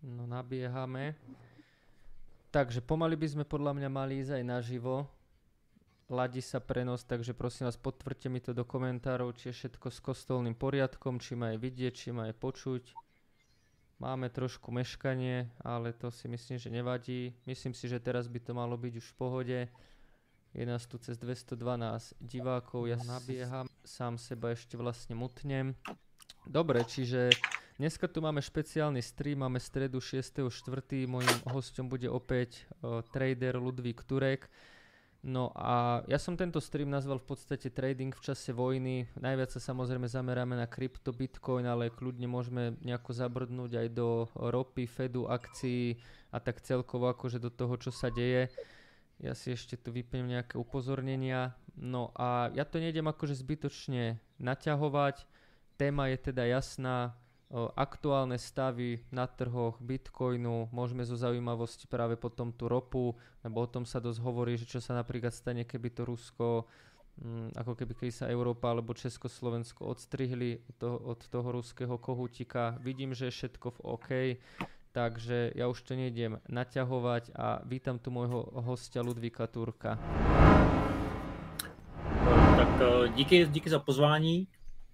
No nabiehame. Takže pomaly by sme podľa mňa mali ísť aj naživo. Ladí sa prenos, takže prosím vás, potvrďte mi to do komentárov, či je všetko s kostolným poriadkom, či ma je vidieť, či ma je počuť. Máme trošku meškanie, ale to si myslím, že nevadí. Myslím si, že teraz by to malo byť už v pohode. Je nás tu cez 212 divákov, ja nabieham, sám seba ešte vlastne mutnem. Dobre, čiže dneska tu máme špeciálny stream, máme stredu 6.4. Mojím hosťom bude opäť trader Ludvík Turek. No a ja som tento stream nazval v podstate trading v čase vojny. Najviac sa samozrejme zameráme na krypto, bitcoin, ale kľudne môžeme nejako zabrdnúť aj do ropy, Fedu, akcií a tak celkovo akože do toho, čo sa deje. Ja si ešte tu vypnem nejaké upozornenia. No a ja to nejdem akože zbytočne naťahovať. Téma je teda jasná. Aktuálne stavy na trhoch Bitcoinu, môžeme zo zaujímavosti práve potom tú ropu, lebo o tom sa dosť hovorí, že čo sa napríklad stane, keby to Rusko, ako keby sa Európa alebo Československo odstrihli od toho ruského kohútika. Vidím, že je všetko v OK, takže ja už to nejdem naťahovať a vítam tu môjho hostia Ludvíka Turka. Tak díky za pozvání.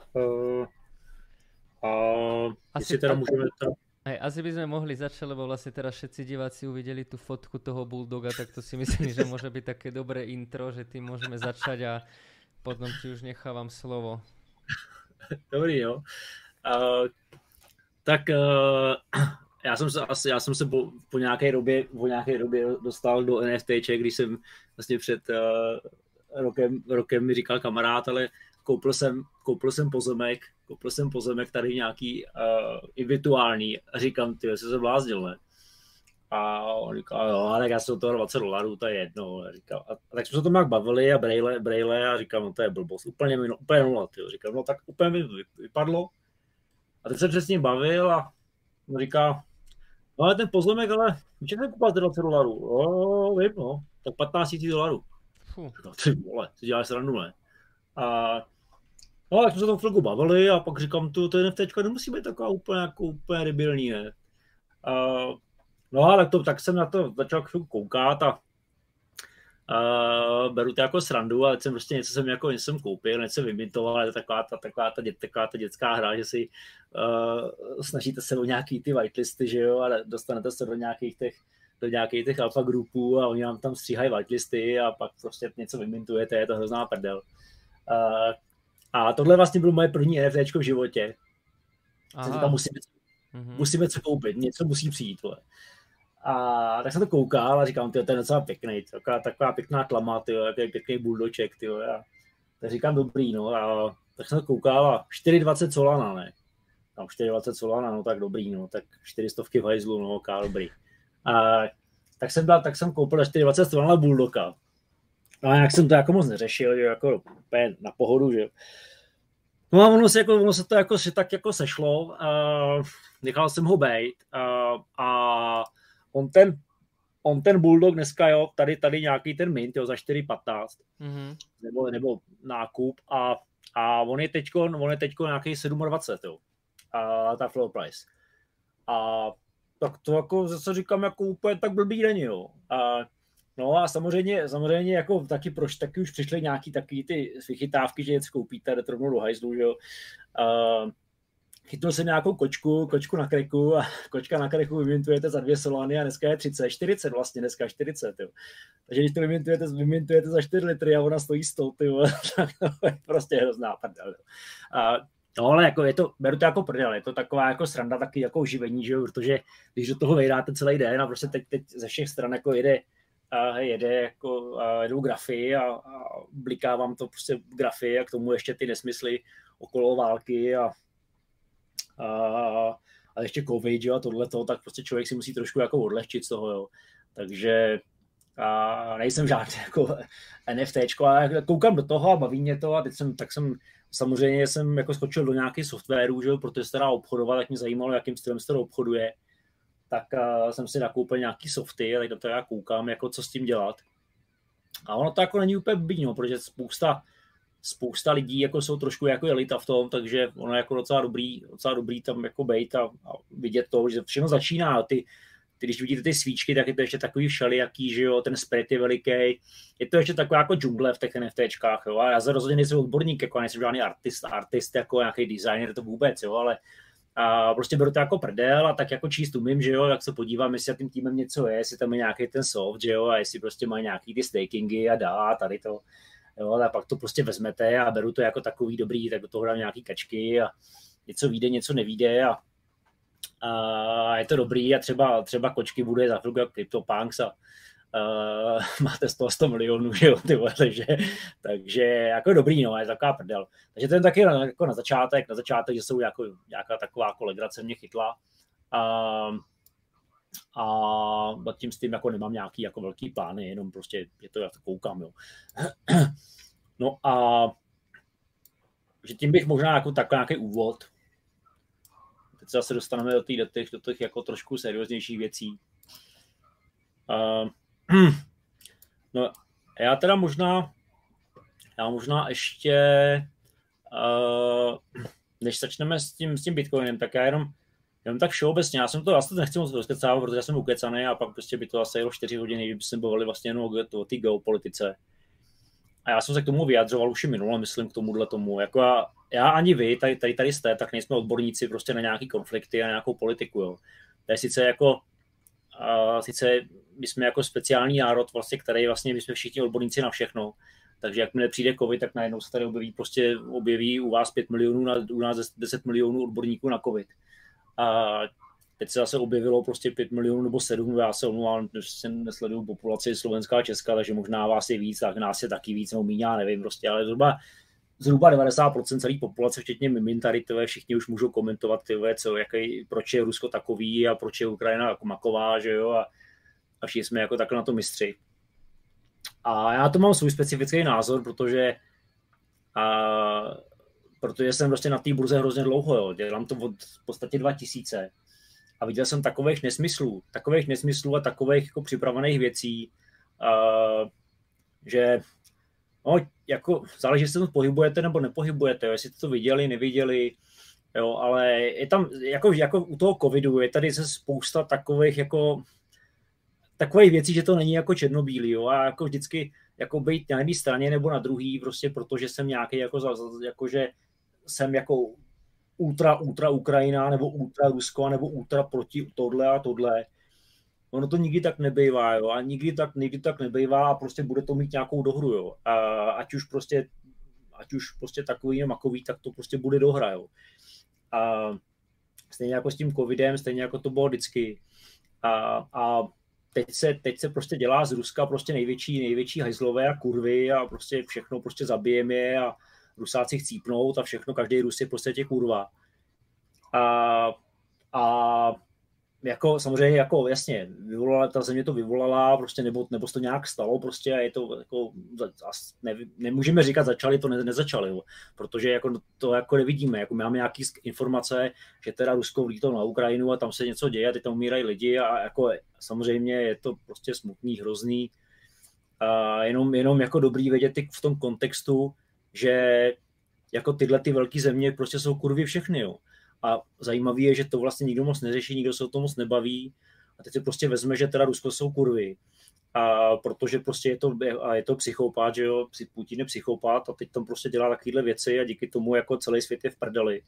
A asi teda môžeme to... Asi by sme mohli začať, lebo vlastne teraz všetci diváci uvideli tú fotku toho bulldoga, tak to si myslím, že môže byť také dobré intro, že tým môžeme začať a potom ti už nechávam slovo. Dobrý, jo. Já jsem se po nějaké době dostal do NFTček, když jsem vlastně před rokem mi říkal kamarád, ale koupil jsem pozemek tady nějaký i virtuální a říkám, ty jsi se bláznil, ne? A on říkal, jo, tak já jsem toho $20, to je jedno. A tak jsme se tomu jak bavili a brejle a říkám, no to je blbost, úplně nula, tyjo. Říkám, no tak úplně mi vypadlo. A teď se přesně bavil a on říká, no ale ten pozemek, ale víš, jak jsem koupil $20? Jo, vím, no, tak $15,000. No ty vole, si děláš srandu, ne? No, tak jsme se tam chvilku bavili a pak říkám, to NFTčka nemusí být taková úplně debilní, ne? No a tak jsem na to začal chvilku koukat a beru to jako srandu, ale prostě něco jsem koupil, něco jsem vymintoval, ale taková ta dětská hra, že si snažíte se o nějaký ty whitelisty, že jo, a dostanete se do nějakých těch alfa grupů a oni vám tam stříhají whitelisty a pak prostě něco vymintujete, je to hrozná prdel. A tohle vlastně bylo moje první NFTčko v životě. Říkám, musíme co koupit, něco musí přijít. Vole. A tak jsem to koukal a říkám, to je docela pěkný, taková pěkná tlama, takový pěkný bulldoček. Tak říkám, dobrý, no. A tak jsem to koukal a 4,20 Solana, ne. Tam 4,20 Solana, no tak dobrý, no. Tak 400 v hajzlu, no, dobrý. Tak jsem koupil 4,20 Solana bulldoka. No jak jsem to jako moc neřešil, že jako úplně na pohodu, že no a ono se to jako tak jako sešlo, nechal jsem ho bejt a on ten bulldog dneska, jo, tady nějaký ten mint, jo, za 4,15 nebo nákup a on je teďko nějaký 27, jo, a ta floor price. A tak to jako zase říkám, jako úplně tak blbý není, jo. No a samozřejmě jako taky už přišly nějaký takový ty vychytávky, že něco koupíte, jdete rovnou do hajzlu, že jo. Chytnul jsem nějakou kočku na kreku a kočka na kreku vymintujete za 2 Solany a dneska je 40 vlastně, dneska 40, jo. Takže když to vymintujete za 4 litry a ona stojí 100, jo, tak to je prostě hrozná prdel, jo. No ale jako beru to jako prdel, je to taková jako sranda, taky jako uživení, že jo, protože když do toho vejdáte celý den a prostě teď ze všech stran jako jedou grafy a bliká vám to prostě grafy a k tomu ještě ty nesmysly okolo války a ještě covid, jo, a tohleto, tak prostě člověk si musí trošku jako odlehčit z toho, jo. Takže nejsem žádný jako NFTčko, ale koukám do toho a baví mě to a teď jsem samozřejmě jako skočil do nějakých softwarů, že jo, protože se teda obchodoval, tak mě zajímalo, jakým stylem se to obchoduje. Tak jsem si nakoupil nějaký softy, tak do toho já koukám, jako co s tím dělat. A ono to jako není úplně blbý, no, protože spousta lidí jako jsou trošku jako elita v tom, takže ono je jako docela dobrý tam jako bejt a vidět to, že všechno začíná, když vidíte ty svíčky, tak je to ještě takový všelijaký, že jo, ten spread je veliký, je to ještě taková jako džungle v těch NFTčkách, jo, a já se rozhodně nejsem odborník, jako nejsem žádný artist, jako nějaký designer, to vůbec, jo, ale a prostě beru to jako prdel a tak jako číst umím, že jo, jak se podívám, jestli tím týmem něco je, jestli tam je nějaký ten soft, že jo, a jestli prostě mají nějaký ty stakingy a dá, tady to, jo, a pak to prostě vezmete a beru to jako takový dobrý, tak do toho dám nějaký kačky a něco vyjde, něco nevyjde a je to dobrý a třeba kočky bude za chvilku jako CryptoPunks a máte z toho 100 milionů, že jo, ty vole, takže jako dobrý, no, je taková prdel. Takže to je taky jako na začátek, že jsou jako nějaká taková jako legrace mě chytla a tím s tím jako nemám nějaký jako velký plány, jenom prostě je to, já to koukám, jo. No a že tím bych možná jako takový nějaký úvod. Teď se zase dostaneme do těch jako trošku serióznějších věcí. No, já teda možná ještě, než začneme s tím Bitcoinem, tak já jenom tak všeobecně, já jsem to vlastně nechci moc rozkecávat, protože já jsem ukecaný a pak prostě by to asi jelo 4 hodiny, kdyby jsme bavili vlastně jenom o té geopolitice. A já jsem se k tomu vyjadřoval už i minule, myslím k tomu. Jako já ani vy, tady jste, tak nejsme odborníci prostě na nějaký konflikty a nějakou politiku. Jo. To je sice my jsme jako speciální národ, vlastně, který vlastně my jsme všichni odborníci na všechno. Takže jakmile přijde covid, tak najednou se tady objeví u vás 5 milionů, u nás 10 milionů odborníků na covid. A teď se zase objevilo prostě 5 milionů nebo 7, já se omlouvám, že nesleduju populaci Slovenská a Česka, takže možná vás je víc, tak nás je taky víc, nebo míň, já nevím prostě, ale zhruba 90% celé populace, včetně mimin tady, všichni už můžou komentovat, proč je Rusko takový a proč je Ukrajina jako maková, že jo, a všichni jsme jako takhle na to mistři. A já to mám svůj specifický názor, protože jsem prostě na té burze hrozně dlouho, jo. Dělám to od v podstatě 2000 a viděl jsem takových nesmyslů a takových jako připravených věcí, že no, jako záleží, jestli to pohybujete nebo nepohybujete, jo. Jestli to viděli, neviděli, jo, ale je tam, jako u toho covidu, je tady se spousta takových věcí, že to není jako černobílý, jo, a jako vždycky jako být na jedné straně nebo na druhý, prostě protože jsem nějaký že jsem jako ultra Ukrajina, nebo ultra Rusko, nebo ultra proti tohle a tohle. Ono to nikdy tak nebejvá, jo, a nikdy tak nebejvá a prostě bude to mít nějakou dohru, jo. A ať už prostě takový makový, tak to prostě bude dohra, jo. A stejně jako s tím covidem, stejně jako to bylo vždycky. A teď se prostě dělá z Ruska prostě největší hajzlové a kurvy a prostě všechno prostě zabijeme je a Rusáci chcípnout a všechno, každý Rus je prostě kurva. A jako samozřejmě jako jasně, ta země to vyvolala, prostě nebo se to nějak stalo prostě a je to jako, nemůžeme říkat začali, to nezačali, jo, protože jako to jako nevidíme, jako máme nějaké informace, že teda Rusko vlítlo na Ukrajinu a tam se něco děje a teď tam umírají lidi a jako samozřejmě je to prostě smutný, hrozný, a jenom jako dobrý vědět v tom kontextu, že jako tyhle ty velké země prostě jsou kurvy všechny, jo. A zajímavé je, že to vlastně nikdo moc neřeší, nikdo se o tom moc nebaví. A teď se prostě vezme, že teda Rusko jsou kurvy. A protože prostě je to psychopat, že jo, Putin je psychopat a teď tam prostě dělá takovéhle věci a díky tomu jako celý svět je v prdeli.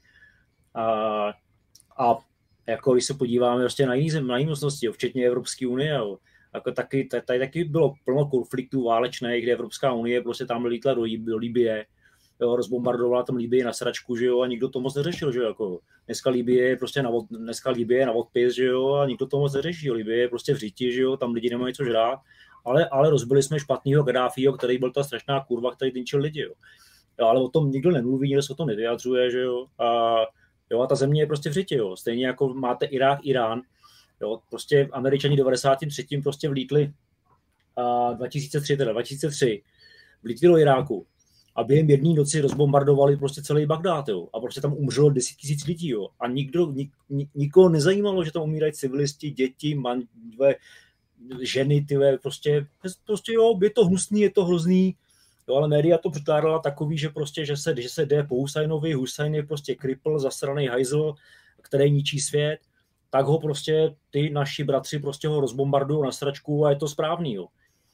A jako když se podíváme prostě na jiné mocnosti, včetně Evropské unie, jo, jako tady taky bylo plno konfliktů válečných, kde Evropská unie prostě tam lítla do Libye, jo, rozbombardovala tam Libii na sračku, že jo, a nikdo to moc neřešil, že jo, jako dneska Libye je na odpis, že jo, a nikdo to moc neřeší, Libye je prostě v říti, že jo, tam lidi nemají co žrát, ale rozbili jsme špatnýho Gaddáfího, který byl ta strašná kurva, který tynčil lidi, jo. Ale o tom nikdo nemluví, nikdo se o tom nevyjadřuje, že jo, a ta země je prostě v říti, jo, stejně jako máte Irák, Irán, jo, prostě Američani 93. prostě vlítli 2003 vlítli do Iráku. A během jedné noci rozbombardovali prostě celý Bagdád, jo. A prostě tam umřelo 10 000 lidí, jo. A nikoho nezajímalo, že tam umírají civilisti, děti, ženy, prostě jo, je to hnusný, je to hrozný. Jo, ale média to překládala takový, že prostě, že se jde po Husajnovi, Husajn je prostě kripl, zasranej hajzl, který ničí svět. tak ho prostě ty naši bratři prostě ho rozbombardují na sračku a je to správný, jo.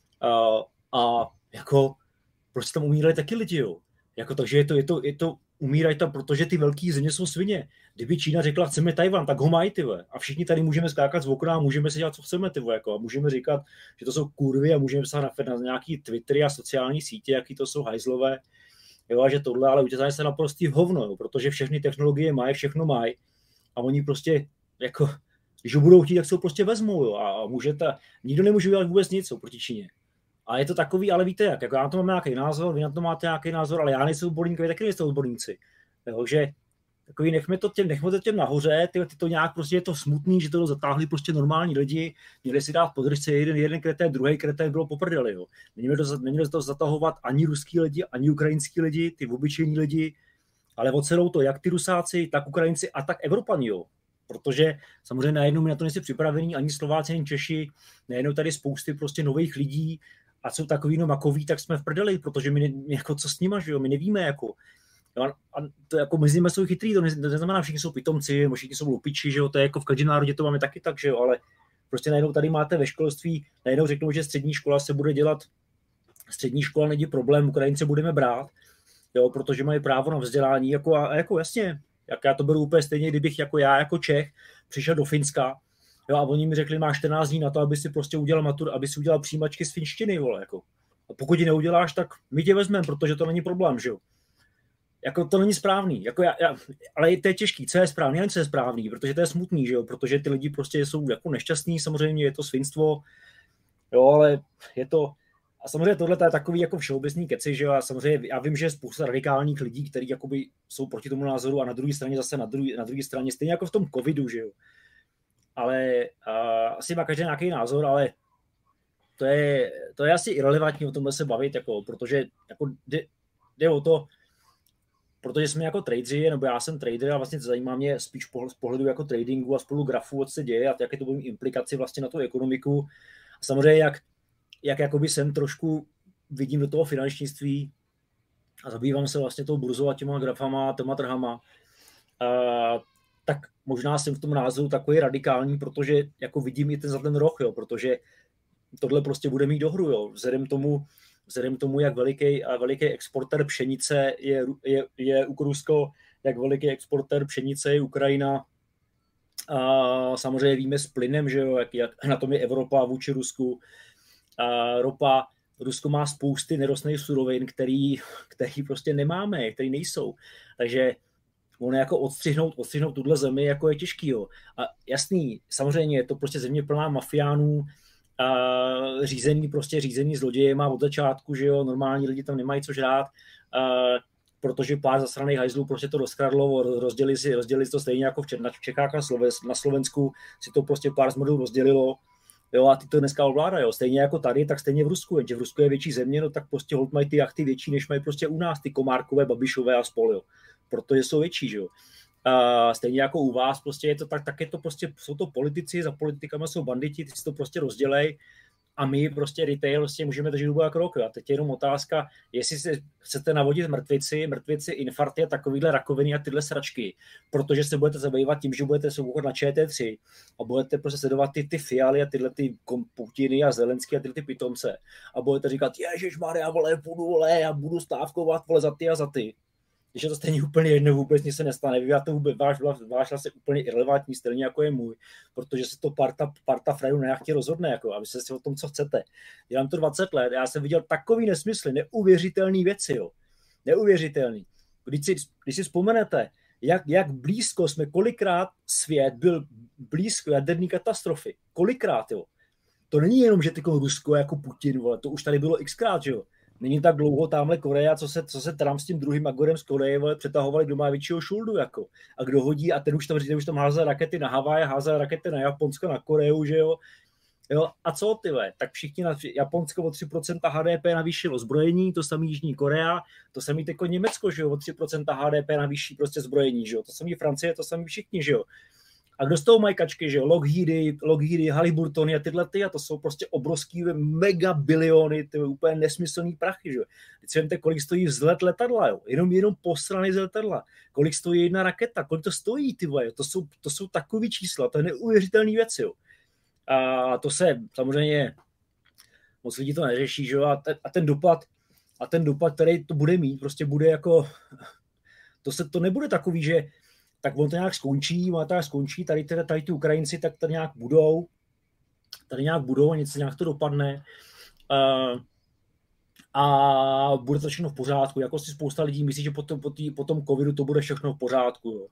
A jako prostě tam umírali taky lidi, jo. Jako, takže je to umírají tam, protože ty velký země jsou svině. Kdyby Čína řekla, chceme Tajvan, tak ho mají, ty vole. A všichni tady můžeme skákat z okna a můžeme si dělat, co chceme, ty vole, jako. A můžeme říkat, že to jsou kurvy a můžeme psát na nějaký Twittery a sociální sítě, jaký to jsou hajzlové, jo, a že tohle, ale udělají se naprostý hovno, jo, protože všechny technologie mají, všechno mají a oni prostě, jako, když ho budou chtít, tak se ho prostě vezmou, jo, a nikdo nemůže udělat vůbec nic proti Číně. A je to takový, ale víte jak, jako já na to mám nějaký názor, vy na to máte nějaký názor, ale já nejsem odborník, vy taky nejste odborníci. Takže takový nechme to těm nahoře, ty to nějak prostě je to smutný, že to zatáhli prostě normální lidi, měli si dát podržce jeden kretén, druhý kretén, bylo poprdeli, jo. Neměli to zatahovat ani ruský lidi, ani ukrajinský lidi, ty obyčejní lidi, ale ocelou to jak ty Rusáci, tak Ukrajinci a tak Evropani, jo. Protože samozřejmě najednou my na to nejsi připravení, ani Slováci, ani Češi, najednou tady spousty prostě nových lidí, a jsou takový makoví, tak jsme v prdeli, protože my jako co s nima, že jo, my nevíme, jako. A to jako mezi nimi jsou chytrý, to neznamená, všichni jsou pitomci, všichni jsou lupiči, že jo, to je jako v každém národě to máme taky tak, že jo, ale prostě najednou tady máte ve školství, najednou řeknou, že střední škola se bude dělat, střední škola není problém, Ukrajince budeme brát, jo, protože mají právo na vzdělání, jako jasně, jak já to beru úplně stejně, kdybych jako já, jako Čech, přišel do Finska, jo, a oni mi řekli, máš 14 dní na to, aby si prostě udělal matur, aby si udělal přijímačky z finštiny, vole, jako. A pokud ji neuděláš, tak my tě vezmeme, protože to není problém, že jo. Jako to není správný, jako ale to je těžký, co je správný, nevím, co je správný, protože to je smutný, že jo, protože ty lidi prostě jsou jako nešťastní, samozřejmě je to svinstvo, jo, ale je to, a samozřejmě tohle je takový jako všeobecný keci, že jo, a samozřejmě já vím, že je spousta radikálních lidí, kteří jakoby jsou proti tomu názoru a na druhé straně zase na druhé straně, stejně jako v tom covidu, že jo. Ale asi má každý nějaký názor, ale to je asi irelevantní o tomhle se bavit, jako, protože jako jde o to, protože jsme jako tradeři, nebo já jsem trader a vlastně zajímá mě spíš z pohledu jako tradingu a spolu grafů, co se děje a jaké to bude implikaci vlastně na tu ekonomiku. A samozřejmě jak jakoby jsem trošku vidím do toho finančnictví a zabývám se vlastně tou burzou a těma grafama, těma trhama, tak možná jsem v tom názoru takový radikální, protože jako vidím i ten roh, jo, protože tohle prostě bude mít dohru, jo, vzhledem tomu, jak veliký exportér pšenice je Rusko, jak veliký exportér pšenice je Ukrajina. A samozřejmě víme s plynem, že jo, jak na tom je Evropa vůči Rusku. A ropa, Rusko má spousty nerostných surovin, který prostě nemáme, který nejsou. Takže ono jako odstřihnout tuhle zemi jako je těžký. Jo. A jasný, samozřejmě je to prostě země plná mafiánů, řízený zlodějema od začátku, že jo, normální lidi tam nemají co žrát, protože pár zasraných hajzlů prostě to rozkradlo, rozdělili si to stejně jako v Čechách na Slovensku si to prostě pár zmrdů rozdělilo, jo, a ty to dneska ovládají, jo, stejně jako tady, tak stejně v Rusku, jenže v Rusku je větší země, no tak prostě holt mají ty jachty větší, než mají prostě u nás, ty Komárkové, Babišové a spol, jo, protože jsou větší, že jo. Stejně jako u vás, prostě je to tak je to prostě, jsou to politici, za politikama jsou banditi, ty si to prostě rozdělej a my prostě retail prostě můžeme držet hubu jak rok. A teď je jenom otázka, jestli si chcete navodit mrtvici, infarkty a takovýhle rakoviny a tyhle sračky, protože se budete zabývat tím, že budete soukat na ČT3 a budete prostě sledovat ty Fialy a tyhle ty Putiny a Zelenský a tyhle ty pitomce a budete říkat, ježišmarja, vole, já budu stávkovat, vole, za ty a za ty. Když je to stejně úplně jedno, vůbec nic se nestane. Vy to vůbec, váš hlas je úplně irrelevantní, stejně jako je můj, protože se to parta frajů na jachtě rozhodne, jako, aby se si o tom, co chcete. Dělám to 20 let, já jsem viděl takový nesmysly, neuvěřitelné věci, jo. Neuvěřitelný. Když si vzpomenete, jak blízko jsme, kolikrát svět byl blízko jaderné katastrofy. Kolikrát, jo. To není jenom, že tyko Rusko jako Putin, vole, to už tady bylo xkrát, že jo. Není tak dlouho tamhle Korea, co se Trump s tím druhým Magorem z Koreje, vole, přetahovali, kdo má většího šuldu, jako. A kdo hodí, a ten už tam házel rakety na Havaj, házel rakety na Japonsko, na Koreu, že jo. A co, ty ve? Tak všichni Japonsko o 3% HDP navýšilo zbrojení, to samý Jižní Korea, to samý jako Německo, že jo, o 3% HDP navýší prostě zbrojení, že jo. To samý Francie, to samý všichni, že jo. A kdo z toho mají kačky, že jo? Lockheedy, Halliburtony a tyhle a to jsou prostě obrovský mega biliony, ty úplně nesmyslný prachy, že jo? Teď si vemte, kolik stojí vzlet letadla, jo? Jenom posraný z letadla. Kolik stojí jedna raketa, kolik to stojí, ty vole, to jsou takový čísla, to je neuvěřitelný věc, jo? A to se samozřejmě moc lidí to neřeší, že jo? A ten dopad, který to bude mít, prostě bude jako, to nebude takový, že tak on to nějak skončí, tady ty Ukrajinci tak tady nějak budou a něco nějak to dopadne a bude to všechno v pořádku. Jako si spousta lidí myslí, že po tom covidu to bude všechno v pořádku. Jo.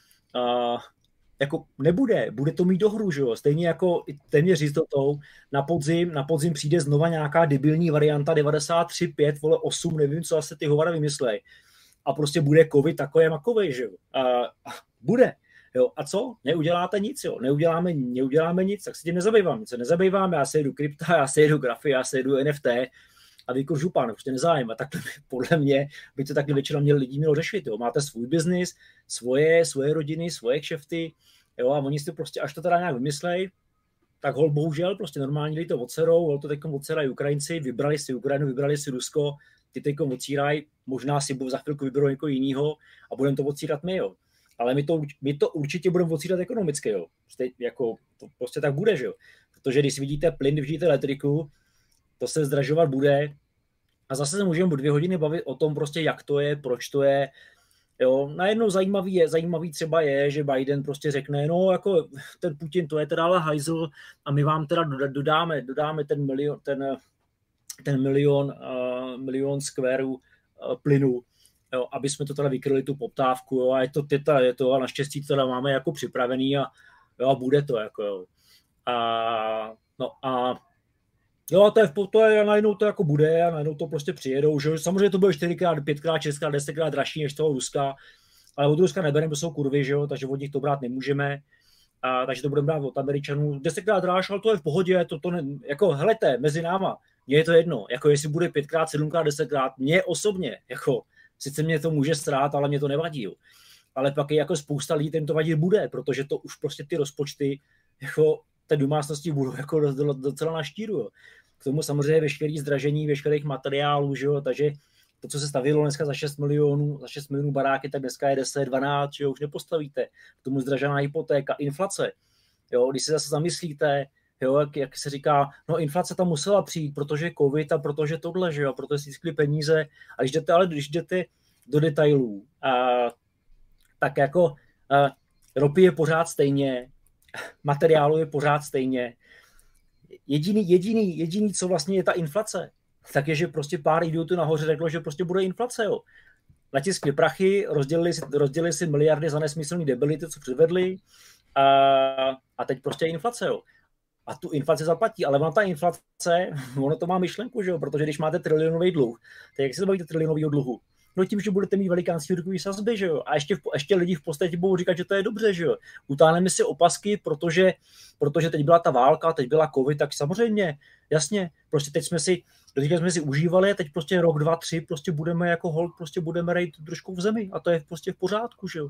Jako bude to mít dohru, že jo. Stejně jako téměř jistotou na podzim přijde znova nějaká debilní varianta 93.5, 8, nevím, co asi ty hovada vymyslej. A prostě bude covid takový makovej, že jo. Bude. Jo. A co? Neuděláte nic, jo. Neuděláme nic, tak se tím nezabývám. Já se jedu krypta, já se jedu grafy, já se jedu NFT a vy župan, prostě nezájem. A takhle podle mě by to takhle většina lidí mělo řešit, jo. Máte svůj biznis, svoje rodiny, svoje kšefty, jo, a oni si prostě, až to teda nějak vymyslej, tak hol bohužel prostě normálně lidi to odserou, hol to teďkom odserají Ukrajinci, vybrali si Ukrajinu, vybrali si Rusko, ty teďkom odsírají, možná si za chvilku vyberou někoho jiného a budeme to odsírat my, jo. Ale my to určitě budeme odsírat ekonomicky, jo. Jako, to prostě tak bude, že jo. Protože když vidíte plyn, když vidíte elektriku, to se zdražovat bude a zase se můžeme 2 hodiny bavit o tom prostě, jak to je, proč to je. Jo, najednou zajímavý třeba je, že Biden prostě řekne, no jako ten Putin, to je teda ale hajzl a my vám teda dodáme ten milion skvérů plynu, jo, aby jsme to teda vykryli tu poptávku, jo, a je to a naštěstí to teda máme jako připravený a bude to jako, jo. To je najednou to jako bude a najednou to prostě přijedou, že samozřejmě to bude 4x, 5x, 6x, 10x dražší než toho Ruska, ale od Ruska nebereme, to jsou kurvy, že jo, takže od nich to brát nemůžeme, takže to budeme brát od Američanů, 10x dráž, ale to je v pohodě, jako helejte, mezi náma, mně je to jedno, jako jestli bude 5x, 7x, 10x, mně osobně, jako sice mě to může strát, ale mě to nevadí, jo. Ale pak je jako spousta lidí, kterým to vadit bude, protože to už prostě ty rozpočty, jako té domácnosti budou jako docela na štíru, jo. K tomu samozřejmě veškerý zdražení, veškerých materiálů, že jo, takže to, co se stavilo dneska za 6 milionů baráky, tak dneska je 10, 12, že jo, už nepostavíte. K tomu zdražená hypotéka, inflace, jo, když se zase zamyslíte, jo, jak se říká, no inflace tam musela přijít, protože covid a protože tohle, že jo, protože si získali peníze a když jdete do detailů, tak jako ropy je pořád stejně, materiálu je pořád stejně. Jediný, co vlastně je ta inflace, tak je, že prostě pár idiotů nahoře řeklo, že prostě bude inflace, jo. Natiskli prachy, rozdělili si miliardy za nesmyslný debility, co předvedli a teď prostě je inflace, jo. A tu inflaci zaplatí, ale ona ta inflace, ono to má myšlenku, že jo, protože když máte trilionový dluh, tak jak se bavíte trilionového dluhu? No tím, že budete mít velikánský úrokový sazby, že jo, a ještě lidi v podstatě budou říkat, že to je dobře, že jo. Utáhneme si opasky, protože teď byla ta válka, teď byla covid, tak samozřejmě, jasně, prostě teď jsme si užívali a teď prostě rok, 2, 3 prostě budeme jako hold, prostě budeme rejt trošku v zemi a to je prostě v pořádku, že jo.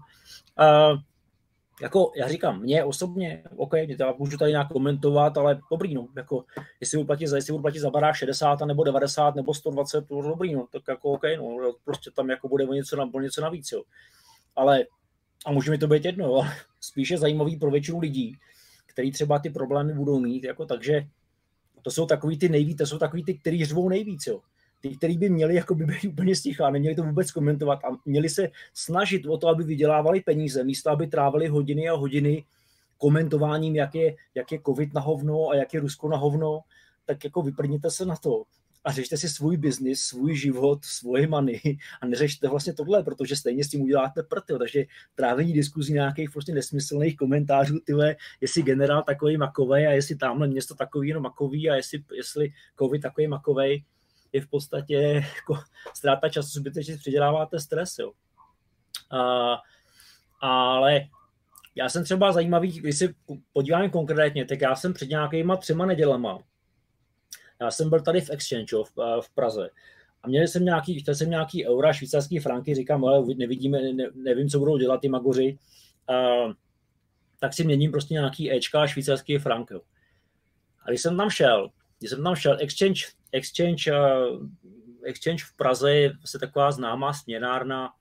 Jako já říkám, mě osobně, OK, můžu tady nějak komentovat, ale dobrý, no, jako jestli budu platit za barák 60 nebo 90 nebo 120, to dobrý, no, tak jako OK, no, prostě tam jako bude něco navíc, jo. Ale, a může mi to být jedno, jo, spíše zajímavý pro většinu lidí, který třeba ty problémy budou mít, jako takže to jsou takový ty, kteří řvou nejvíc, jo. Ty, kteří by měli jako by být úplně sticha, neměli to vůbec komentovat a měli se snažit o to, aby vydělávali peníze, místo aby trávili hodiny a hodiny komentováním, jak je covid na hovno a jak je Rusko na hovno, tak jako vyprdněte se na to a řešte si svůj biznis, svůj život, svoje money a neřešte vlastně tohle, protože stejně s tím uděláte prd, takže trávení diskuzí nějakých prostě nesmyslných komentářů, tyhle, jestli generál takový makovej a jestli tamhle město takový jenom makový a jestli covid takový makovej, je v podstatě jako ztráta času, zbytečně přiděláváte stres, jo. Ale já jsem třeba zajímavý, když si podíváme konkrétně, tak já jsem před nějakýma 3 nedělama, já jsem byl tady v Exchange, jo, v Praze a chtěl jsem nějaký eura, švýcarský franky, říkám, ale nevím, co budou dělat ty magoři, tak si měním prostě nějaký Ečka a švýcarský frank. Jo. A když jsem tam šel Exchange v Praze je vlastně taková známá směnárna,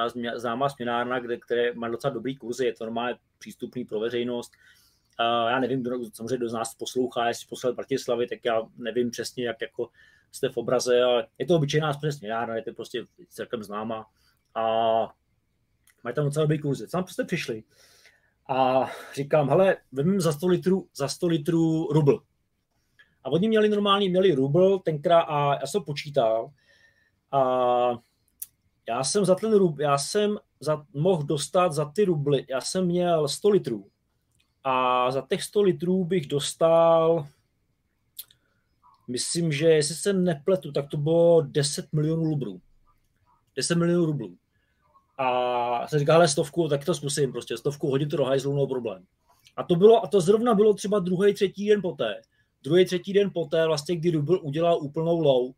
které má docela dobrý kurzy, je to normálně přístupný pro veřejnost. Já nevím, samozřejmě kdo z nás poslouchá, jestli poslal Bratislavy, tak já nevím přesně, jak jako jste v obraze, ale je to obyčejná směnárna, je to prostě celkem známá. A mají tam docela dobrý kurzy. Tam prostě přišli. A říkám, hele, vezmeme za 100 litrů rubl. A oni měli rubl tenkrát a já jsem počítal. A já jsem za ten rubl, mohl dostat za ty rubly, já jsem měl 100 litrů. A za těch 100 litrů bych dostal, myslím, že jestli se nepletu, tak to bylo 10 milionů rublů. 10 milionů rublů. A jsem říkal, hele, 100, tak to zkusím prostě, 100 hodit to do hajzlu, no problém. A to zrovna bylo třeba druhý, třetí den poté, vlastně, kdy rubl udělal úplnou low.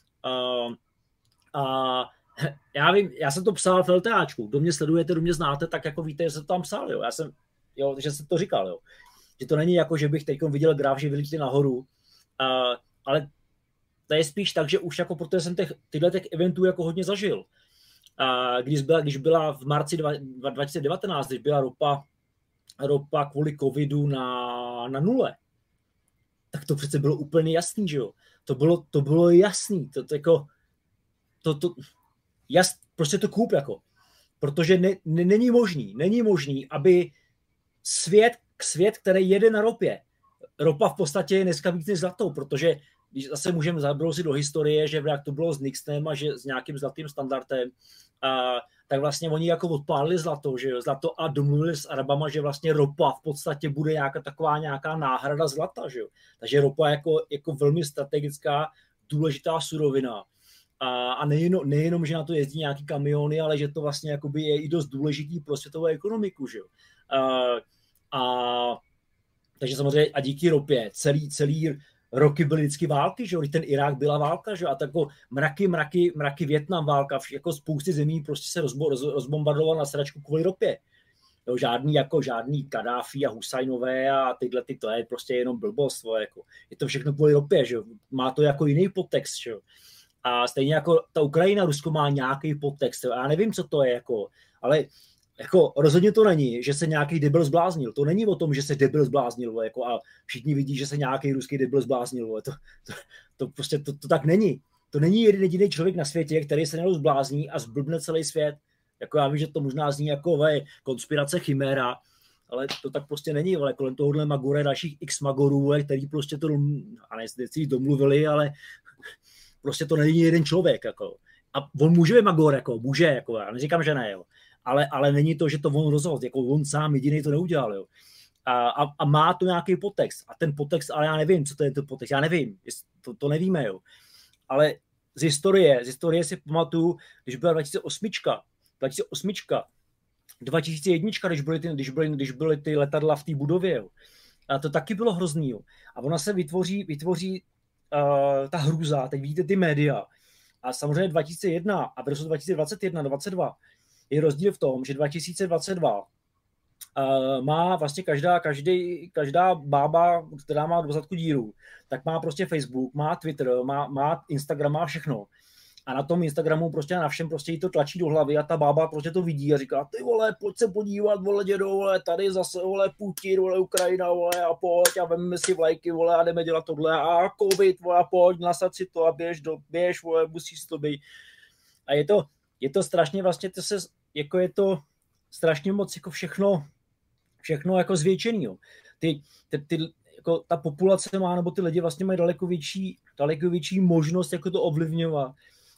A já vím, já jsem to psal v LTAčku, kdo mě sledujete, kdo mě znáte, tak jako víte, že jsem to tam psal, jo. Že jsem to říkal, jo. Že to není jako, že bych teď viděl graf, že vylítli nahoru, ale to je spíš tak, že už jako, protože jsem tyhle eventů jako hodně zažil. Když byla v marci 2019, když byla ropa kvůli covidu na nule, tak to přece bylo úplně jasný, že jo. To bylo jasný, prostě to koup jako. Protože není možný, aby svět, který jede na ropě, ropa v podstatě je dneska víc než zlatou, protože když zase můžeme zabrousit do historie, že jak to bylo s Nixonem a že s nějakým zlatým standardem, tak vlastně oni jako odpálili zlato a domluvili s Arabama, že vlastně ropa v podstatě bude nějaká náhrada zlata, že jo. Takže ropa jako velmi strategická, důležitá surovina. A nejenom, že na to jezdí nějaký kamiony, ale že to vlastně jakoby je i dost důležitý pro světovou ekonomiku, že jo. Takže samozřejmě a díky ropě celý roky byly vždycky války, že jo, ten Irák byla válka, že jo, a tak jako mraky Vietnam válka, jako spousty zemí prostě se rozbombardoval na sračku kvůli ropě. Jo, žádný Kadáfi a Husajnové a to je prostě jenom blbost, jako. Je to všechno kvůli ropě, že jo, má to jako jiný podtext, že jo. A stejně jako ta Ukrajina, Rusko má nějaký podtext, jo. Já nevím, co to je, jako, ale jako rozhodně to není, že se nějaký debil zbláznil. To není o tom, že se debil zbláznil, jako, a všichni vidí, že se nějaký ruský debil zbláznil. To prostě to tak není. To není jediný člověk na světě, který se jenom zblázní a zblbne celý svět. Jako já vím, že to možná zní jako konspirace chiméra, ale to tak prostě není. Ale kolem tohohle Magora dalších x Magorů, který prostě to, a ne domluvili, ale prostě to není jeden člověk. Jako. A on může být Magor, jako, může, jako, já neříkám, že ne, jo. Ale není to, že to on rozhodl, jako on sám jediný to neudělal. Jo. A má to nějaký podtext. A ten podtext, ale já nevím, co to je ten podtext, já nevím, to nevíme. Jo. Ale z historie si pamatuju, když byla 2001, když byly ty letadla v té budově. Jo. A to taky bylo hrozný. Jo. A ona se vytvoří ta hrůza, teď vidíte ty média. A samozřejmě 2001 a v roce 2021-2022 je rozdíl v tom, že 2022 má vlastně každá bába, která má do zadku díru, tak má prostě Facebook, má Twitter, má Instagram, má všechno. A na tom Instagramu prostě na všem prostě jí to tlačí do hlavy a ta bába prostě to vidí a říká, ty vole, pojď se podívat, vole, dědo, vole, tady zase, vole, Putin, vole, Ukrajina, vole, a pojď a vememe si vlajky, vole, a jdeme dělat tohle a covid, vole, a pojď, nasad si to a běž, vole, musíš si to být. A je to strašně vlastně, je to strašně moc jako všechno jako zvětšený, jo. Jako ta populace má, nebo ty lidi vlastně mají daleko větší možnost jako to ovlivňovat.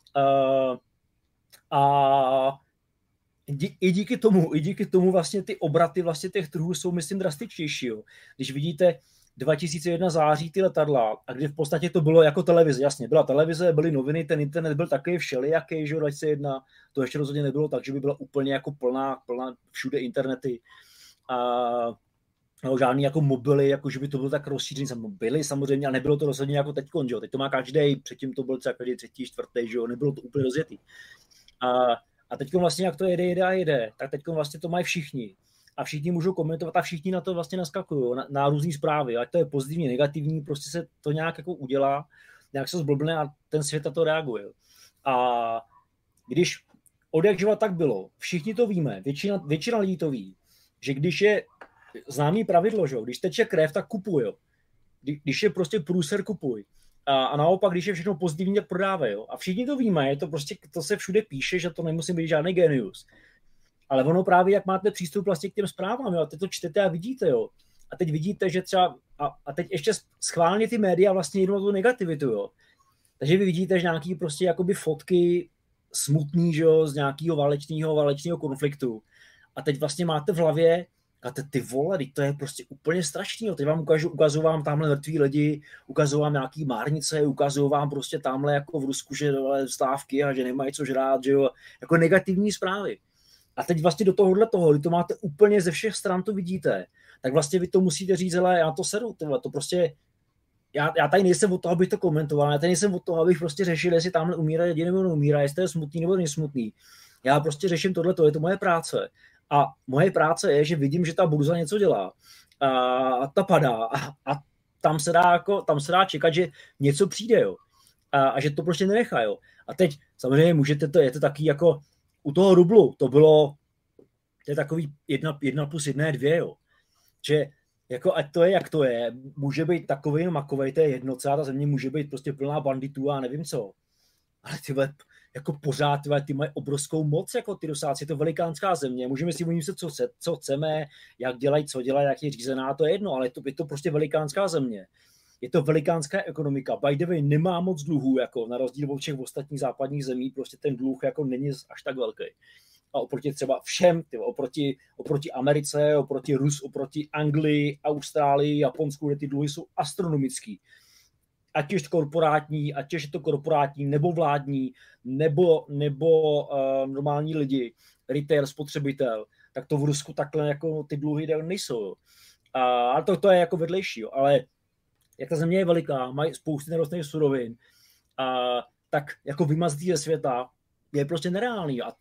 A i díky tomu vlastně ty obraty vlastně těch trhů jsou, myslím, drastičtější. Jo. Když vidíte 2001 září ty letadla, a kdy v podstatě to bylo jako televize, jasně, byla televize, byly noviny, ten internet byl takový všelijaký, že 2001, to ještě rozhodně nebylo tak, že by byla úplně jako plná všude internety. No, žádný jako mobily, jako že by to bylo tak rozšířený, byly samozřejmě, ale nebylo to rozhodně jako teďkon, že jo. Teď to má každý, předtím to byl třeba každý třetí, čtvrtý, že jo, nebylo to úplně rozjetý. A teďkon vlastně, jak to jede, tak teďkon vlastně to mají všichni. a všichni můžou komentovat a všichni na to vlastně naskakují, na různý zprávy, ať to je pozitivní, negativní, prostě se to nějak jako udělá, nějak se zblbne a ten svět na to reaguje. A když odjakživa tak bylo, všichni to víme, většina lidí to ví, že když je známý pravidlo, že? Když teče krev, tak kupuj. Jo? Když je prostě průser, kupuj. A naopak, když je všechno pozitivní, tak prodávej. Jo? A všichni to víme, je to prostě, to se všude píše, že to nemusí být žádný genius. Ale ono právě, jak máte přístup vlastně k těm zprávám, jo? A teď to čtete a vidíte, jo. A teď vidíte, že třeba, a teď ještě schválně ty média vlastně jednou tu negativitu, jo. Takže vy vidíte, že nějaký prostě jakoby fotky smutný, že jo, z nějakého válečného konfliktu. A teď vlastně máte v hlavě, a ty vole, to je prostě úplně strašný. Jo. Teď vám ukazuju vám tamhle mrtví lidi, ukazuju vám nějaký márnice, ukazuju vám prostě tamhle jako v Rusku, že dole stávky a že nemají co žrát, že jo, jako negativní zprávy. A teď vlastně do tohohle toho, kdy to máte úplně ze všech stran, to vidíte, tak vlastně vy to musíte říct, hele, já to seru, to prostě, já tady nejsem od toho, abych to komentoval, já tady nejsem od toho, abych prostě řešil, jestli tamhle umírá lidi nebo neumírá, jestli je smutný nebo nesmutný. Já prostě řeším tohleto, je to moje práce. A moje práce je, že vidím, že ta burza něco dělá a ta padá a tam se dá čekat, že něco přijde, jo. A že to prostě nenechá, jo. A teď samozřejmě můžete je to taky jako u toho rublu, to je takový 1+1 je 2, jo. Že jako ať to je, jak to je, může být takový makovej, to je jedno, celá ta země může být prostě plná banditů a nevím co. Ale jako pořád ty mají obrovskou moc, jako ty Rusáci, je to velikánská země, můžeme si myslet, co chceme, jak dělají, co dělají, jak je řízená, to je jedno, ale je to prostě velikánská země. Je to velikánská ekonomika. By the way, nemá moc dluhů, jako na rozdíl od všech ostatních západních zemí, prostě ten dluh jako není až tak velký. A oproti třeba všem, oproti Americe, oproti Anglii, Austrálii, Japonsku, kde ty dluhy jsou astronomický. Ať je to korporátní, nebo vládní, nebo normální lidi, retail, spotřebitel, tak to v Rusku takhle jako ty dluhy nejsou. Ale to je jako vedlejší. Jo. Ale jak ta země je veliká, mají spoustu nerostných surovin, tak jako vymazatý ze světa je prostě nereálný. A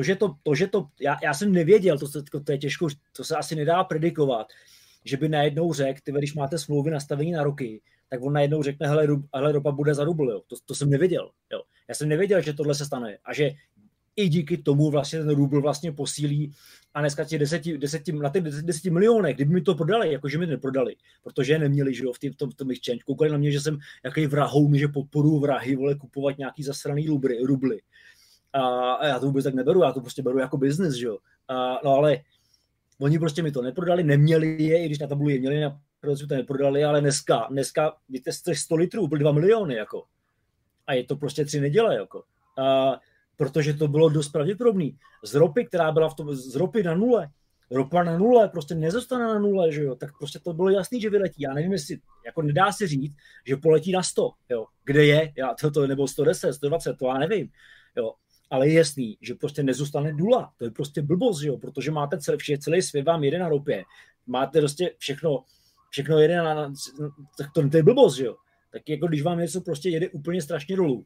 já jsem nevěděl, to je těžko, to se asi nedá predikovat, že by najednou řekl, když máte smlouvy nastavení na roky, tak on najednou řekne, hele, ropa bude za rubl, jo. To jsem nevěděl. Jo. Já jsem nevěděl, že tohle se stane a že i díky tomu vlastně ten rubl vlastně posílí a dneska na těch 10 milionech, kdyby mi to prodali, jakože mi neprodali, protože je neměli, že jo, v tom exchange. Koukali na mě, že jsem jaký vrahoun, že podporuji vrahy, vole, kupovat nějaký zasraný rubly. A já to vůbec tak neberu, já to prostě beru jako business, že jo. No ale oni prostě mi to neprodali, neměli je, i když na tabuli je měli, protože to neprodali, ale dneska víte, 100 litrů byl 2 miliony, jako. A je to prostě 3 neděle, jako. Protože to bylo dost pravděpodobný. Z ropy, která byla z ropy na nule, ropa na nule, prostě nezůstane na nule, že jo, tak prostě to bylo jasný, že vyletí. Já nevím, jestli, jako nedá se říct, že poletí na 100, jo. Kde je, nebo 110, 120, to já nevím, jo. Ale je jasný, že prostě nezůstane nula. To je prostě blbost, že jo, protože máte celý svět vám jede na ropě. Máte prostě všechno jede to je blbost, že jo. Tak jako když vám něco prostě jede úplně strašně dolů.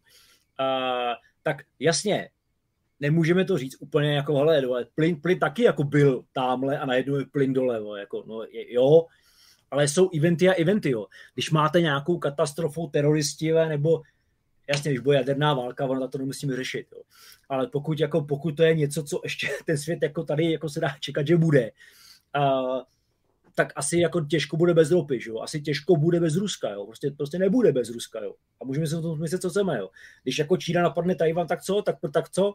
Tak jasně, nemůžeme to říct úplně jako, hele, plyn taky jako byl támhle a najednou je plyn dole, jako, no, jo, ale jsou eventy, jo. Když máte nějakou katastrofu teroristi, nebo jasně, když bude jaderná válka, ono to nemusíme řešit, jo. Ale pokud to je něco, co ještě ten svět jako tady jako se dá čekat, že bude, tak asi jako těžko bude bez ropy, jo. Asi těžko bude bez Ruska, jo. Prostě nebude bez Ruska, jo. A můžeme si o tom myslet, co chceme, jo. Když jako Čína napadne Tajvan, tak co?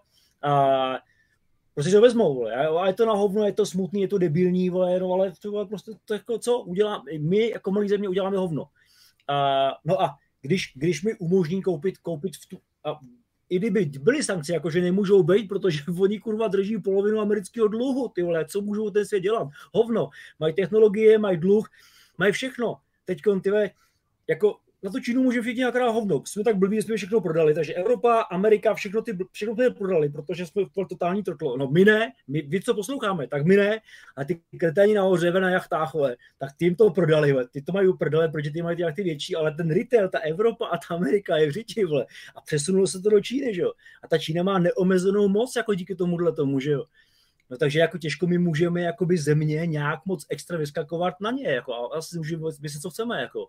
Prostě to vezmou, vole. A je to na hovno, je to smutný, je to debilní, vole, no, ale to prostě to jako co udělá, my jako malý země uděláme hovno. No a když mi umožní koupit i kdyby byly sankce, jakože nemůžou být, protože oni kurva drží polovinu amerického dluhu, ty vole, co můžou ten svět dělat? Hovno, mají technologie, mají dluh, mají všechno. Teďkon, ty jako na tu Čínu můžeme všichni nakrát hovno. Jsme tak blbí, že jsme všechno prodali, takže Evropa, Amerika, všechno ty prodali, protože jsme v totální trotlo. No my ne, vy co posloucháme, tak my ne, a ty kreténi nahoře na jachtách, vole, tak ty jim to prodali, vole. Ty to mají prodali, protože ty mají ty jachty větší, ale ten retail, ta Evropa a ta Amerika je v řiči, vole. A přesunulo se to do Číny, že jo. A ta Čína má neomezenou moc, jako díky tomu, že jo. No takže jako těžko my můžeme jakoby země nějak moc extra vyskakovat na ně, jako, a asi můžeme myslet, co chceme, jako.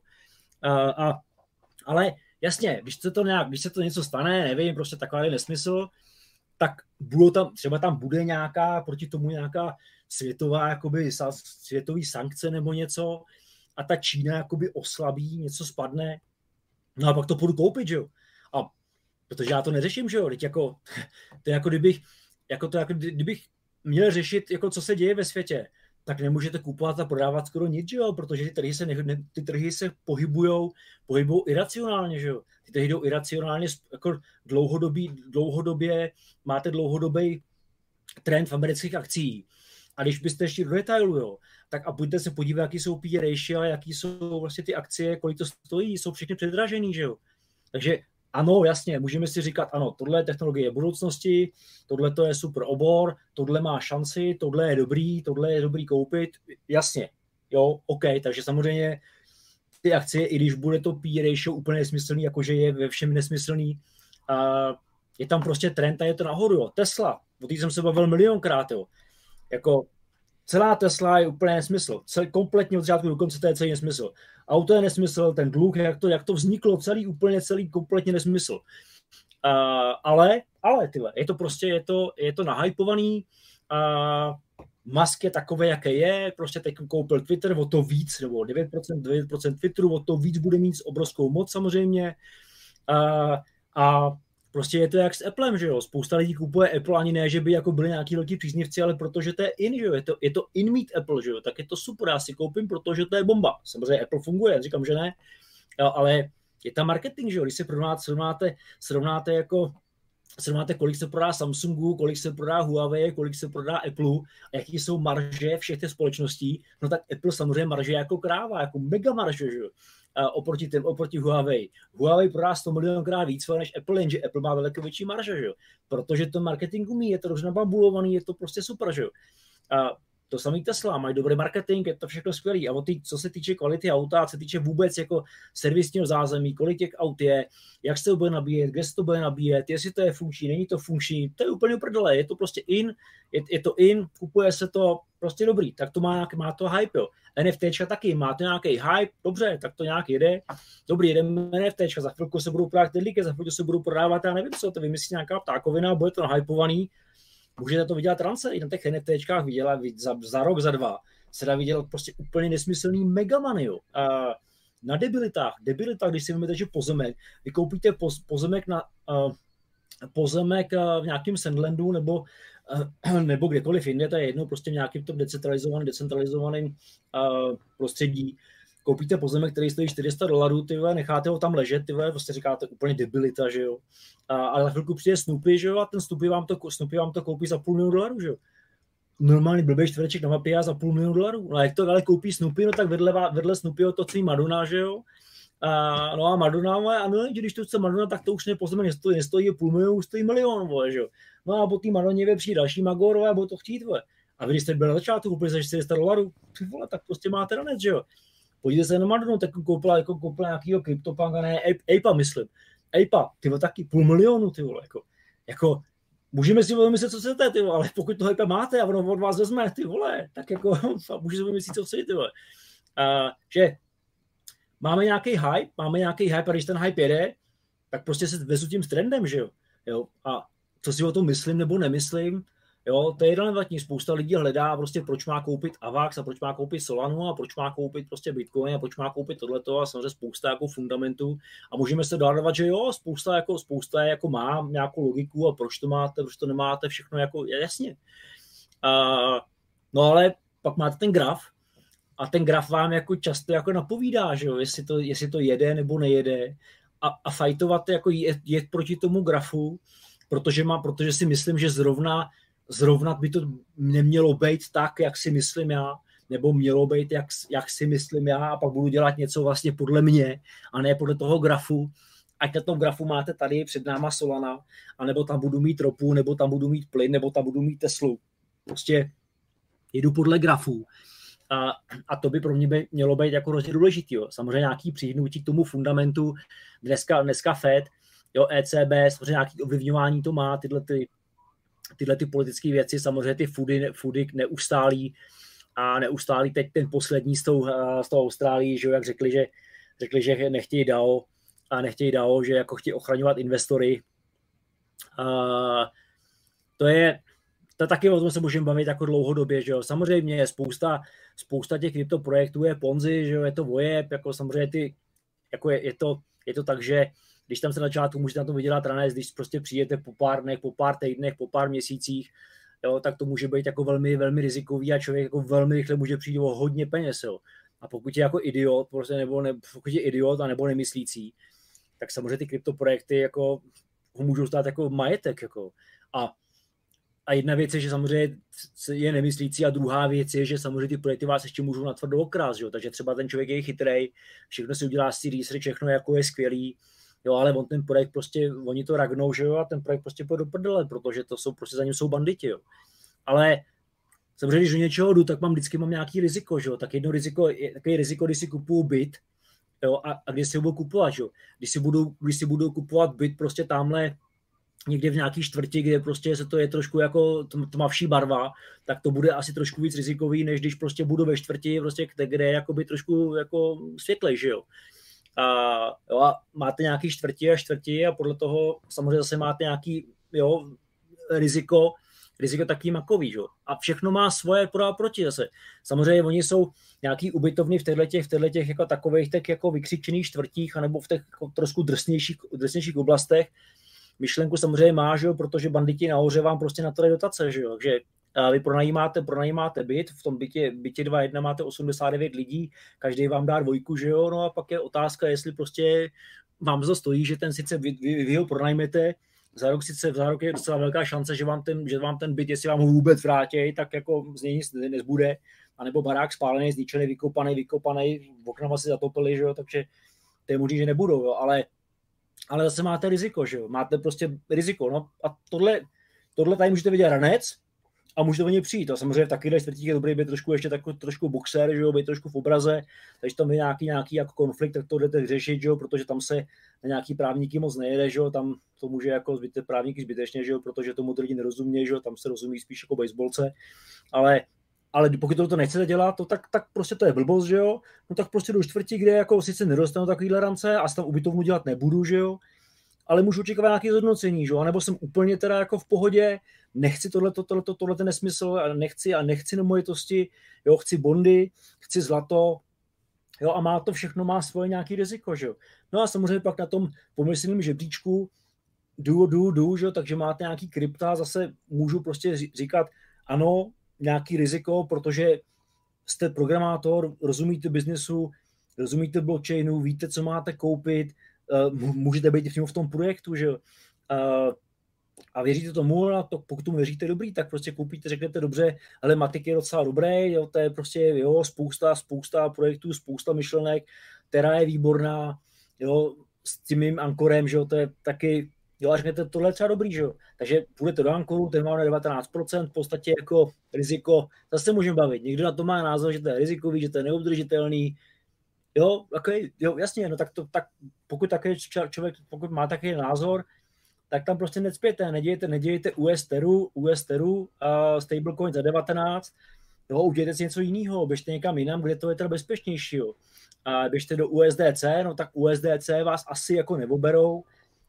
Ale jasně, když se to něco stane, nevím, prostě takový nesmysl, tak třeba tam bude nějaká, proti tomu nějaká světová, jakoby světový sankce nebo něco a ta Čína jakoby oslabí, něco spadne, no a pak to půjdu koupit, že jo. A protože já to neřeším, že jo, teď jako, to je jako kdybych měl řešit, jako co se děje ve světě, tak nemůžete kupovat a prodávat skoro nic, že jo, protože ty trhy se pohybujou iracionálně, že jo. Ty trhy jdou iracionálně, jako dlouhodobě máte dlouhodobý trend v amerických akcí. A když byste ještě do detailu, jo, tak a pojďte se podívat, jaký jsou P/E ratio, jaký jsou vlastně ty akcie, kolik to stojí, jsou všechny předražený, že jo. Takže ano, jasně, můžeme si říkat, ano, tohle je technologie budoucnosti, tohle to je super obor, tohle má šanci, tohle je dobrý koupit, jasně, jo, OK, takže samozřejmě ty akcie, i když bude to P/E ratio úplně nesmyslný, jakože je ve všem nesmyslný, je tam prostě trend a je to nahoru, jo. Tesla, o té jsem se bavil milionkrát, jo, jako celá Tesla je úplně nesmysl. Kompletně od začátku do konce to je celý nesmysl. Auto je nesmysl, ten dluh, jak to vzniklo, celý kompletně nesmysl. Ale tyhle, je to prostě, je to nahypovaný. Musk je takový, jaký je, prostě teď koupil Twitter, o to víc, nebo 9% Twitteru, o to víc bude mít obrovskou moc samozřejmě. A prostě je to jak s Applem, že jo, spousta lidí kupuje Apple, ani ne, že by jako byli nějaký velký příznivci, ale protože to je in, že jo, je to in mít Apple, že jo, tak je to super, já si koupím, protože to je bomba. Samozřejmě Apple funguje, říkám, že ne, ale je tam marketing, že jo, když se srovnáte, kolik se prodá Samsungu, kolik se prodá Huawei, kolik se prodá Apple, a jaký jsou marže všech těch společností, no tak Apple samozřejmě marže jako kráva, jako mega marže, že jo. Oproti Huawei. Huawei prodá 100 milionkrát víc než Apple, jenže Apple má daleko větší marže, že jo? Protože to marketing umí, je to dobře nabambulovaný, je to prostě super, že jo? A to samý Tesla, mají dobrý marketing, je to všechno skvělý. A co se týče kvality auta, co se týče vůbec jako servisního zázemí, kolik těch aut je, jak se to bude nabíjet, kde se to bude nabíjet, jestli to je funkční, není to funkční, to je úplně uprdele, je to prostě je to kupuje se to prostě dobrý, tak to má to hype, jo. NFTčka taky, má to nějaký hype, dobře, tak to nějak jede, dobrý, jedeme NFTčka, za chvilku se budou prodávat tedlíky, za chvilku se budou prodávat, já nevím co, to vymyslí nějaká ptákovina, bude to nahypovaný. Můžete to vydělat rance, i na těch NFTčkách vydělat za rok, za dva, se dá vydělat prostě úplně nesmyslný megamany, jo. Na debilitách, když si vezmete, že pozemek, vy koupíte pozemek v nějakém Sandlandu nebo kdekoliv jinde, to je jedno, prostě v nějakém tom decentralizovaném prostředí, koupíte pozemek, který stojí $400, ty vole, necháte ho tam ležet, ty vole, prostě říkáte úplně debilita, že jo. Ale za chvilku přijde Snoopy, že jo, a ten Snoopy vám to koupí za $500 000, že jo. Normálně blbý čtvereček na mapě a za $500 000. No a jak to ale koupí Snoopy, no tak vedle Snoopyho to celý Madonna, že jo. No a Madonna, ano, když to chce Madonna, tak to už pozemek nestojí $500 000, stojí $1 000 000, vole, že jo. No a po té Madonně přijde další Magor, a budou to chtít, vole. A vy, když jste byli na začátku, koupili za $400, ty vole, tak prostě máte ranec, že jo. Podívejte se na Madonu, tak koupila nějakýho CryptoPunka, ne, Ape, myslím. Ape, ty vole, taky $500 000, ty vole, jako můžeme si vymyslet, co chcete, ty vole, ale pokud to Ape máte a ono od vás vezme, ty vole, tak jako můžete si vymyslet, co chcete, ty vole. Že máme nějaký hype a když ten hype jede, tak prostě se vezu tím trendem, že jo. A co si o tom myslím nebo nemyslím, jo, to je relevantní. Spousta lidí hledá prostě, proč má koupit Avax a proč má koupit Solanu a proč má koupit prostě Bitcoin a proč má koupit tohleto a samozřejmě spousta jako fundamentů a můžeme se dodávať, že jo, spousta jako má nějakou logiku a proč to máte, proč to nemáte, všechno jako jasně. No ale pak máte ten graf a ten graf vám jako často jako napovídá, že jo, jestli to jede nebo nejede a fajtovat jako jet proti tomu grafu, protože si myslím, že zrovna by to nemělo být tak, jak si myslím já, nebo mělo být, jak si myslím já, a pak budu dělat něco vlastně podle mě, a ne podle toho grafu. Ať na tom grafu máte tady před náma Solana, anebo tam budu mít ropu, nebo tam budu mít plyn, nebo tam budu mít Teslu. Prostě jedu podle grafů. A to by pro mě mělo být jako hrozně důležitý. Jo. Samozřejmě nějaký přihnutí k tomu fundamentu, dneska Fed, jo, ECB, samozřejmě nějaký ovlivňování to má, tyhle tyhle ty politické věci, samozřejmě ty foody neustálí teď ten poslední s tou Austrálií, že jak řekli, že nechtějí DAO, že jako chtějí ochraňovat investory. To taky o tom se můžeme bavit jako dlouhodobě, že jo. Samozřejmě spousta těch kryptoprojektů je Ponzi, že jo, je to vojeb, jako samozřejmě je to tak, že když tam se na začátku můžete na to vydělat ranec, když prostě přijdete po pár dnech, po pár týdnech, po pár měsících, jo, tak to může být jako velmi, velmi rizikový a člověk jako velmi rychle může přijít o hodně peněz, jo. A pokud je jako idiot, prostě pokud je idiot a nebo nemyslící, tak samozřejmě ty kryptoprojekty jako ho můžou stát jako majetek, jako. A jedna věc je, že samozřejmě je nemyslící a druhá věc je, že samozřejmě ty projekty vás ještě můžou natvrdo okrást, jo. Takže třeba ten člověk je chytrej, všechno si udělá si research, všechno jako je skvělý, jo, ale on ten projekt prostě, oni to ragnou, že jo, a ten projekt prostě půjde do prdele, protože to jsou prostě za ním jsou banditi, jo. Ale samozřejmě, když do něčeho jdu, tak vždycky mám nějaký riziko, že jo, tak jedno riziko je takový riziko, když si kupuju byt, jo, a když si ho budu kupovat, jo. Když si budu kupovat byt prostě tamhle někde v nějaký čtvrti, kde prostě se to je trošku jako tmavší barva, tak to bude asi trošku víc rizikový, než když prostě budu ve čtvrti, prostě, kde je jakoby trošku jako světlej, že jo. A máte nějaký čtvrti a podle toho samozřejmě zase máte nějaký riziko taky makový, jo. A všechno má svoje pro a proti zase. Samozřejmě oni jsou nějaký ubytovny v těchto jako takových tak jako vykřičených čtvrtích anebo v těch jako trošku drsnějších oblastech. Myšlenku samozřejmě má, že jo, protože banditi nahoře vám prostě na to dají dotace, že jo. Takže vy pronajímáte byt, v tom bytě 2.1 máte 89 lidí, každý vám dá 2, že jo, no a pak je otázka, jestli prostě vám to stojí, že ten sice vy ho pronajmete, za rok je docela velká šance, že vám ten byt, jestli vám ho vůbec vrátí, tak jako z něj nic nezbude, anebo barák spálený, zničený, vykopaný, oknama si zatopili, že jo, takže to je možný, že nebudou, jo, ale zase máte riziko, že jo, máte prostě riziko, no a tohle tady můžete vidět ranec a můžete o něj přijít, a samozřejmě v takovýhle čtvrtích je dobrý být trošku ještě trošku boxer, že jo, být trošku v obraze, takže tam je nějaký jako konflikt, tak to jdete vyřešit, že jo, protože tam se na nějaký právníky moc nejede, že jo, tam to může jako právníky zbytečně, že jo, protože tomu to lidi nerozumí, že jo, tam se rozumí spíš jako baseballce, ale pokud to nechcete dělat, tak prostě to je blbost, že jo, no tak prostě do čtvrti, kde jako sice nedostanu takovýhle rance a tam ubytovnu dělat nebudu, že jo, ale můžu očekávat nějaké zhodnocení, že jo, anebo jsem úplně teda jako v pohodě, nechci tohle ten nesmysl, nechci nemovitosti, jo, chci bondy, chci zlato, jo, a má svoje nějaký riziko, že jo. No a samozřejmě pak na tom pomyslném žebříčku že jo, takže máte nějaký krypta, zase můžu prostě říkat, ano, nějaký riziko, protože jste programátor, rozumíte biznesu, rozumíte blockchainu, víte, co máte koupit, můžete být přímo v tom projektu, že jo. A věříte tomu, a pokud tomu věříte dobrý, tak prostě koupíte, řeknete dobře, ale Matic je docela dobrý, jo, to je prostě jo, spousta projektů, spousta myšlenek, která je výborná, jo, s tím mým Ankorem, že jo, to je taky, jo, a řeknete, tohle je třeba dobrý, že jo. Takže půjdete do Ankoru, ten má na 19%, v podstatě jako riziko, zase můžeme bavit. Někdo na to má názor, že to je rizikový, že to je neudržitelný, jo, okay, jo, jasně, no tak pokud má takový názor, tak tam prostě necpěte, nedějte US Teru, stablecoin za 19, jo, udějte si něco jiného, běžte někam jinam, kde to je teda bezpečnější, jo. A běžte do USDC, no tak USDC vás asi jako neoberou,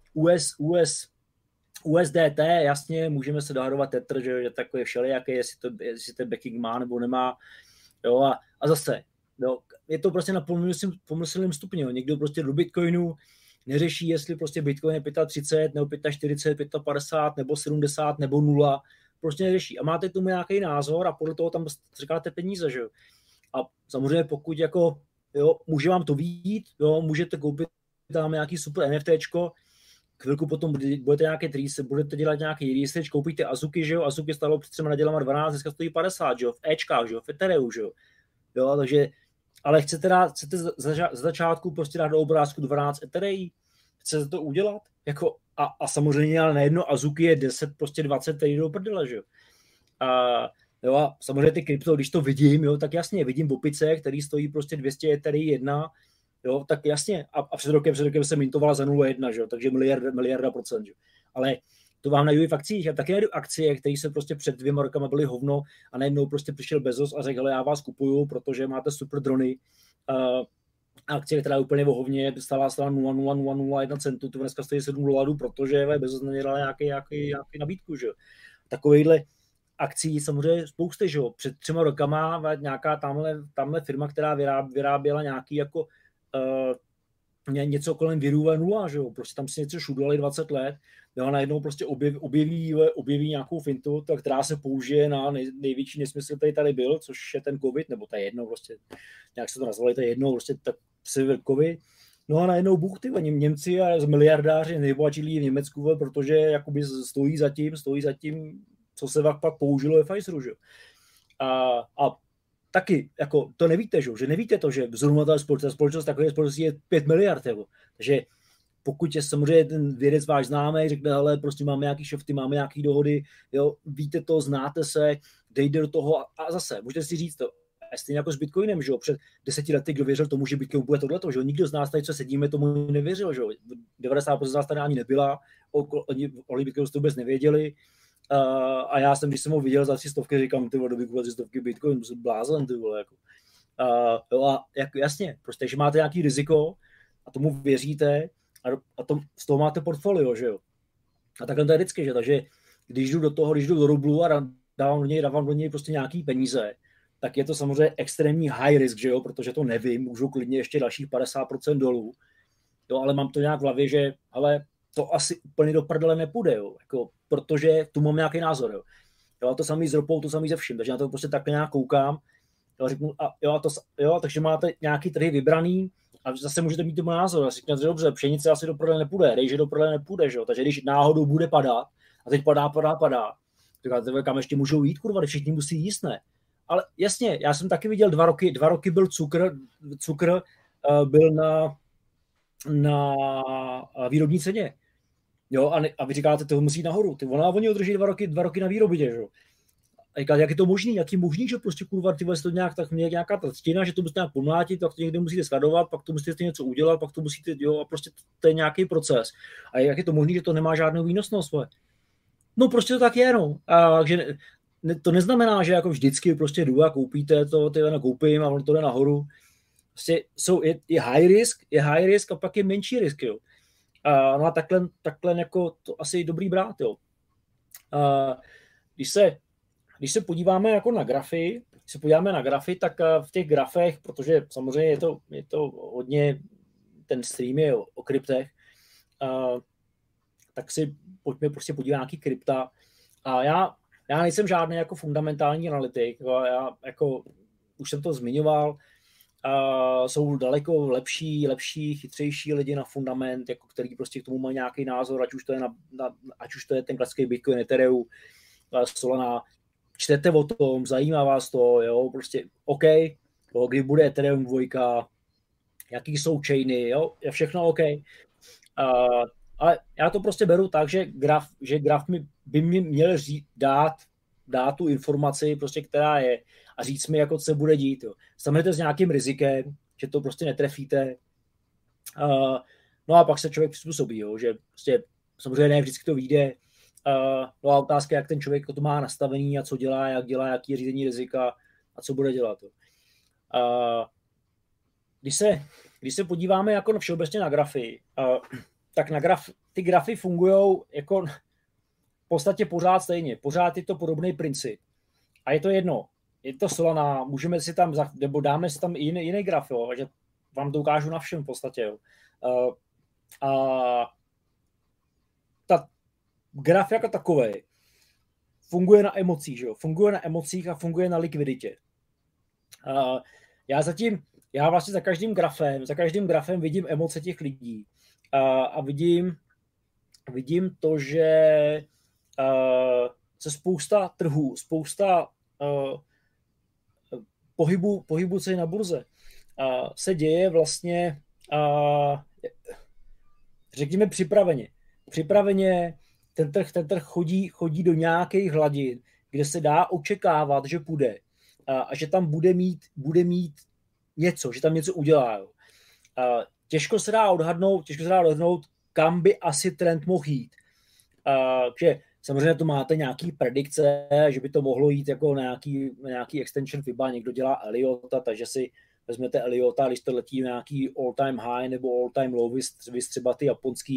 USDT, jasně, můžeme se dohadovat Tether, že takový všelijaký, jestli to backing má nebo nemá, jo, a zase, jo, je to prostě na pomyslném stupni, jo. Někdo prostě do Bitcoinu neřeší, jestli prostě Bitcoin je 35, nebo 45, 55, nebo 70, nebo 0, prostě neřeší. A máte k tomu nějaký názor a podle toho tam říkáte peníze, že jo. A samozřejmě pokud jako, jo, může vám to vyjít, jo, můžete koupit tam nějaký super NFTčko, chvilku potom budete dělat nějaký research, koupíte Azuki, že jo, Azuki stalo před 3 nedělama 12, dneska stojí 50, že jo, v Ečkách, že jo, v Ethereu, že jo, takže, ale chcete za začátku prostě dát do obrázku 12 Ethereí, chcete to udělat, jako, a samozřejmě, ale najednou Azuki je 10, prostě 20, který do prdele, že jo. Jo, a samozřejmě ty krypto, když to vidím, jo, tak jasně, vidím opice, který stojí prostě 200 Ethereí 1, jo, tak jasně, a před rokem se mintovala za 0,1, že jo, takže miliarda procent, že jo. Ale to vám najdu i v akcích. Já taky najdu akcie, které se prostě před 2 rokama byly hovno a najednou prostě přišel Bezos a řekl, hele, já vás kupuju, protože máte super drony. Akcie, která je úplně vohovně, stála 0,0001 centu, to dneska stojí $7, protože Bezos na ně dal nějaký nabídku, že jo. Takovejhle akcí samozřejmě spousty, že jo. Před 3 rokama nějaká tamhle firma, která vyráběla nějaký jako něco kolem virů 0, že jo. Prostě tam si něco šudlali 20 let, jo, a najednou prostě objeví nějakou fintu, která se použije na největší nesmysl, který tady byl, což je ten covid, nebo to je jedno, prostě, nějak se to nazvali, to je jedno, prostě tak covid. No a najednou Bůh, ty Němci a miliardáři nejbohatší lidi v Německu, protože jakoby stojí za tím, co se pak použilo ve Pfizeru, že jo. A taky, jako to nevíte, že nevíte to, že zrovna ta společnost takové společnosti je 5 miliard, jo. Takže pokud je samozřejmě ten vědec váš známý, řekne, hele, prostě máme nějaký šofty, máme nějaký dohody, jo, víte to, znáte se, dejte do toho a zase, můžete si říct to, stejně jako s Bitcoinem, že jo, před 10 lety, kdo věřil tomu, že Bitcoin bude tohleto, že jo, nikdo z nás tady, co sedíme, tomu nevěřil, že jo, 90% z nás tady ani nebyla, o Bitcoinu to vůbec nevěděli, a já jsem, když jsem ho viděl za 300, říkám, ty vole, do vykupovat 300 Bitcoin, jsem blázen, ty vole, jako. Jo, a jako, jasně, prostě, že máte nějaký riziko a tomu věříte, a z toho máte portfolio, že jo. A takhle to je vždycky, že? Takže když jdu do rublu a dávám do něj prostě nějaký peníze, tak je to samozřejmě extrémní high risk, že jo, protože to nevím, můžu klidně ještě dalších 50% dolů, jo, ale mám to nějak v hlavě, že ale to asi úplně do prdele nepůjde, jo, jako, protože tu mám nějaký názor, jo. Jo, to samý s ropou, to samý se vším, takže na to prostě takhle nějak koukám, jo, řeknu, takže máte nějaký trhy vybraný, a zase můžete mít tomu názor. A říkáte, dobře, pšenice asi do prodele nepůjde, rejže do prodele nepůjde, že jo? Takže když náhodou bude padat, a teď padá, říkáte, kam ještě můžou jít, kurva, všichni musí jíst, ne? Ale jasně, já jsem taky viděl 2 roky byl cukr byl na výrobní ceně. Jo, a vy říkáte, to musí jít nahoru. Oni udrží 2 roky na výrobě, že jo? A říkáte, jak je to možný, že prostě kurva, ty to nějaká ta stěna, že to musíte nějak pomlátit, pak to někde musíte skladovat, pak to musíte něco udělat, pak to musíte, jo, a prostě to je nějaký proces. A jak je to možný, že to nemá žádnou výnosnost, no prostě to tak je, no. A takže to neznamená, že jako vždycky prostě jdu a koupíte to, ty koupím a ono to jde nahoru. Prostě je high risk a pak je menší risk, jo. No a takhle jako to asi dobrý brát, jo. Když se podíváme jako na grafy, tak v těch grafech, protože samozřejmě je to hodně, ten stream je o kryptech, tak si pojďme prostě podívat nějaký krypta. A já nejsem žádný jako fundamentální analytik, já jako už jsem to zmiňoval, jsou daleko lepší, chytřejší lidi na fundament, jako který prostě k tomu mají nějaký názor, ať už to je ten klasický Bitcoin, Ethereum, Solana. Čtete o tom, zajímá vás to, jo, prostě OK, jo, kdy bude Ethereum 2, jaký jsou chainy, jo, je všechno OK. Ale já to prostě beru tak, že graf by mi měl dát tu informaci, prostě, která je, a říct mi, jako co se bude dít. Jo. Samejte s nějakým rizikem, že to prostě netrefíte. No a pak se člověk přizpůsobí, jo, že prostě samozřejmě ne vždycky to vyjde. No a otázka, jak ten člověk to má nastavení a co dělá, jaký je řízení rizika a co bude dělat. Když se podíváme jako všeobecně na grafy, tak ty grafy fungují jako v podstatě pořád stejně. Pořád je to podobný princip. A je to jedno. Je to Solana, můžeme si tam, nebo dáme si tam i jiný graf, jo, že vám to ukážu na všem v podstatě. Jo. Ta graf jako takový funguje na emocích, že jo? Funguje na emocích a funguje na likviditě. Já vlastně za každým grafem vidím emoce těch lidí a vidím to, že se spousta trhů, spousta pohybu ceny na burze se děje vlastně řekněme připraveně ten trh chodí do nějakých hladin, kde se dá očekávat, že půjde a že tam bude mít něco, že tam něco udělá. Těžko se dá odhadnout, kam by asi trend mohl jít. že samozřejmě to máte nějaký predikce, že by to mohlo jít jako na nějaký extension FIBA, někdo dělá Eliota, takže si vezmete Eliota, když to letí nějaký all-time high nebo all-time low, vys třeba ty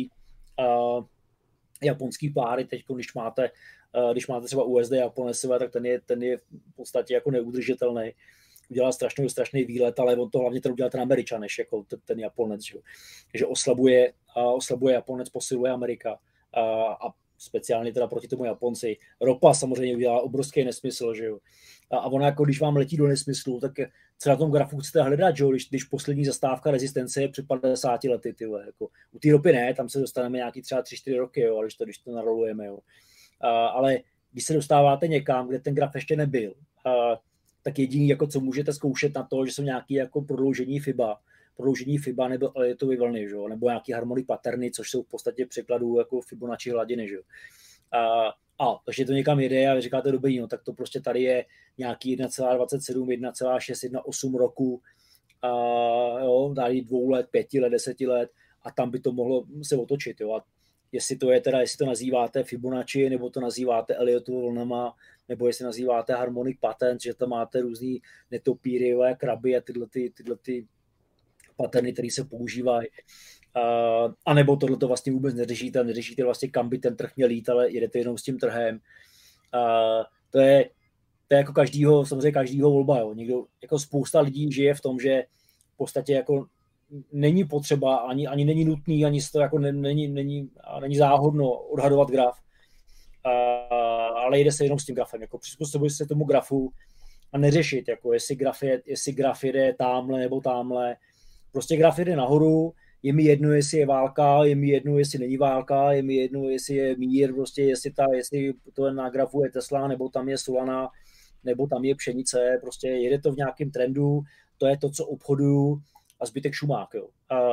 japonský páry, teď když máte třeba USD Japonesové, tak ten je v podstatě jako neudržitelný. Udělal strašný výlet, ale on to hlavně ten udělal ten Američan, než jako ten Japonec, že? Takže oslabuje Japonec, posiluje Amerika a speciálně teda proti tomu Japonci. Ropa samozřejmě udělá obrovský nesmysl, že jo. A ona jako když vám letí do nesmyslu, tak co na tom grafu chcete hledat, že jo, když poslední zastávka rezistence je před 50 lety, tyhle, jako u té ropy ne, tam se dostaneme nějaký třeba 3-4 roky, jo, ale když to narolujeme, jo. Ale když se dostáváte někam, kde ten graf ještě nebyl, tak jediný, jako co můžete zkoušet na to, že jsou nějaké jako prodloužení FIBA nebo Elliottovy vlny, že? Nebo nějaký harmonic patterny, což jsou v podstatě překladů jako Fibonacci hladiny. Že? Takže to někam jede a vy říkáte dobrý, no tak to prostě tady je nějaký 1,27, 1,6, 1,8 roku, jo, tady 2 let, 5 let, 10 let a tam by to mohlo se otočit. Jo? A jestli to nazýváte Fibonacci, nebo to nazýváte Elliotovou vlnama, nebo jestli nazýváte harmonic patterns, že tam máte různý netopíry, kraby a tyhle paterny, které se používají. A nebo tohle to vlastně vůbec neřešíte vlastně, kam by ten trh měl jít, ale jedete jenom s tím trhem. To je jako samozřejmě každýho volba. Jo. Jako spousta lidí žije v tom, že v podstatě jako není potřeba, ani není nutný, ani to jako není záhodno odhadovat graf. Ale jde se jenom s tím grafem. Jako přizpůsobuje se tomu grafu a neřešit, jako jestli graf jede támhle nebo támhle. Prostě graf jede nahoru, je mi jedno, jestli je válka, je mi jedno, jestli není válka, je mi jedno, jestli je mír, prostě jestli to na grafu je Tesla, nebo tam je Solana, nebo tam je pšenice, prostě jede to v nějakém trendu, to je to, co obchoduju a zbytek šumák, jo.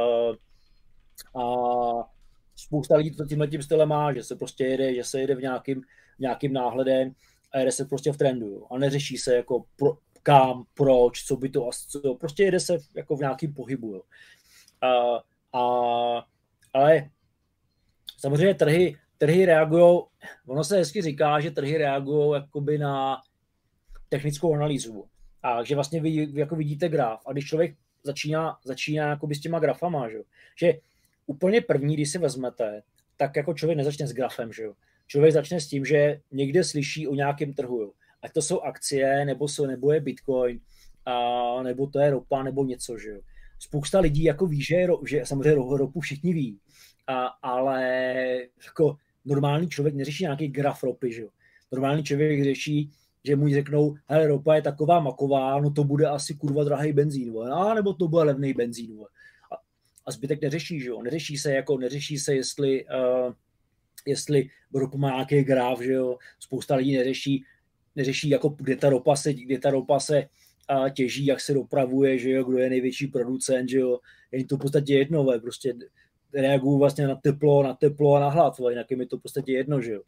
A spousta lidí to tímhletím stylem má, že se jede v nějakým náhledem a jede se prostě v trendu, jo. A neřeší se jako kam, proč, co by to, prostě jede se jako v nějakým pohybu, jo. Ale samozřejmě trhy reagují, ono se hezky říká, že trhy reagují jakoby na technickou analýzu. A že vlastně vy jako vidíte graf a když člověk začíná jakoby s těma grafama, že úplně první, když si vezmete, tak jako člověk nezačne s grafem, že jo. Člověk začne s tím, že někde slyší o nějakém trhu, jo. Ať to jsou akcie, nebo je Bitcoin, nebo to je ropa, nebo něco, že jo. Spousta lidí jako ví, že samozřejmě ropu všichni ví, ale jako normální člověk neřeší nějaký graf ropy, že jo. Normální člověk řeší, že mu řeknou, hele, ropa je taková maková, no to bude asi kurva drahý benzín, nebo to bude levný benzín. A zbytek neřeší, že jo. Neřeší se, jestli ropa má nějaký graf, že jo. Spousta lidí neřeší jako kde ta ropa se těží, jak se dopravuje, že jo, kdo je největší producent, že jo. Je jim to v podstatě jedno, prostě reagují vlastně na teplo a na hlad, jinak je mi to v podstatě jedno, že jo.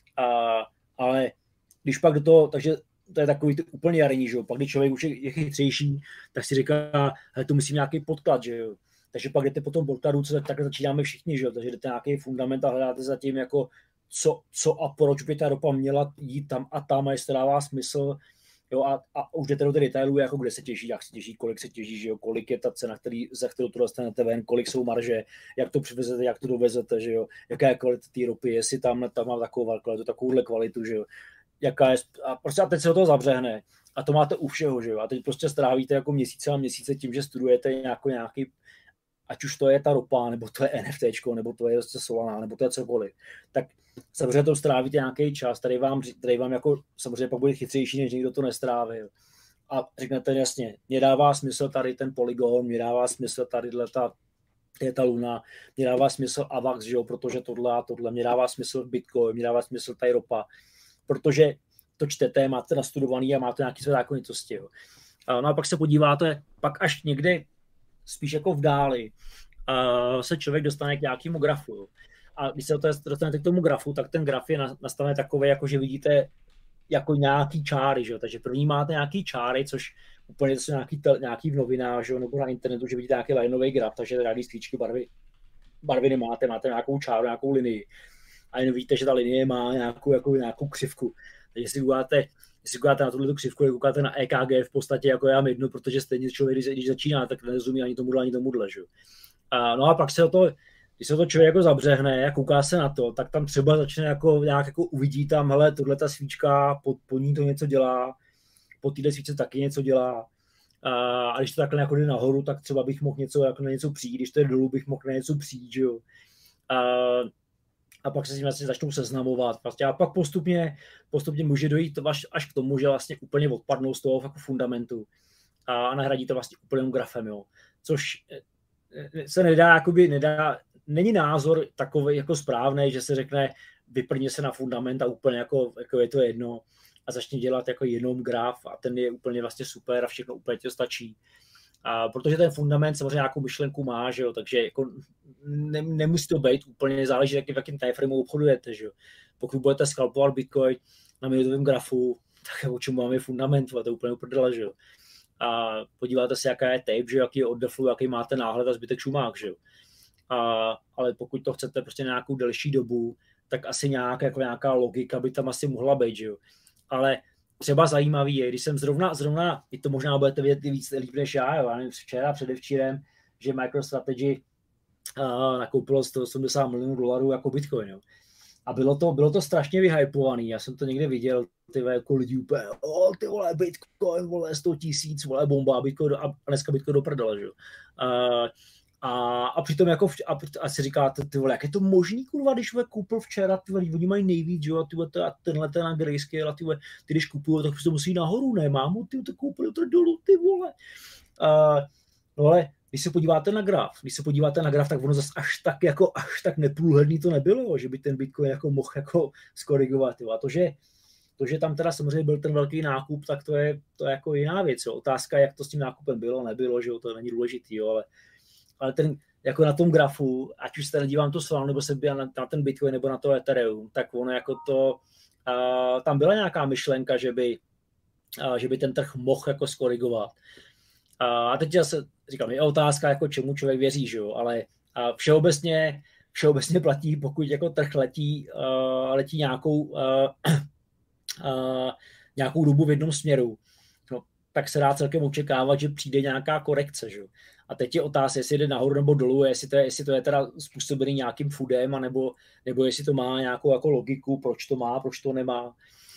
Ale když pak do toho, takže to je takový úplně jarní, že jo. Pak když člověk už je chytřejší, tak si říká, hele, tu musím nějaký podklad, že jo. Takže pak jdete po tom podkladu, tak začínáme všichni, že jo. Takže jdete nějaký fundament a hledáte zatím jako co a proč by ta ropa měla jít tam a tam, a jestli to dává smysl, jo, a už jdete do těch detailů, jako kde se těží, jak se těží, kolik se těží, že jo, kolik je ta cena, za kterou to dostanete ven, kolik jsou marže, jak to přivezete, jak to dovezete, že jo, jaká je kvalita té ropy, jestli tam má takovouhle kvalitu, že jo, jaká je, a teď se do toho zabřehne a to máte u všeho, že jo, a teď prostě strávíte jako měsíce tím, že studujete nějaký, ať už to je ta ropa, nebo to je NFTčko, nebo to je Solana, nebo to je cokoliv, tak samozřejmě to strávíte nějaký čas, tady vám jako samozřejmě pak bude chytřejší, než někdo to nestráví. A řeknete jasně, mě dává smysl tady ten Polygon, mě dává smysl tady ta Luna, mě dává smysl AVAX, že jo, protože tohle, mě dává smysl Bitcoin, mě dává smysl tady ropa, protože to čtete, máte nastudovaný a máte nějaké své zákonitosti. Jo. No a pak se podíváte, pak až někde spíš jako v dáli se člověk dostane k nějakému grafu. Jo. A když se dostanete k tomu grafu, tak ten graf je nastavený takový, jako že vidíte jako nějaký čáry, že jo? Takže první máte nějaký čáry, což úplně to jsou nějaký v novinách, že jo? Nebo na internetu, že vidíte nějaký lineový graf, takže rádi stříčky barvy nemáte, máte nějakou čáru, nějakou linii. a jen víte, že ta linie má nějakou křivku. Takže jestli koukáte na tuhle křivku, koukáte na EKG v podstatě jako já jedno, protože stejně člověk, když začíná, tak nerozumí ani tomuhle, že? No a pak když se to člověk jako zabřehne a kouká se na to, tak tam třeba začne nějak uvidí tam, hele, tohle ta svíčka, po ní to něco dělá, po téhle svíčce taky něco dělá. A když to takhle jako jde nahoru, tak třeba bych mohl na něco přijít, když to je dolů, bych mohl na něco přijít, že jo. A pak se s tím vlastně začnou seznamovat. Vlastně. A pak postupně může dojít až k tomu, že vlastně úplně odpadnou z toho jako fundamentu a nahradí to vlastně úplným grafem, jo. Což se není názor takový jako správný, že se řekne, vyplně se na fundament a úplně jako je to jedno a začne dělat jako jenom graf a ten je úplně vlastně super a všechno úplně to stačí. Protože ten fundament samozřejmě nějakou myšlenku má, že jo, takže jako nemusí to být úplně, záleží, v jakém timeframeu obchodujete, že jo. Pokud budete skalpovat Bitcoin na minutovém grafu, tak o čem máme fundament, to je úplně uprdele, že jo. A podíváte se, jaká je tape, že jo, jaký je oddeflu, jaký máte náhled a zbytek šumák, že jo. Ale pokud to chcete prostě nějakou delší dobu, tak asi nějaká logika by tam asi mohla být, že jo. Ale třeba zajímavý je, když jsem zrovna, i to možná budete vědět víc líp než já, jo, nevím, včera, předevčírem, že MicroStrategy nakoupilo $180 milionů jako Bitcoin, jo. A bylo to strašně vyhypovaný, já jsem to někde viděl, jako lidi úplně, ty vole, Bitcoin, vole, 100 000, vole, bomba, Bitcoin, a dneska Bitcoin do prdele, že jo. A přitom jako, a si říkáte, ty vole, jak je to možný, kurva, když koupil včera, ty vole, oni mají nejvíc, jo, a tenhle ten na grayscale, ty když kupují, tak to musí nahoru, ne, mámu, ty to koupili to dolů, ty vole. No ale když se podíváte na graf, tak ono zase až tak neprůhledný to nebylo, že by ten Bitcoin jako mohl jako skorigovat, jo. A to, že tam teda samozřejmě byl ten velký nákup, tak to je jako jiná věc, jo. Otázka, jak to s tím nákupem bylo, nebylo, že jo, to není důležitý, jo, ale ten, jako na tom grafu, ať už se nedívám to Solana, nebo se byl na ten Bitcoin, nebo na to Ethereum, tak ono jako to, tam byla nějaká myšlenka, že by ten trh mohl jako skorigovat. A teď se říkám, je otázka, jako čemu člověk věří, že jo, ale všeobecně platí, pokud jako trh letí nějakou dobu v jednom směru, no, tak se dá celkem očekávat, že přijde nějaká korekce, že jo. A teď je otázka, jestli jde nahoru nebo dolů, jestli to je teda způsobený nějakým foodem, nebo jestli to má nějakou jako logiku, proč to má, proč to nemá.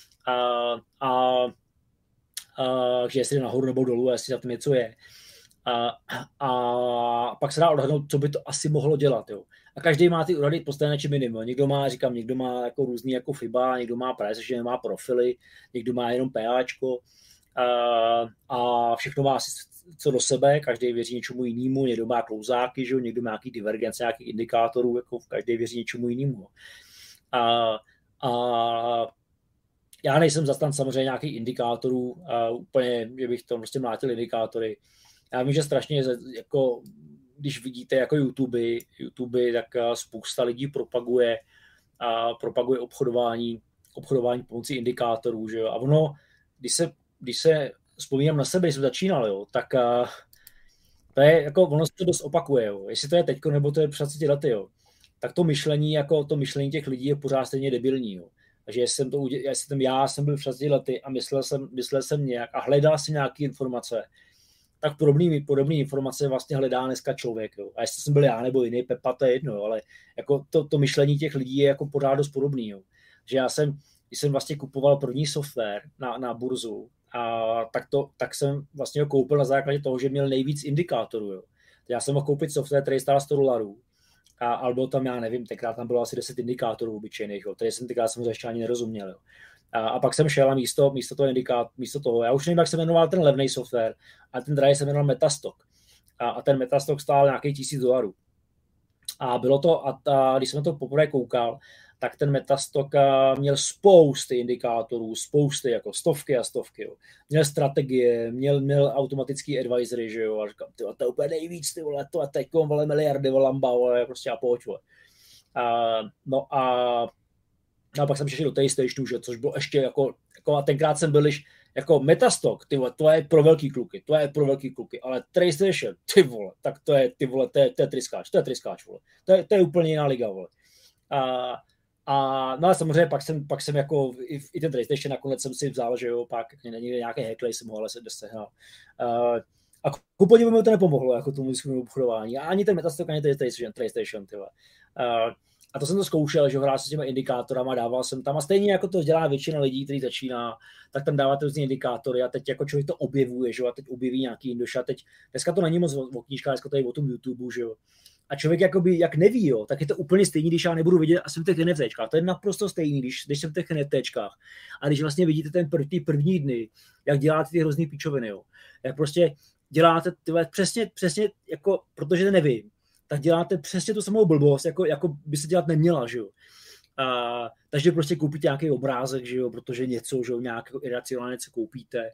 Že jestli jde nahoru nebo dolů, jestli za tím něco je. A pak se dá odhadnout, co by to asi mohlo dělat. Jo. A každý má ty úrady postavené či minimum. Někdo má jako různý jako FIBA, někdo má price, že nemá profily, někdo má jenom PAčko. A všechno má asi co do sebe, každý věří něčemu jinému, někdo má klouzáky, že? Někdo má nějaký divergence, nějakých indikátorů, jako každý věří něčemu jinému. A já nejsem zastan samozřejmě nějakých indikátorů, úplně, že bych to prostě mlátil indikátory. Já vím, že strašně, jako, když vidíte jako YouTube, tak spousta lidí propaguje obchodování pomocí indikátorů, že jo? A ono, když se vzpomínám na sebe, když jsem začínal, jo, tak to je, jako, ono se to dost opakuje, jo. Jestli to je teďko, nebo to je před 30 lety, jo, tak to myšlení těch lidí je pořád stejně debilní, jo. Takže já jsem byl před 30 lety a myslel jsem nějak a hledal jsem nějaké informace, tak podobné informace vlastně hledá dneska člověk, jo. A jestli jsem byl já nebo jiný Pepa, to je jedno, jo, ale jako to myšlení těch lidí je jako pořád dost podobný, jo. Že když jsem vlastně kupoval první software na burzu, tak jsem vlastně ho koupil na základě toho, že měl nejvíc indikátorů. Jo. Já jsem mohl koupit software, který stál $100 ale bylo tam, já nevím, tenkrát tam bylo asi 10 indikátorů obyčejných, který jsem tenkrát samozřejmě ještě ani nerozuměl. Jo. A pak jsem šel a místo toho, já už nevím, jak se jmenoval ten levný software, ale ten drahý se jmenoval Metastock. A ten Metastock stál nějakých $1000. A bylo to, když jsem to poprvé koukal, tak ten Metastock měl spousty indikátorů, jako stovky a stovky. Jo. Měl strategie, měl automatický advisory, že jo, a říkám, to je úplně nejvíc, ty vole, to je teďkom, vole, miliardy, vole, lamba, vole, prostě a pojď, vole. No a pak jsem šel do TayStationu, že, což bylo ještě jako a tenkrát jsem byl jako Metastock, ty vole, to je pro velký kluky, ale TayStation, ty vole, tak to je tryskáč, vole. To je úplně jiná liga, vole. No a samozřejmě pak jsem jako i ten PlayStation nakonec jsem si vzal, že jo, pak není nějaké hackle, jsem ho ale se dosehnal. A ku podivu mi to nepomohlo, jako tomu svým obchodování. A ani ten Metastok, ani ten PlayStation, tyhle. A to jsem to zkoušel, že hrál se s těma indikátorama, dával jsem tam a stejně jako to dělá většina lidí, který začíná, tak tam dáváte různý indikátory a teď jako člověk to objevuje, že jo, a teď objeví nějaký Indoš a teď, dneska to není moc o knížkách, dneska to je o tom YouTube, že jo. A člověk jakoby, jak neví, jo, tak je to úplně stejný, když já nebudu vidět a jsem v těch NFTčkách. To je naprosto stejný, když jsem v těch NFTčkách. A když vlastně vidíte ty první dny, jak děláte ty hrozný píčoviny, jo. Jak prostě děláte přesně jako, protože nevím, tak děláte přesně tu samou blbost, jako by se dělat neměla, že jo. Takže prostě koupíte nějaký obrázek, že jo, protože něco, že jo, nějak iracionálně něco koupíte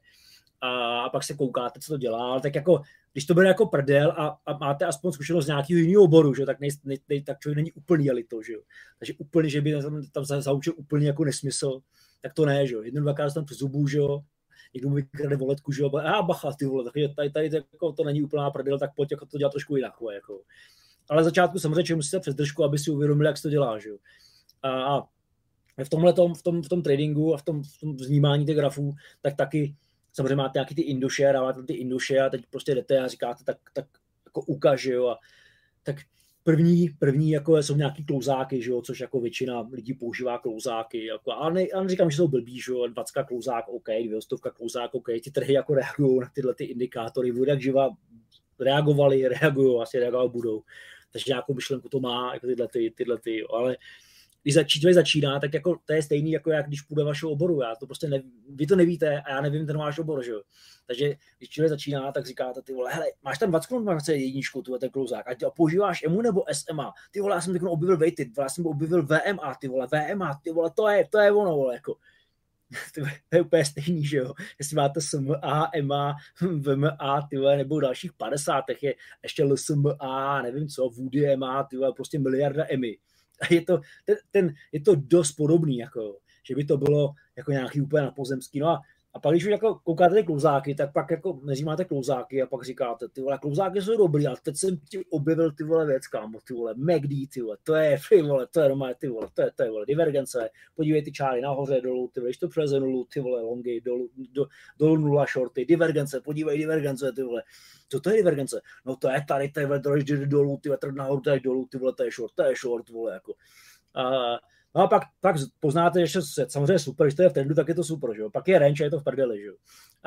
a pak se koukáte, co to dělá, tak jako, když to bude jako prdel a máte aspoň zkušenost z nějakého jiného oboru, že jo, tak člověk není úplný jelito, že jo. Takže úplně, že by tam zaučil úplně jako nesmysl, tak to ne, že jo. Jednou, dvakrát tam přes zubu, že jo, někdo mu vykrade voletku, že jo, bacha, ty vole, takže tady jako to není úplná prdel, tak pojď jako to dělat trošku jinak, jako. Ale v začátku samozřejmě musíte přes držku, aby si uvědomili, jak se to dělá, že jo. A v tom tradingu a v tom vnímání těch grafů, tak taky samozřejmě máte nějaký ty indoše, dáváte ty indoše a teď prostě jdete a říkáte, tak jako ukaž, že jo. A tak první jako jsou nějaký klouzáky, že jo, což jako většina lidí používá klouzáky, jako, ale neříkám, že jsou blbý, že jo, 20 klouzák, OK, 200 klouzák, OK, ty trhy jako reagují na tyhle ty indikátory, bude jak živa reagují, asi reagovat budou. Takže nějakou myšlenku to má, jako tyhle ty, ale když člověk začíná, tak jako to je stejný, jako jak když půjde vašeho oboru. Já to prostě vy to nevíte a já nevím ten váš obor, že jo. Takže když člověk začíná, tak říkáte, ty vole, hele, máš tam 20 korun, máš jedničku, ten klouzák, a používáš EMU nebo SMA, ty vole, já jsem teď objevil weighted, já jsem objevil VMA, ty vole, to je ono, vole, jako. To je úplně stejný, že jo. Jestli máte SMA, EMA, VMA, ty vole, nebo dalších 50, je ještě LSMA, nevím co, Woody EMA, ty vole, prostě miliarda EMI. A je to dost podobný, jako, že by to bylo jako nějaký úplně napozemský. No a pak, když už jako koukáte ty klouzáky, tak pak jako máte klouzáky a pak říkáte, ty vole, klouzáky jsou dobrý, ale teď jsem ti objevil ty vole věc, kámo, ty vole, MACD, ty vole, to je normálně, ty vole, to je vole, divergence, podívej ty čáry nahoře, dolů, ty vole, když to přeleze nulu, ty vole, longy, dolů nula shorty, divergence, podívej divergence, ty vole, co to je divergence? No to je tady, ty vole, jde dolů, ty vole, nahoru, tady dolů, ty vole, to je short, vole, jako. No a pak poznáte, že samozřejmě super, když to je v trendu, tak je to super, že jo. Pak je range a je to v prdeli, že jo.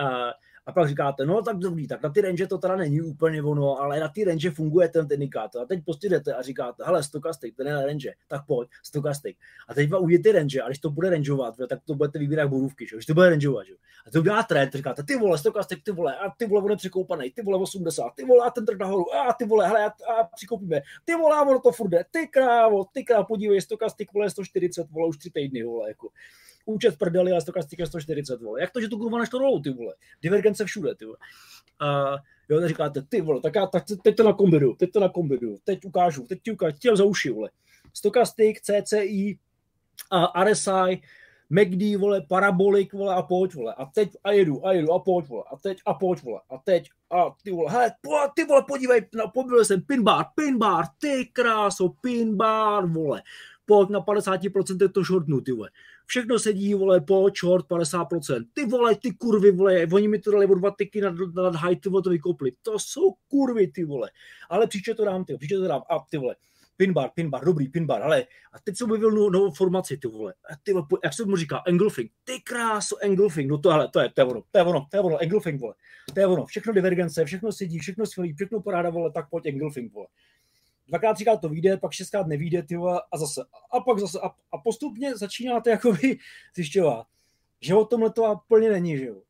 A pak říkáte, no tak dobrý, tak na ty range to teda není úplně ono, ale na ty range funguje ten indikátor. A teď prostě jdete a říkáte, hele, stokastik, ten je na range, tak pojď, stokastik. A teď vám uvidíte range, a když to bude rangeovat, tak to budete vybírat bodůvky, že jo. Když to bude rangeovat, že jo. A to udělá trend, říkáte, ty vole, stokastik, ty vole, a ty vole, on je překoupaný, ty vole 80, ty vole, a ten trh nahoru, a ty vole, hele, a přikoupíme, ty vole, a ono to furt jde, ty krávo, podívej, stokastik, vole, 140, vole, už 3 týdny, vole, jako. Účet v prdeli, ale stokastika 140, vole. Jak to, že tu kurva než to rolou, ty vole? Divergence všude, ty vole. Jo, tak říkáte, ty vole, tak teď to nakombinuju, teď ti ukážu za uši, vole. Stokastik, CCI, RSI, MACD, vole, parabolik, vole, a pojď, vole. A teď a jedu, a pojď, vole. A pojď, vole. A teď, a ty vole, hele, ty vole, podívej, pobyl jsem pinbar, ty kráso, pinbar, vole. Pojď na 50% to shortnu, ty vole. Všechno sedí, vole, po short 50%. Ty vole, ty kurvy, vole, oni mi to dali o 2 tiky nad high, ty vole, to vykopli. To jsou kurvy, ty vole. Ale příště to dám. A ty vole, pinbar, dobrý pinbar, ale a teď jsem objevil novou formaci, ty vole. A ty vole, jak se mu říká, engulfing. Ty kráso, engulfing. No to, hele, to je ono, engulfing, vole. To je ono, všechno divergence, všechno sedí, všechno skvělý, všechno paráda, vole, tak pojď engulfing, vole. 2krát, 3krát to vyjde, pak 6krát nevyjde, ty vole, a zase. A pak zase. A postupně začínáte jakoby zjišťovat, že o tomhle to úplně není, že jo.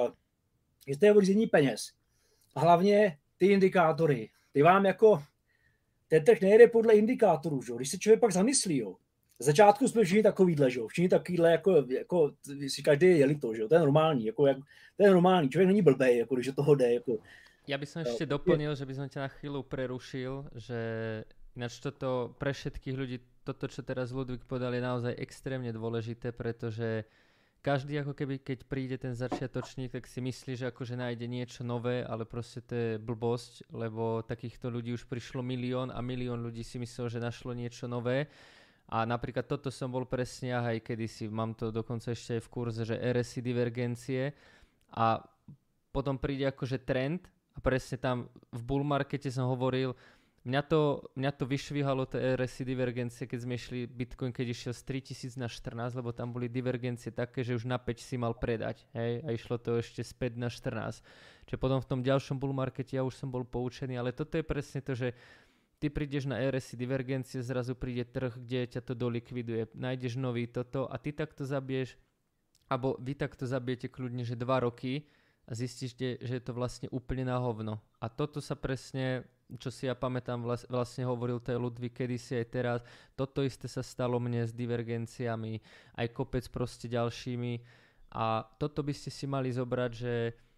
Je to řízení peněz. A hlavně ty indikátory. Ty vám jako, ten trh nejde podle indikátorů, že jo. Když se člověk pak zamyslí, jo. V začátku jsme všichni takovýhle, že jo. Všichni takovýhle, jako si každý je jelito, že jo. To je normální, to je normální. Člověk není blbej, jako když toho jde, jako. Ja by som ešte doplnil, že by som ťa na chvíľu prerušil, že ináč toto pre všetkých ľudí, toto čo teraz Ludvík povedal je naozaj extrémne dôležité, pretože každý ako keby keď príde ten začiatočník, tak si myslí, že akože nájde niečo nové, ale proste to je blbosť, lebo takýchto ľudí už prišlo milión a milión ľudí si myslel, že našlo niečo nové A napríklad toto som bol presne aj kedysi, mám to dokonca ešte aj v kurze, že RSI divergencie a potom príde akože trend a presne tam v bull markete som hovoril, mňa to vyšvihalo tie RSI divergencie, keď sme išli Bitcoin, keď išiel z 3000 na 14, lebo tam boli divergencie také, že už na 5 si mal predať, hej, a išlo to ešte späť na 14. Čiže potom v tom ďalšom bull markete ja už som bol poučený, ale toto je presne to, že ty prídeš na RSI divergencie, zrazu príde trh, kde ťa to dolikviduje, nájdeš nový toto a ty takto zabiješ, alebo vy takto zabijete kľudne, že 2 roky a zistíte, že je to vlastne úplne na hovno. A toto sa presne, čo si ja pamätám, vlastne hovoril to je Ludvík kedysi aj teraz, toto isté sa stalo mne s divergenciami, aj kopec proste ďalšími a toto by ste si mali zobrať, že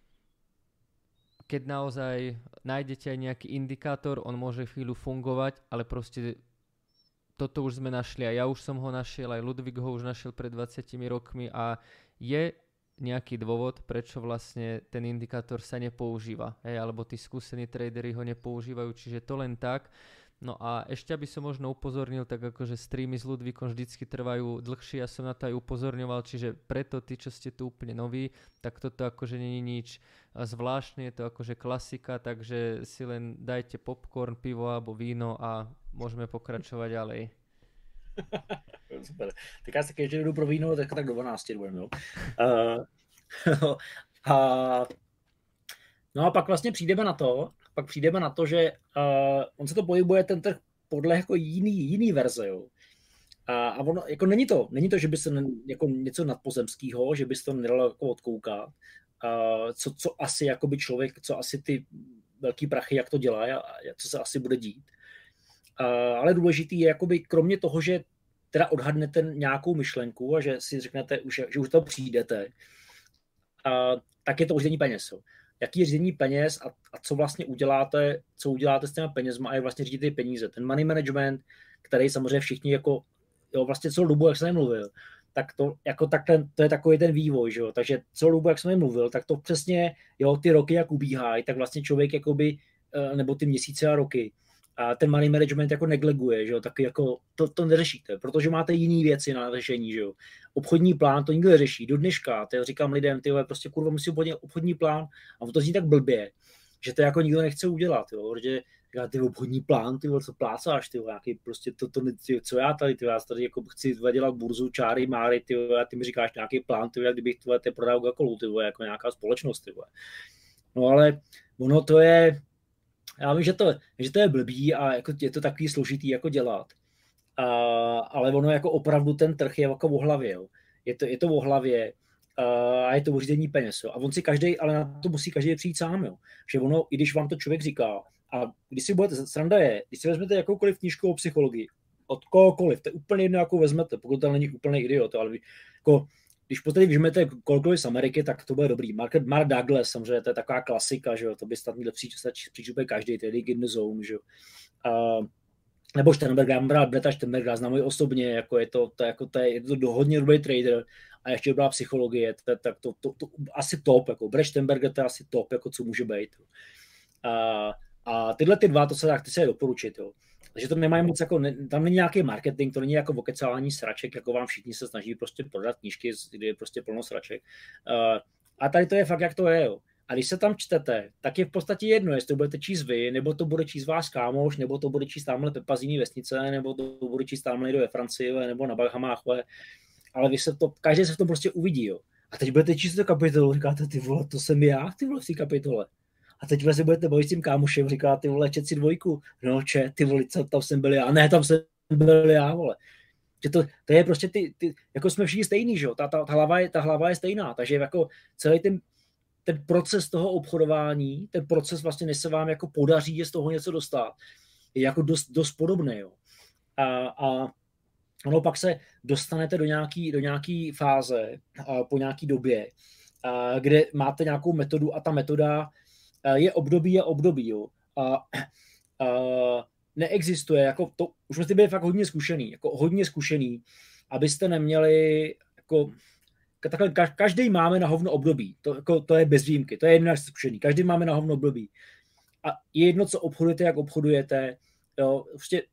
keď naozaj nájdete aj nejaký indikátor, on môže chvíľu fungovať, ale proste toto už sme našli a ja už som ho našiel, aj Ludvík ho už našiel pred 20 rokmi a je nejaký dôvod, prečo vlastne ten indikátor sa nepoužíva, alebo tí skúsení tradery ho nepoužívajú, čiže to len tak. No a ešte aby som možno upozornil, tak akože streamy s Ludvíkom vždycky trvajú dlhšie, ja som na to aj upozorňoval, čiže preto tí, čo ste tu úplne noví, tak toto akože nie je nič zvláštne, je to akože klasika, takže si len dajte popcorn, pivo alebo víno a môžeme pokračovať ďalej. Super. Tak já se když jdu pro víno, tak do 12 budeme, jo. No a pak vlastně přijdeme na to, že on se to pohybuje ten trh podle jako jiný verze, jo. A ono, jako není to, že by se jako něco nadpozemského, že by se to nedalo jako odkoukat, co asi jakoby člověk, co asi ty velký prachy, jak to dělá a co se asi bude dít. Ale důležitý je jakoby kromě toho, že teda odhadnete nějakou myšlenku a že si řeknete, že už to přijdete, tak je to řízení peněz. Jo. Jaký je řízení peněz a co vlastně uděláte s těmi penězma a jak vlastně řídíte ty peníze. Ten money management, který samozřejmě všichni jako, jo, vlastně celou dobu, jak jsem mluvil, tak to, jako to je takový ten vývoj, že jo. Takže celou dobu, jak jsem mluvil, tak to přesně, jo, ty roky, jak ubíhají, tak vlastně člověk jakoby, nebo ty měsíce a roky, a ten money management jako negleguje, že jo, taky jako to neřešíte, protože máte jiný věci na řešení, že jo. Obchodní plán to nikdo neřeší. Do dneška, to říkám lidem, ty prostě kurva musí udělat obchodní plán a to zní tak blbě, že to jako nikdo nechce udělat, jo, protože ty obchodní plán, ty co plácáš, ty nějaký prostě co já tady jako chci dělat burzu, čáry, máry, a ty mi říkáš nějaký plán, ty kdybych ty prodal Coca-Colu, jako nějaká společnost, ty. No ale ono to je, já vím, že to je blbý a jako je to takový složitý jako dělat. Ale ono jako opravdu ten trh je jako o hlavě. Jo. Je to o hlavě a je to o řízení peněz. Jo. A on si ale na to musí každý přijít sám. Jo. Že ono, i když vám to člověk říká, a když si budete, sranda je, když si vezmete jakoukoliv knížku o psychologii, od kohokoliv, to je úplně jedno, jakou vezmete, pokud to není úplný idiot, ale jako, když potom vyžmete kohokoliv z Ameriky, tak to bude dobrý. Mark Douglas, samozřejmě, to je taková klasika, že jo, to by snad měl přijít úplně každý, tedy in the zone, že jo. Nebo Sternberg, já mám rád Breta Sternberga, znám ho osobně, jako je to hodně dobrý trader a ještě dobrá psychologie, tak to asi top, jako Brett Sternberger, to je asi top, jako co může být. A tyhle ty dva, ty se doporučit, jo. Takže to nemají moc, jako, tam není nějaký marketing, to není jako vokecální sraček, jako vám všichni se snaží prostě prodat knížky, kde je prostě plno sraček. A tady to je fakt, jak to je, jo. A když se tam čtete, tak je v podstatě jedno, jestli to budete číst vy, nebo to bude číst váš kámoš, nebo to bude číst tamhle Pepa z jiný vesnice, nebo to bude číst tamhle někdo ve Francii, nebo na Bahamách, ale každý se v tom prostě uvidí, jo. A teď budete číst tu kapitolu, říkáte, ty vole, to jsem já, ty vole, v té kapitole. A teď se budete bavit s tím kámošem, říká, ty vole, čet si dvojku. No, ty vole, tam jsem byl já. Ne, tam jsem byl já, vole. Že to je prostě jako jsme všichni stejný, že jo. Ta hlava je stejná, takže jako celý ten proces toho obchodování, ten proces vlastně, než se vám jako podaří je z toho něco dostat, je jako dost podobný, jo. A ono pak se dostanete do nějaký fáze po nějaký době, kde máte nějakou metodu a ta metoda je období, jo. Neexistuje, jako to, už musíte být fakt hodně zkušený, abyste neměli, jako, takhle, každý máme na hovno období, to je bez výjimky, to je jedno, jak jste zkušený, každý máme na hovno období. A je jedno, co obchodujete, jak obchodujete, jo, prostě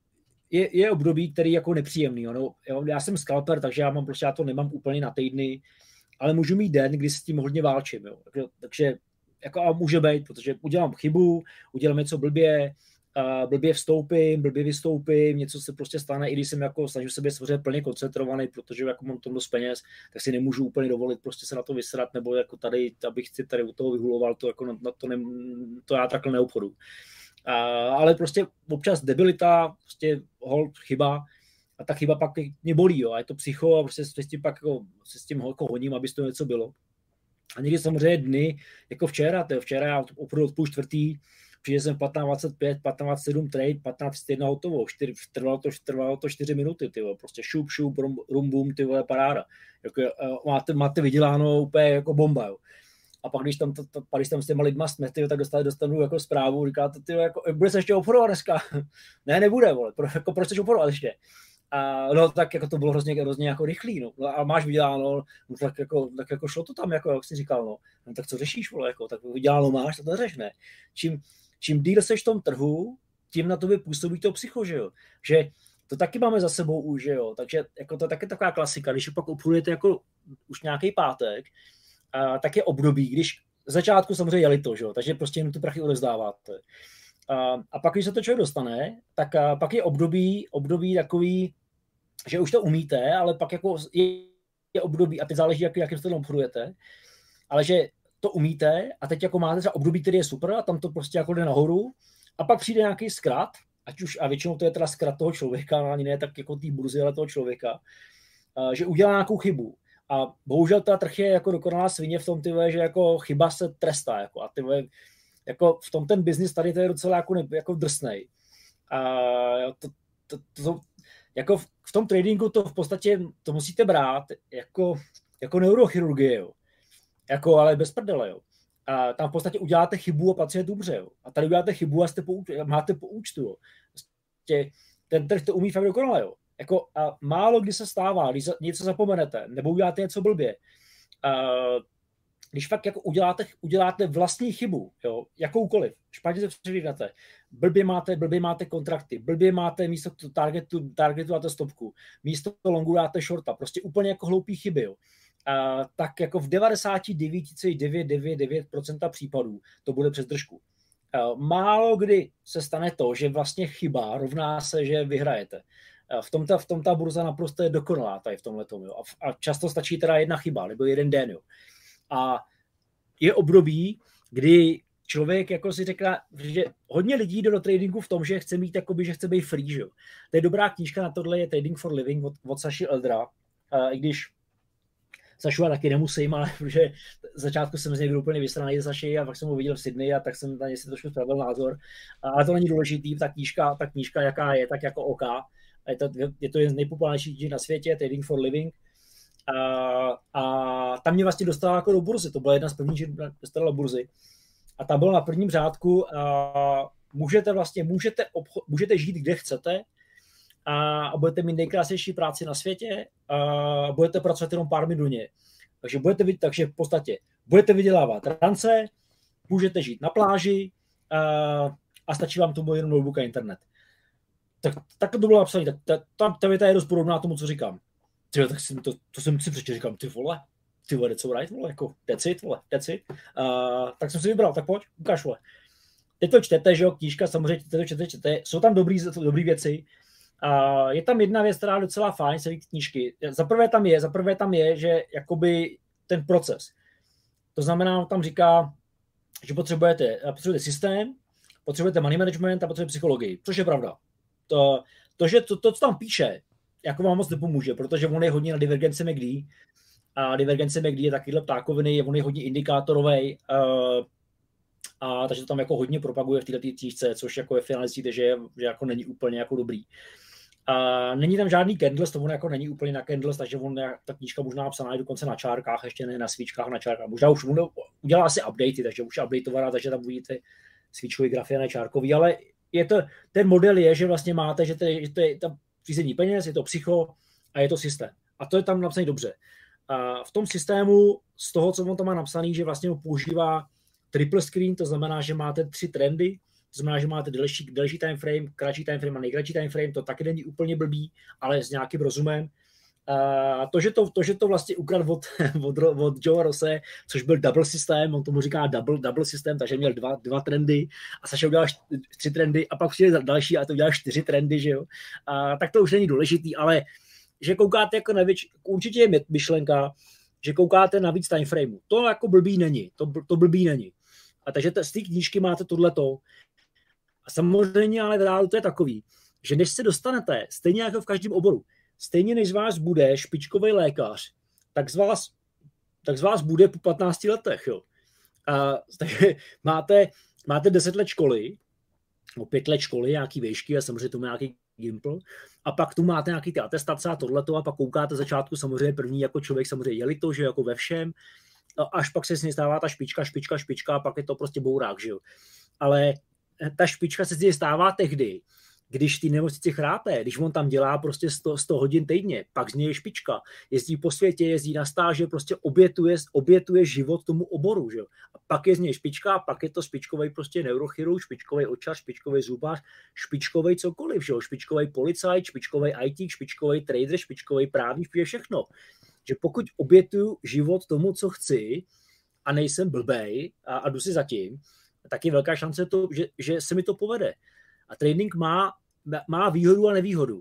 je období, který jako nepříjemný. No, já jsem scalper, takže já to nemám úplně na týdny, ale můžu mít den, kdy s tím hodně válčím. Jo. Takže jako a může být, protože udělám chybu, udělám něco blbě vstoupím, blbě vystoupím, něco se prostě stane, i když jsem jako snažím sebe samozřejmě plně koncentrovaný, protože jako mám tom dost peněz, tak si nemůžu úplně dovolit prostě se na to vysrat, nebo jako tady, abych si tady u toho vyhuloval, to jako to já takhle neobchodu. Ale prostě občas debilita, prostě hold, chyba, a ta chyba pak mě bolí, jo, a je to psycho a prostě s tím pak jako, se s tím jako honím, aby to něco bylo. A někdy samozřejmě dny, jako včera já opravdu od 3:30, přijde jsem 15:25, 15:07 trade, 15:01 hotovo, trvalo to 4 minuty, tyvo, prostě šup, rum, bum, tyvo, paráda. Jako, máte vyděláno úplně jako bomba, jo. A pak, když tam s těma lidma jsme, tyjo, tak dostanu jako zprávu, říkáte, tyjo, jako, bude se ještě obchodovat dneska? Ne, nebude, vole, proč chceš obchodovat ještě? No tak jako to bylo hrozně jako rychlý, no. A máš vyděláno, no tak jako šlo to tam, jako jak jsi říkal, no tak co řešíš, vole, jako, tak vyděláno máš, tak to řeš, ne. Čím díl seš v tom trhu, tím na tobě působí to psycho, že jo. Že to taky máme za sebou už, že jo. Takže jako to je taky taková klasika, když pak obchodujete jako už nějaký pátek, tak je období, když v začátku samozřejmě jeli to, že jo, takže prostě jenom ty prachy odevzdáváte. A pak, když se to člověk dostane, tak pak je období takový, že už to umíte, ale pak jako je období, a teď záleží, jakým stylu obchodujete, ale že to umíte a teď jako máte třeba období, který je super a tam to prostě jako jde nahoru a pak přijde nějaký zkrat, a většinou to je teda zkrat toho člověka, ani ne tak jako té burzy, ale toho člověka, že udělá nějakou chybu. A bohužel ta trh je jako dokonalá svině v tom, že jako chyba se trestá. Jako, a jako v tom ten biznis tady to je docela jako drsnej. A jako v tom tradingu to v podstatě to musíte brát jako neurochirurgie, jo. Jako, ale bez prdele, jo. A tam v podstatě uděláte chybu a pracujete dobře, jo. A tady uděláte chybu a máte po účtu, jo. Prostě ten trh to umí fakt dokonale, jo. Jako, a málo kdy se stává, když něco zapomenete, nebo uděláte něco blbě. Když fakt jako uděláte vlastní chybu, jo, jakoukoliv, špatně se předvídáte, blbě máte kontrakty, blbě máte místo targetu dáte stopku, místo longu dáte shorta, prostě úplně jako hloupý chyby, jo. Tak jako v 99,999% případů to bude přes držku. Málo kdy se stane to, že vlastně chyba rovná se, že vyhrajete. V tom ta burza naprosto je dokonalá tady v tomhletom, jo. A často stačí teda jedna chyba, nebo jeden den, jo. A je období, kdy člověk jako si řekne, že hodně lidí jde do tradingu v tom, že chce mít jakoby, že chce být free, že jo. To je dobrá knížka na tohle, je Trading for Living od Saši Eldra, i když Sašu taky nemusím, ale protože začátku jsem z něj byl úplně vysraný Saši a pak jsem ho viděl v Sydney a tak jsem na něj si trošku spravil názor. Ale to není důležitý, ta knížka jaká je, tak jako OK. Je to jeden z nejpopulárnějších na světě, Trading for Living. A tam mě vlastně dostala jako do burzy. To byla jedna z prvních, že dostala do burzy. A tam bylo na prvním řádku. Můžete žít, kde chcete, a budete mít nejkrásnější práci na světě a budete pracovat jenom pár minut denně. Takže v podstatě budete vydělávat rance, můžete žít na pláži a stačí vám tomu jenom notebook a internet. Tak to bylo napsané. Ta věta je dost podobná tomu, co říkám. Tak to jsem si přečetl, říkám, ty vole, that's all right, vole, jako that's it. Tak jsem si vybral, tak pojď, ukáž, vole. Teď to čtete, že jo, knížka, samozřejmě čtete, jsou tam dobrý věci. Je tam jedna věc, která je docela fajn, celý knížky. Za prvé tam je, že jakoby ten proces. To znamená, tam říká, že potřebujete systém, potřebujete money management a potřebujete psychologii, což je pravda. To, co tam píše, jako vám moc nepomůže, protože on je hodně na divergenci MACD a divergence MACD je takovýhle ptákoviny, on je hodně indikátorovej, takže to tam jako hodně propaguje v této knížce, což jako je finalistíte, že jako není úplně jako dobrý. Není tam žádný candles, to on jako není úplně na candles, takže ta knížka možná napsaná je dokonce na čárkách, ještě ne na svíčkách, na čárkách. Možná už udělá asi updaty, takže už je updateovaná, takže tam uvidíte svíčkový grafy a ne čárkový, ale ten model je, že vlastně máte, že to je tam řízení peněz, je to psycho a je to systém. A to je tam napsané dobře. A v tom systému, z toho, co on tam má napsaný, že vlastně používá triple screen, to znamená, že máte 3 trendy, to znamená, že máte delší time frame, kratší time frame a nejkratší time frame, to taky není úplně blbý, ale s nějakým rozumem. To, že to vlastně ukradl od Joe Rose, což byl double systém, on tomu říká double systém, takže měl dva trendy a Saša udělal 3 trendy a pak přijde další a to udělal 4 trendy, že jo. Tak to už není důležitý, ale že koukáte jako určitě je myšlenka, že koukáte na víc timeframeu. To jako blbý není, to blbý není. A takže z té knížky máte tohleto. A samozřejmě ale v reálu to je takový, že než se dostanete, stejně jako v každém oboru, stejně než z vás bude špičkový lékař, tak z vás bude po 15 letech. Jo. Takže máte 10 let školy, 5 let školy, nějaký výšky a samozřejmě tomu nějaký gimpl, a pak tu máte nějaký ty atestace a tohleto a pak koukáte začátku samozřejmě první jako člověk samozřejmě jeli to, že jako ve všem, až pak se z něj stává ta špička a pak je to prostě bourák, že jo. Ale ta špička se z něj stává tehdy, když ty nemocnici chrápe, když on tam dělá prostě 100 hodin týdně, pak z něj je špička, jezdí po světě, jezdí na stáže, prostě obětuje život tomu oboru, že jo. A pak je z něj špička, a pak je to špičkovej prostě neurochirurg, špičkovej očař, špičkovej zubař, špičkovej cokoliv, že jo, špičkovej policajt, špičkovej IT, špičkovej trader, špičkovej právník, všechno. Že pokud obětuju život tomu, co chci a nejsem blbej a jdu si zatím, tak je velká šance to, že se mi to povede. A trading má výhodu a nevýhodu.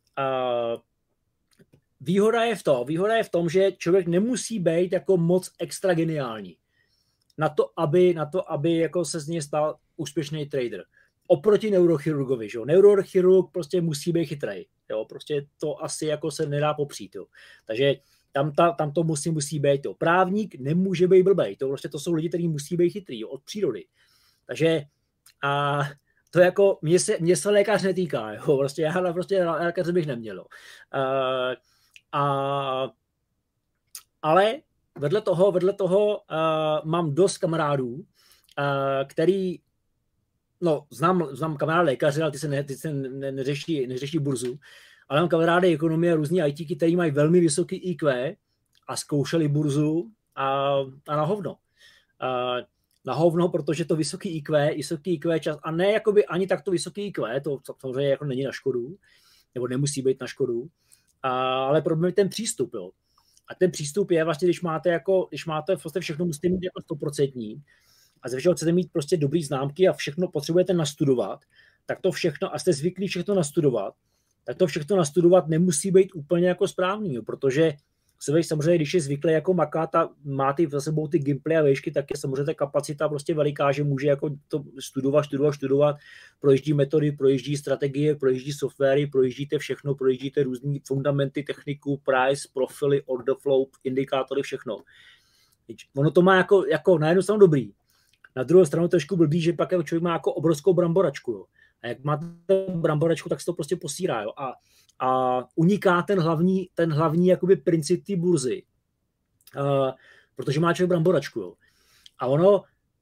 Výhoda je v tom, že člověk nemusí být jako moc extra geniální na to, aby jako se z něj stal úspěšný trader. Oproti neurochirurgovi, že jo. Neurochirurg prostě musí být chytrej, jo. Prostě to asi jako se nedá popřít, jo. Takže tam to musí být, jo. Právník nemůže být blbej, to jsou lidi, kteří musí být chytrý, jo, od přírody. Takže to jako, mě se lékař netýká, jo, prostě já prostě lékaře bych neměl. Ale vedle toho mám dost kamarádů, který, no, znám kamarády lékaře, ale ty se neřeší burzu, ale mám kamarády ekonomie, různý ITky, který mají velmi vysoký IQ a zkoušeli burzu a na hovno. Na hovno, protože to vysoký IQ čas, a ne jakoby ani takto vysoký IQ, to samozřejmě jako není na škodu, nebo nemusí být na škodu, ale problém je ten přístup, jo. A ten přístup je vlastně, když máte vlastně všechno musíte mít jako 100% a ze všeho chcete mít prostě dobrý známky a všechno potřebujete nastudovat, tak to všechno, a jste zvyklí všechno nastudovat, tak to všechno nastudovat nemusí být úplně jako správný, jo, protože samozřejmě, když je zvyklý jako makat a má za sebou ty gimply a výšky, tak je samozřejmě ta kapacita prostě veliká, že může jako to studovat, projíždí metody, projíždí strategie, projíždí softwary, projíždíte všechno, projíždíte různý fundamenty, techniku, price, profily, order flow, indikátory, všechno. Ono to má jako na jednu stranu dobrý, na druhou stranu trošku blbý, že pak člověk má jako obrovskou bramboračku, jo. A jak máte bramboračku, tak se to prostě posírá, jo. A uniká ten hlavní jakoby princip té burzy, protože má člověk bramboračku, jo. A ono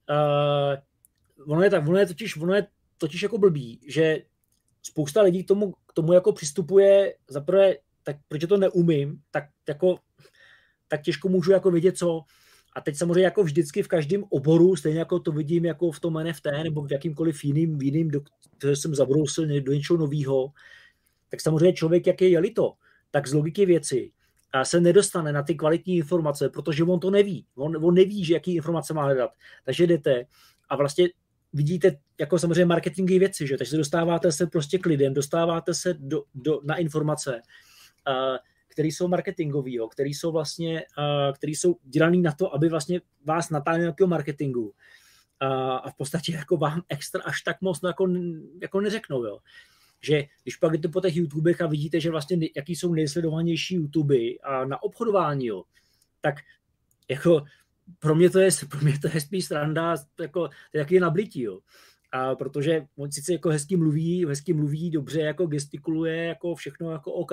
je totiž jako blbý, že spousta lidí k tomu jako přistupuje, zaprvé, tak protože to neumím, tak těžko můžu jako vědět, co. A teď samozřejmě jako vždycky v každém oboru, stejně jako to vidím jako v tom NFT nebo v jakýmkoliv jiným, do jsem zabrousil do něčeho nového, tak samozřejmě člověk, jak je jelito, tak z logiky věci se nedostane na ty kvalitní informace, protože on to neví. On neví, že jaký informace má hledat. Takže jdete a vlastně vidíte jako samozřejmě marketingové věci, že? Takže dostáváte se prostě k lidem, dostáváte se na informace, které jsou marketingový, který jsou dělaný na to, aby vlastně vás natáhli na nějakého marketingu. A v podstatě jako vám extra až tak moc jako neřeknou, jo. Že když pak jdete po těch YouTubech a vidíte, že vlastně jaký jsou nejsledovanější YouTuby a na obchodování, jo, tak jako pro mě to je spíš sranda, jako jaký je nablití, jo. A protože on sice jako hezky mluví, dobře jako gestikuluje, jako všechno jako OK,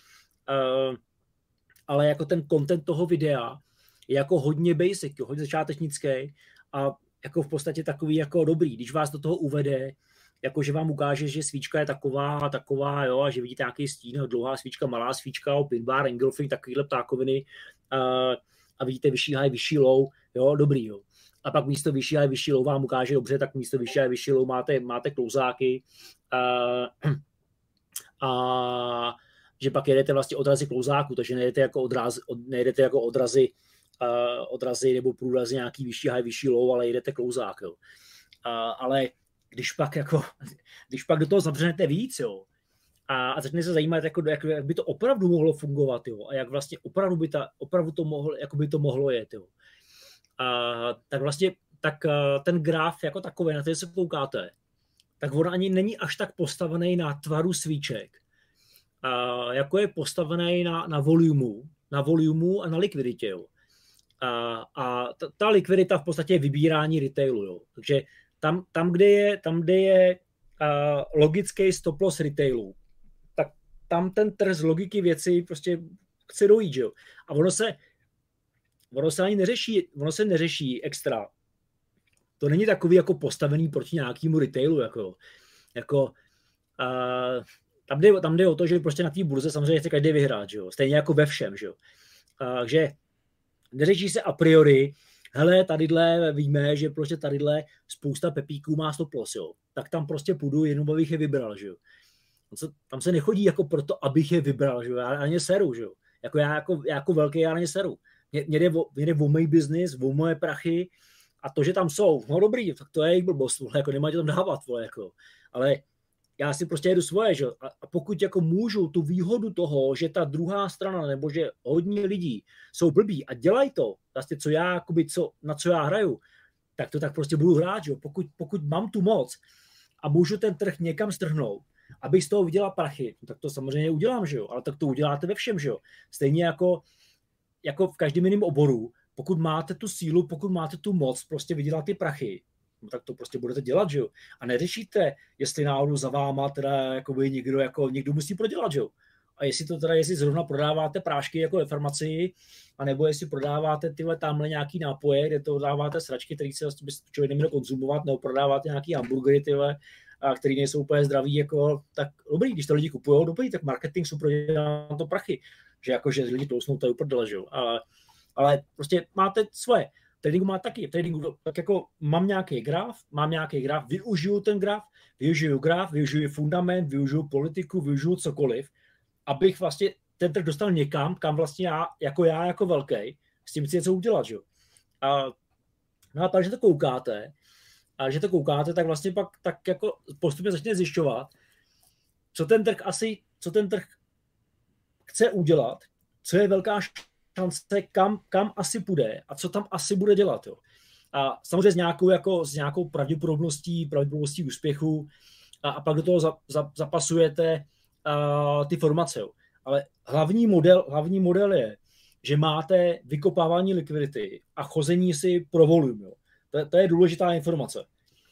ale jako ten content toho videa je jako hodně basic, jo, hodně začátečnický a jako v podstatě takový jako dobrý, když vás do toho uvede, jako že vám ukáže, že svíčka je taková, jo, a že vidíte nějaký stín, dlouhá svíčka, malá svíčka, pin bar, engulfing, takovýhle ptákoviny a vidíte vyšší high, vyšší low, jo, dobrý, jo. a pak místo vyšší a vyšší low vám ukáže dobře, tak místo vyšší a vyšší low máte klouzáky a že pak jedete vlastně odrazy klouzáku, takže nejedete jako odrazy nebo průrazy nějaký vyšší high, vyšší low, ale jedete klouzák. Jo. Ale když pak do toho zavřenete víc, jo, a začne se zajímat, jak by to opravdu mohlo fungovat, jo, a jak vlastně opravdu to mohlo jet, jo. Tak vlastně ten graf jako takový, na který se koukáte, tak on ani není až tak postavený na tvaru svíček, jako je postavený na volumu a na likviditě. Jo. A ta likvidita v podstatě je vybírání retailu. Jo. Takže tam, kde je logický stop loss retailu, tak tam ten trh z logiky věci prostě chce dojít. Jo. A ono se ani neřeší extra. To není takový jako postavený proti nějakému retailu. Tam jde o to, že prostě na té burze samozřejmě chce každý vyhrát, že jo? Stejně jako ve všem. Že jo? Takže neřeší se a priori, hele, tadyhle víme, že prostě tadyhle spousta pepíků má stop loss, jo? Tak tam prostě půjdu, jenom abych je vybral. Že jo? Tam se nechodí jako proto, abych je vybral, že jo? Já na ně seru, že jo? Já jako velký, já na ně seru. Mě jde o můj biznis, o moje prachy a to, že tam jsou, no dobrý, tak to je jejich blbost, vole, jako nemáte tam dávat, vole, jako. Ale já si prostě jedu svoje, že? A pokud jako můžu tu výhodu toho, že ta druhá strana, nebo že hodně lidí jsou blbí a dělají to, vlastně na co já hraju, tak to tak prostě budu hrát, že? Pokud mám tu moc a můžu ten trh někam strhnout, abych z toho vydělal prachy, tak to samozřejmě udělám, že jo? Ale tak to uděláte ve všem, že jo? Stejně jako v každém jiném oboru, pokud máte tu sílu, pokud máte tu moc prostě vydělat ty prachy, no tak to prostě budete dělat, že jo? A neřešíte, jestli náhodou za váma teda jakoby někdo musí prodělat, že jo? A jestli zrovna prodáváte prášky jako ve farmacii, anebo jestli prodáváte tamhle nějaký nápoje, kde to dáváte sračky, který se člověk neměl konzumovat, nebo prodáváte nějaký hamburgery, který nejsou úplně zdraví, jako, tak dobrý, když to lidi kupujou, dobrý, tak marketing jsou prodělá to prachy, že lidi tlousnou, to je uprdele, že jo? Ale prostě máte svoje. Tradingu má taky. Tradingu tak jako mám nějaký graf, využiju ten graf, využiju fundament, využiju politiku, využiju cokoliv, abych vlastně ten trh dostal někam, kam vlastně já jako velký, s tím chci něco udělat, že jo. No a pak, že to koukáte, tak vlastně pak tak jako postupně začne zjišťovat, co ten trh chce udělat, co je velká šance, kam asi půjde a co tam asi bude dělat. Jo. A samozřejmě s nějakou pravděpodobností úspěchu a pak do toho zapasujete ty formace. Jo. Ale hlavní model je, že máte vykopávání likvidity a chození si pro volum. Jo. To je důležitá informace.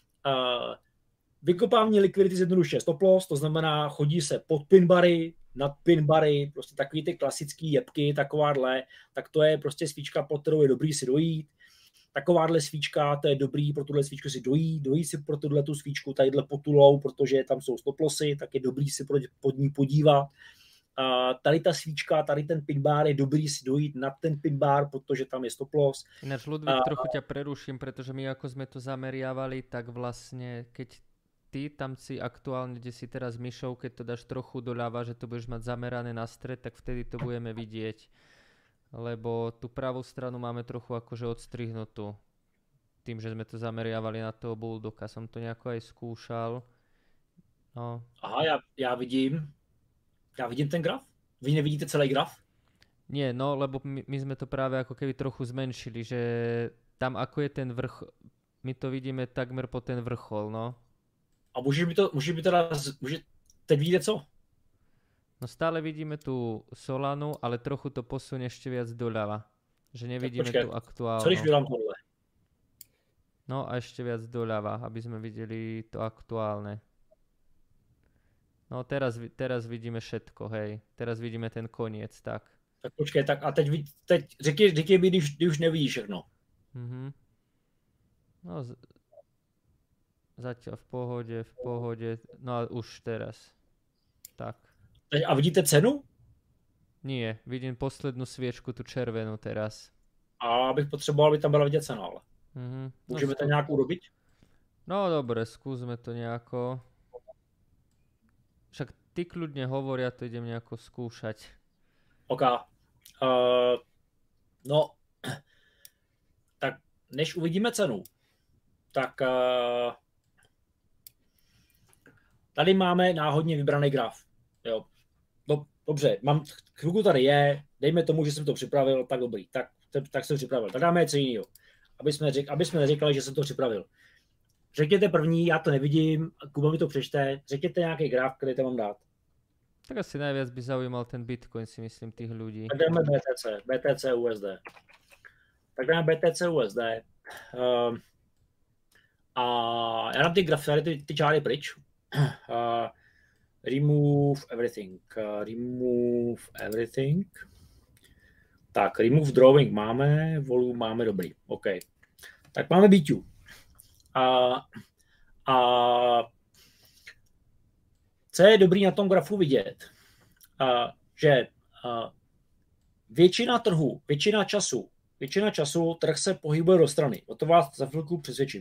Vykopávání likvidity zjednodušuje stop loss, to znamená chodí se pod pinbary, nad pinbary, prostě takový ty klasický jebky, takováhle, tak to je prostě svíčka, pod kterou je dobrý si dojít. Takováhle svíčka, to je dobrý pro tuhle svíčku si dojít si pro tuhle tu svíčku, tadyhle pod tu low, protože tam jsou stop lossy, tak je dobrý si pod ní podívat. Tady ta svíčka, tady ten pinbar je dobrý si dojít nad ten pinbar, protože tam je stop loss. Ináč, Ludvík, trochu ťa preruším, pretože my ako sme to zameriavali, tak vlastne, keď ty tam si aktuálne, kde si teraz myšou, keď to dáš trochu doľava, že to budeš mať zamerané na stred, tak vtedy to budeme vidieť. Lebo tú pravú stranu máme trochu akože odstrihnutú. Tým, že sme to zameriavali na toho bulldoga. Som to nejako aj skúšal. No. Aha, já vidím ten graf. Vy nevidíte celý graf? Nie, no, lebo my sme to práve ako keby trochu zmenšili, že tam ako je ten vrchol, my to vidíme takmer po ten vrchol, no. A může teď vidíte co? No stále vidíme tu Solanu, ale trochu to posunie ešte viac doľava. Že nevidíme tu aktuálnu. Co když vydám tohle? No a ešte viac doľava, aby sme videli to aktuálne. No teraz vidíme všetko, hej. Teraz vidíme ten koniec, tak. Tak počkej, tak a teď řekni mi, když už nevidíš všechno. Mhm. No zatiaľ v pohode, no a už teraz. Tak. A vidíte cenu? Nie, vidím poslednú sviečku, tu červenú teraz. A bych potřeboval, aby tam byla vidět cena, ale. Můžeme to nějak urobiť? No dobre, skúsme to nejako. Však ty kľudne hovor, ja to idem nejako skúšať. OK. No, tak než uvidíme cenu, tak tady máme náhodně vybraný graf. Jo. No, dobře, chvilku tady je, dejme tomu, že jsem to připravil, tak dobrý, tak jsem připravil. Tak dáme něco jiného, aby jsme neříkali, že jsem to připravil. Řekněte první, já to nevidím, Kuba mi to přečte, řekněte nějaký graf, který tam mám dát. Tak asi najviac by zaujímal ten Bitcoin, si myslím, tých ľudí. Tak dáme BTC USD. Tak dáme BTC USD. A já dám ty grafy, ty čáry pryč. Remove everything. Tak, remove drawing máme, volume máme, dobrý. OK. Tak máme BQ. Co je dobrý na tom grafu vidět, že většina trhu, většina času trh se pohybuje do strany. O to vás za chvilku přesvědčím.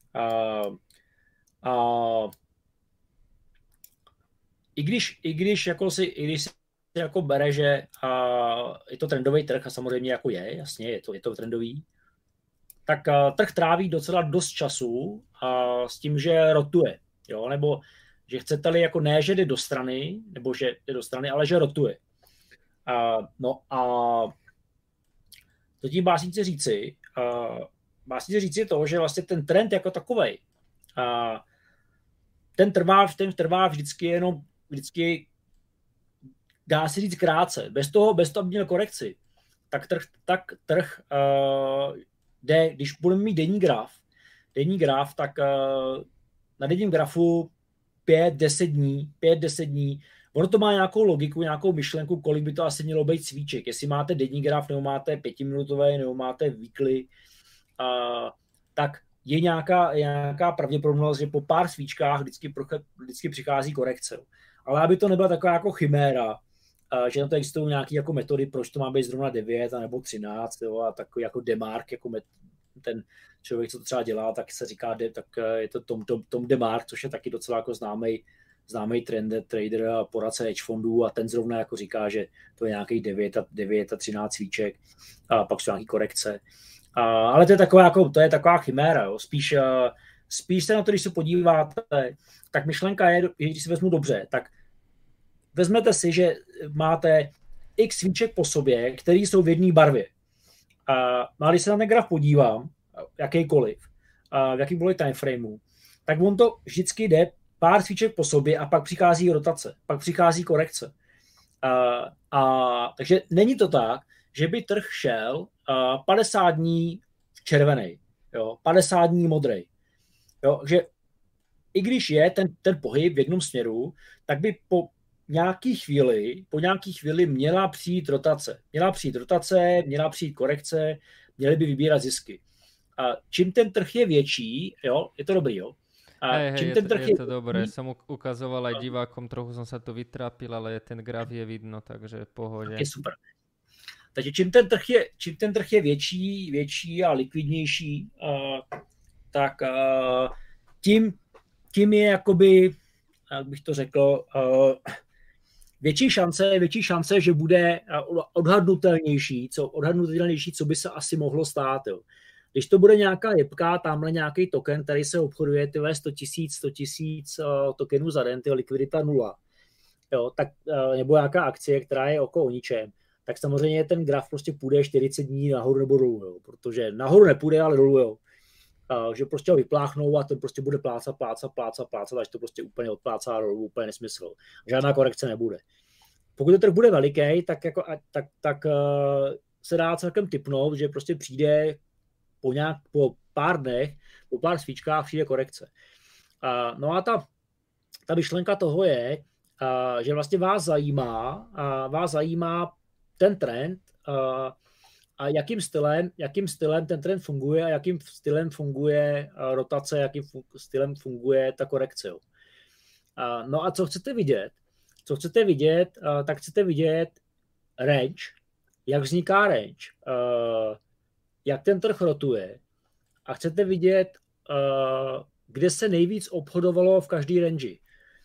I když si jako bere, že je to trendový trh a samozřejmě jako jasně, je to trendový, tak trh tráví docela dost času s tím, že rotuje, jo, nebo že chcete-li jako ne, že jde do strany, nebo že jde do strany, ale že rotuje. No a to tím básnice říci to, že vlastně ten trend jako takovej, ten trvá vždycky dá se říct krátce. Bez toho, aby měl korekci, tak trh jde, když budeme mít denní graf, tak na denním grafu 5-10 dní, ono to má nějakou logiku, nějakou myšlenku, kolik by to asi mělo být svíček. Jestli máte denní graf, nebo máte 5minutový, nebo máte weekly, tak je nějaká pravděpodobnost, že po pár svíčkách vždycky přichází korekce. Ale aby to nebyla taková jako chiméra, že na to existují nějaké jako metody, proč to má být zrovna 9 nebo 13, jo, a takový jako demark, jako ten člověk, co to třeba dělá, tak se říká, tak je to Tom DeMark, což je taky docela jako známý trader a poradce hedge fondů, a ten zrovna jako říká, že to je nějaký 9 a 13 svíček a pak jsou nějaký korekce. Ale to je taková chiméra, jo. Spíš se na to, když se podíváte, tak myšlenka je, když si vezmu dobře, tak vezmete si, že máte x svíček po sobě, které jsou v jedné barvě. A když se na ten graf podívám, jakýkoliv, v jakýmkoliv timeframeu, tak on to vždycky jde pár svíček po sobě a pak přichází rotace, pak přichází korekce. Takže není to tak, že by trh šel 50 dní červený, jo, 50 dní modrej. Jo, že i když je ten pohyb v jednom směru, tak by po nějaký chvíli měla přijít rotace. Měla přijít korekce, měly by vybírat zisky. A čím ten trh je větší, jo, je to dobrý, jo. Hej, je to dobré. Som ukazoval aj divákom, trochu som sa to vytrápil, ale ten graf je vidno, takže v pohode. Je super. Takže čím ten trh je větší a likvidnější, tak tím je jakoby, jak bych to řekl, větší šance, že bude odhadnutelnější, co by se asi mohlo stát. Jo. Když to bude nějaká jebka, tamhle nějaký token, který se obchoduje 100 000 tokenů za den, likvidita 0, jo, tak, nebo nějaká akcie, která je o ničem, tak samozřejmě ten graf prostě půjde 40 dní nahoru nebo dolů, jo, protože nahoru nepůjde, ale dolů, jo. Že prostě ho vypláchnou a ten prostě bude plácat, až to prostě úplně odplácá dolů, úplně nesmysl. Žádná korekce nebude. Pokud to trh bude veliký, tak se dá celkem tipnout, že prostě přijde po pár dnech, po pár svíčkách přijde korekce. No a ta myšlenka toho je, že vlastně vás zajímá ten trend a jakým stylem ten trend funguje a jakým stylem funguje rotace, jakým stylem funguje ta korekce. No a co chcete vidět, tak chcete vidět range, jak vzniká range, jak ten trh rotuje a chcete vidět, kde se nejvíc obchodovalo v každý range.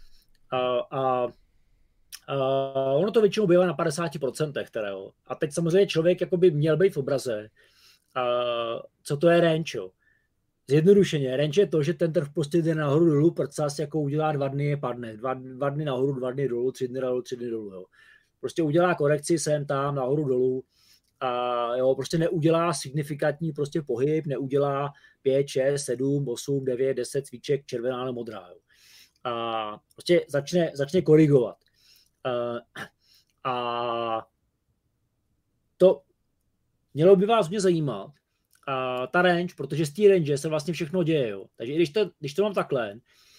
Ono to většinou bývá na 50%. Teda, jo. A teď samozřejmě člověk jakoby měl být v obraze. Co to je range? Jo? Zjednodušeně, range je to, že ten trh prostě jde nahoru dolů, prcas jako udělá 2 dny, padne. 2 dny nahoru, 2 dny dolů, 3 dny nahoru, 3 dny dolů. Jo. Prostě udělá korekci sem tam, nahoru dolů. A jo, prostě neudělá signifikantní prostě pohyb, neudělá 5, 6, 7, 8, 9, 10 cvíček červená nebo modrá. Jo. A prostě začne korigovat. A to mělo by vás mě zajímat, ta range, protože z té range se vlastně všechno děje. Jo. Takže když to mám takhle,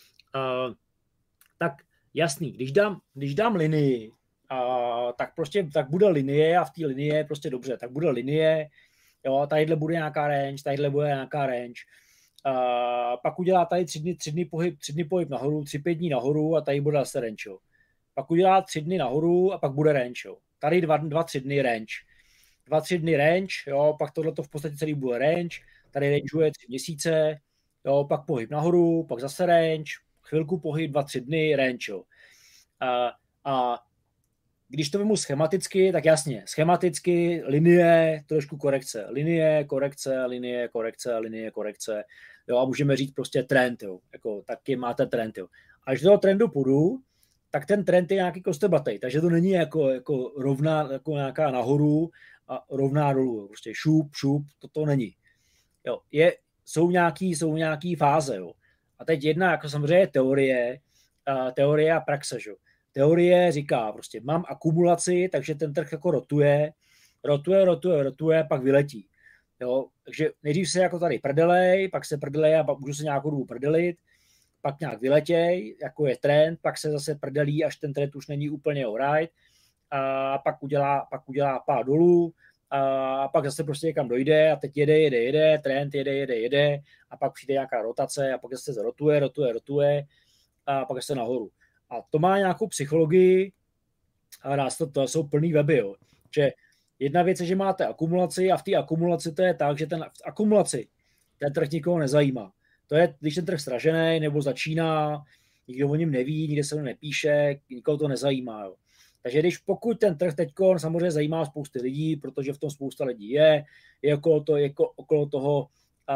tak jasný, když dám linii, tak bude linie a v té linii je prostě dobře, tak bude linie, jo, tadyhle bude nějaká range, pak udělá tady 3 dny pohyb nahoru, 3-5 dní nahoru a tady bude zase range, jo. Pak udělá 3 dny nahoru a pak bude range, jo. Tady 2-3 dny range. 2-3 dny range, jo, pak tohleto v podstatě celý bude range, tady rangeuje 3 měsíce, jo, pak pohyb nahoru, pak zase range, chvilku pohyb, 2-3 dny, range, jo. A když to vemu schematicky, tak jasně, schematicky linie, trošku korekce, linie, korekce, jo, a můžeme říct prostě trend, jo, jako taky máte trend, jo. A když do toho trendu půjdu, tak ten trend je nějaký kostrbatej, takže to není jako rovná, jako nějaká nahoru a rovná dolů, jo. Prostě šup, to není. Jo, jsou nějaký fáze, jo. A teď jedna, jako samozřejmě teorie a praxe, jo. Teorie říká, prostě mám akumulaci, takže ten trh jako rotuje, pak vyletí. Jo? Takže nejdřív se jako tady prdelej, pak se prdelej a pak můžu se nějakou dobu prdelit, pak nějak vyletěj, jako je trend, pak se zase prdelí, až ten trend už není úplně alright, a pak udělá pád dolů, a pak zase prostě někam dojde a teď jede, trend jede a pak přijde nějaká rotace a pak zase rotuje a pak zase nahoru. A to má nějakou psychologii a to jsou plný weby. Jo. Že jedna věc je, že máte akumulaci a v té akumulaci to je tak, že v akumulaci ten trh nikoho nezajímá. To je, když ten trh sražený nebo začíná, nikdo o něm neví, nikde se to nepíše, nikoho to nezajímá. Jo. Takže pokud ten trh teďko samozřejmě zajímá spousty lidí, protože v tom spousta lidí je okolo toho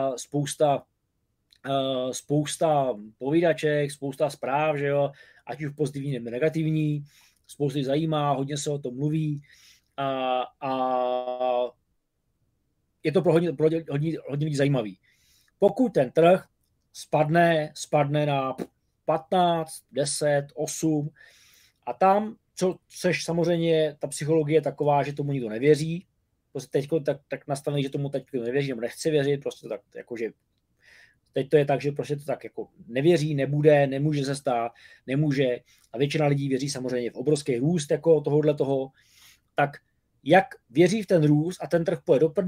spousta povídaček, spousta zpráv, že jo, ať už pozitivní nebo negativní, spoustu zajímá, hodně se o tom mluví a je to pro hodně lidí zajímavý. Pokud ten trh spadne na 15, 10, 8 a tam, což samozřejmě ta psychologie je taková, že tomu nikdo nevěří, prostě teďko tak nastavený, že tomu teď nevěří nebo nechce věřit, prostě tak jakože teď to je tak, že prostě to tak jako nevěří, nebude, nemůže se stát, nemůže a většina lidí věří samozřejmě v obrovský růst jako toho, tak jak věří v ten růst a ten trh půjde do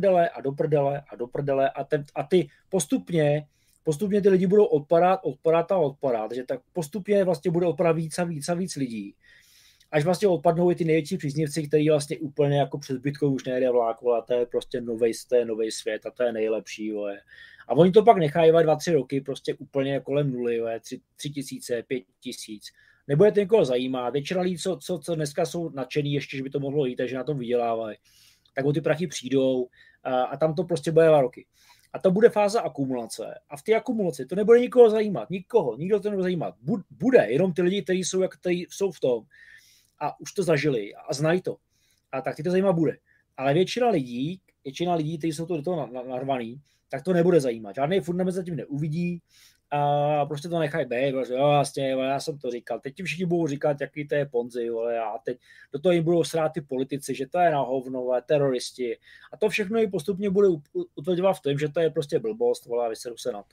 prdele a ty postupně ty lidi budou odpadat, takže tak postupně vlastně bude odpadat víc a víc lidí. Až vlastně odpadnou i ty největší příznivci, kteří vlastně úplně jako před zbytkou už nejde vlák, a to je prostě nový svět a to je nejlepší. Vole. A oni to pak nechají 2-3 roky prostě úplně kolem nuly, 3 tisíce, 5 tisíc. Nebude to někoho zajímat. Většina lidí, co dneska jsou nadšený ještě, že by to mohlo jít, takže na tom vydělávají, tak o ty prachy přijdou a tam to prostě bude 2 roky. A to bude fáze akumulace. A v té akumulaci to nebude nikoho zajímat. Nikdo to nebude zajímat. Bude jenom ty lidi, kteří jsou v tom a už to zažili a znají to. A tak ty to zajímat bude. Ale většina lidí, kteří jsou do toho narvaný, tak to nebude zajímat. Žádný fundament zatím neuvidí a prostě to nechají být. Prostě, jo, vlastně, já jsem to říkal. Teď ti všichni budou říkat, jaký to je Ponzi. A teď do toho jim budou srát ty politici, že to je na hovno, teroristi. A to všechno jim postupně bude utvrdovat v tom, že to je prostě blbost, a vyseru se na to.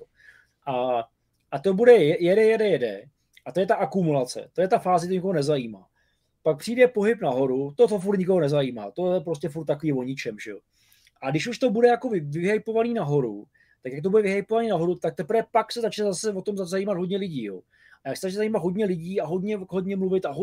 A to bude jede. A to je ta akumulace. To je ta fáze, která nikoho nezajímá. Pak přijde pohyb nahoru, to furt nikoho nezajímá. To je prostě furt takový o ničem, že jo. A když už to bude jako vyhypovaný nahoru, tak jak to bude vyhypovaný nahoru, tak teprve pak se začne zase o tom zajímat hodně lidí, jo. A jak se začne zajímat hodně lidí a hodně mluvit a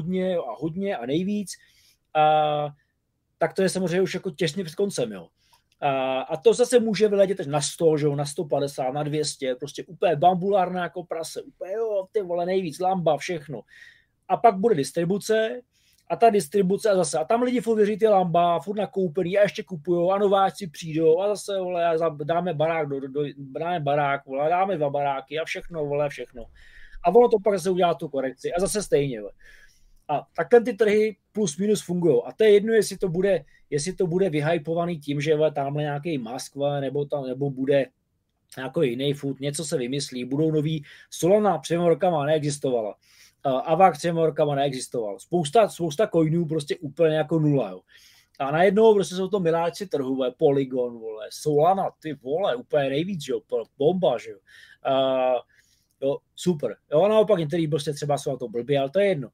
hodně a nejvíc, tak to je samozřejmě už jako těsně před koncem, jo. A to zase může vyletět na 100, že jo, na 150, na 200, prostě úplně bambulárná jako prase, úplně jo, ty vole, nejvíc, lamba, všechno. A pak bude distribuce a ta distribuce a zase, a tam lidi furt věří ty lamba, furt nakoupený a ještě kupujou a nováčci přijdou a zase, vole, dáme barák, dáme barák, vole, dáme 2 baráky a všechno, vole, všechno. A ono to pak zase udělá tu korekci a zase stejně, vole. A takhle ty trhy plus minus fungují. A to je jedno, jestli to bude vyhypovaný tím, že tamhle nějaký Musk, nebo bude nějaký jiný food, něco se vymyslí, budou nový. Solana před rokama neexistovala. Avax před rokama neexistoval. Spousta coinů prostě úplně jako nula. Jo. A najednou prostě jsou to miláčci trhu, vole, Polygon, vole, Solana, ty vole, úplně nejvíc, jo, bomba, že jo. Jo, super. Jo, a naopak některý prostě třeba jsou na to blbý, ale to je jedno.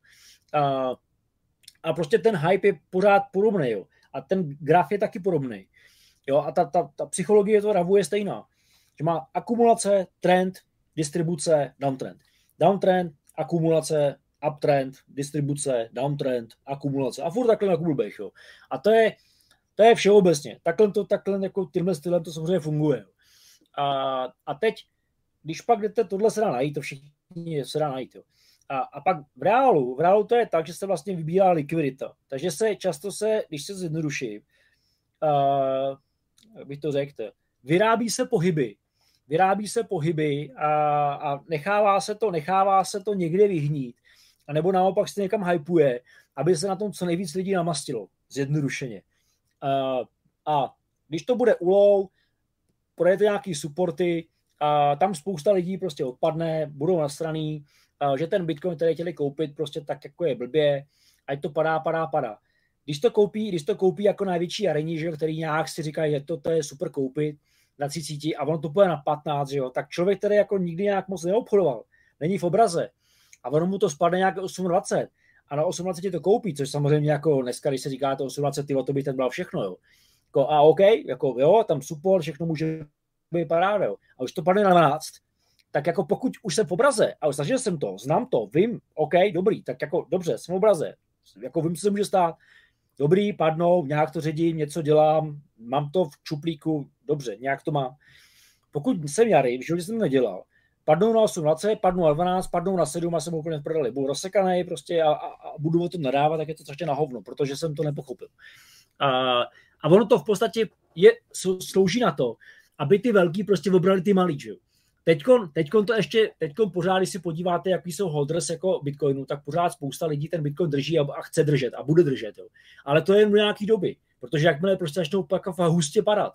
A prostě ten hype je pořád podobný, jo. A ten graf je taky podobný. Jo, a ta psychologie to ravu je stejná. Že má akumulace, trend, distribuce, downtrend. Downtrend, akumulace, uptrend, distribuce, downtrend, akumulace. A furt takhle na blbých, jo. A to je všeobecně. Takhle jako tímhle stylem to samozřejmě funguje. Jo. A teď, když pak jdete, tohle se dá najít, to všichni se dá najít, jo. A pak v reálu to je tak, že se vlastně vybírá likvidita. Takže když se zjednoduší, jak bych to řekl, vyrábí se pohyby a nechává se to někde vyhnít. A nebo naopak se někam hypuje, aby se na tom co nejvíc lidí namastilo. Zjednodušeně. A když to bude ulov, projete nějaký supporty, a tam spousta lidí prostě odpadne, budou nasraný, že ten Bitcoin, který chtěli koupit, prostě tak jako je blbě, ať to padá. Když to koupí jako největší arení, že, který nějak si říkají, že to je super koupit na 30 a ono to půjde na 15, že jo, tak člověk, který jako nikdy nějak moc neobchodoval, není v obraze a ono mu to spadne nějak 28 a na 28 to koupí, což samozřejmě jako dneska, když se říká to 28, to by ten byl všechno, jo. Jako, a OK, jako jo, tam support, všechno může být paráda, jo. A už to padne na 12, tak jako pokud už jsem v obraze a zažil jsem to, znám to, vím, OK, dobrý, tak jako dobře, jsem v obraze, jako vím, co se může stát, dobrý, padnou, nějak to ředím, něco dělám, mám to v čuplíku, dobře, nějak to mám. Pokud jsem jarý, v životě jsem to nedělal, padnou na 18, padnou na 12, padnou na 7 a jsem úplně v prdeli, budu rozsekanej prostě a budu o tom nadávat, tak je to strašně na hovno, protože jsem to nepochopil. A ono to v podstatě slouží na to, aby ty velký prostě obrali ty malý, že jo. Teďkon pořád, když si podíváte, jaký jsou holders jako Bitcoinu, tak pořád spousta lidí ten Bitcoin drží a chce držet a bude držet. Jo. Ale to je jen do nějaký doby, protože jakmile prostě začnou pak hustě padat,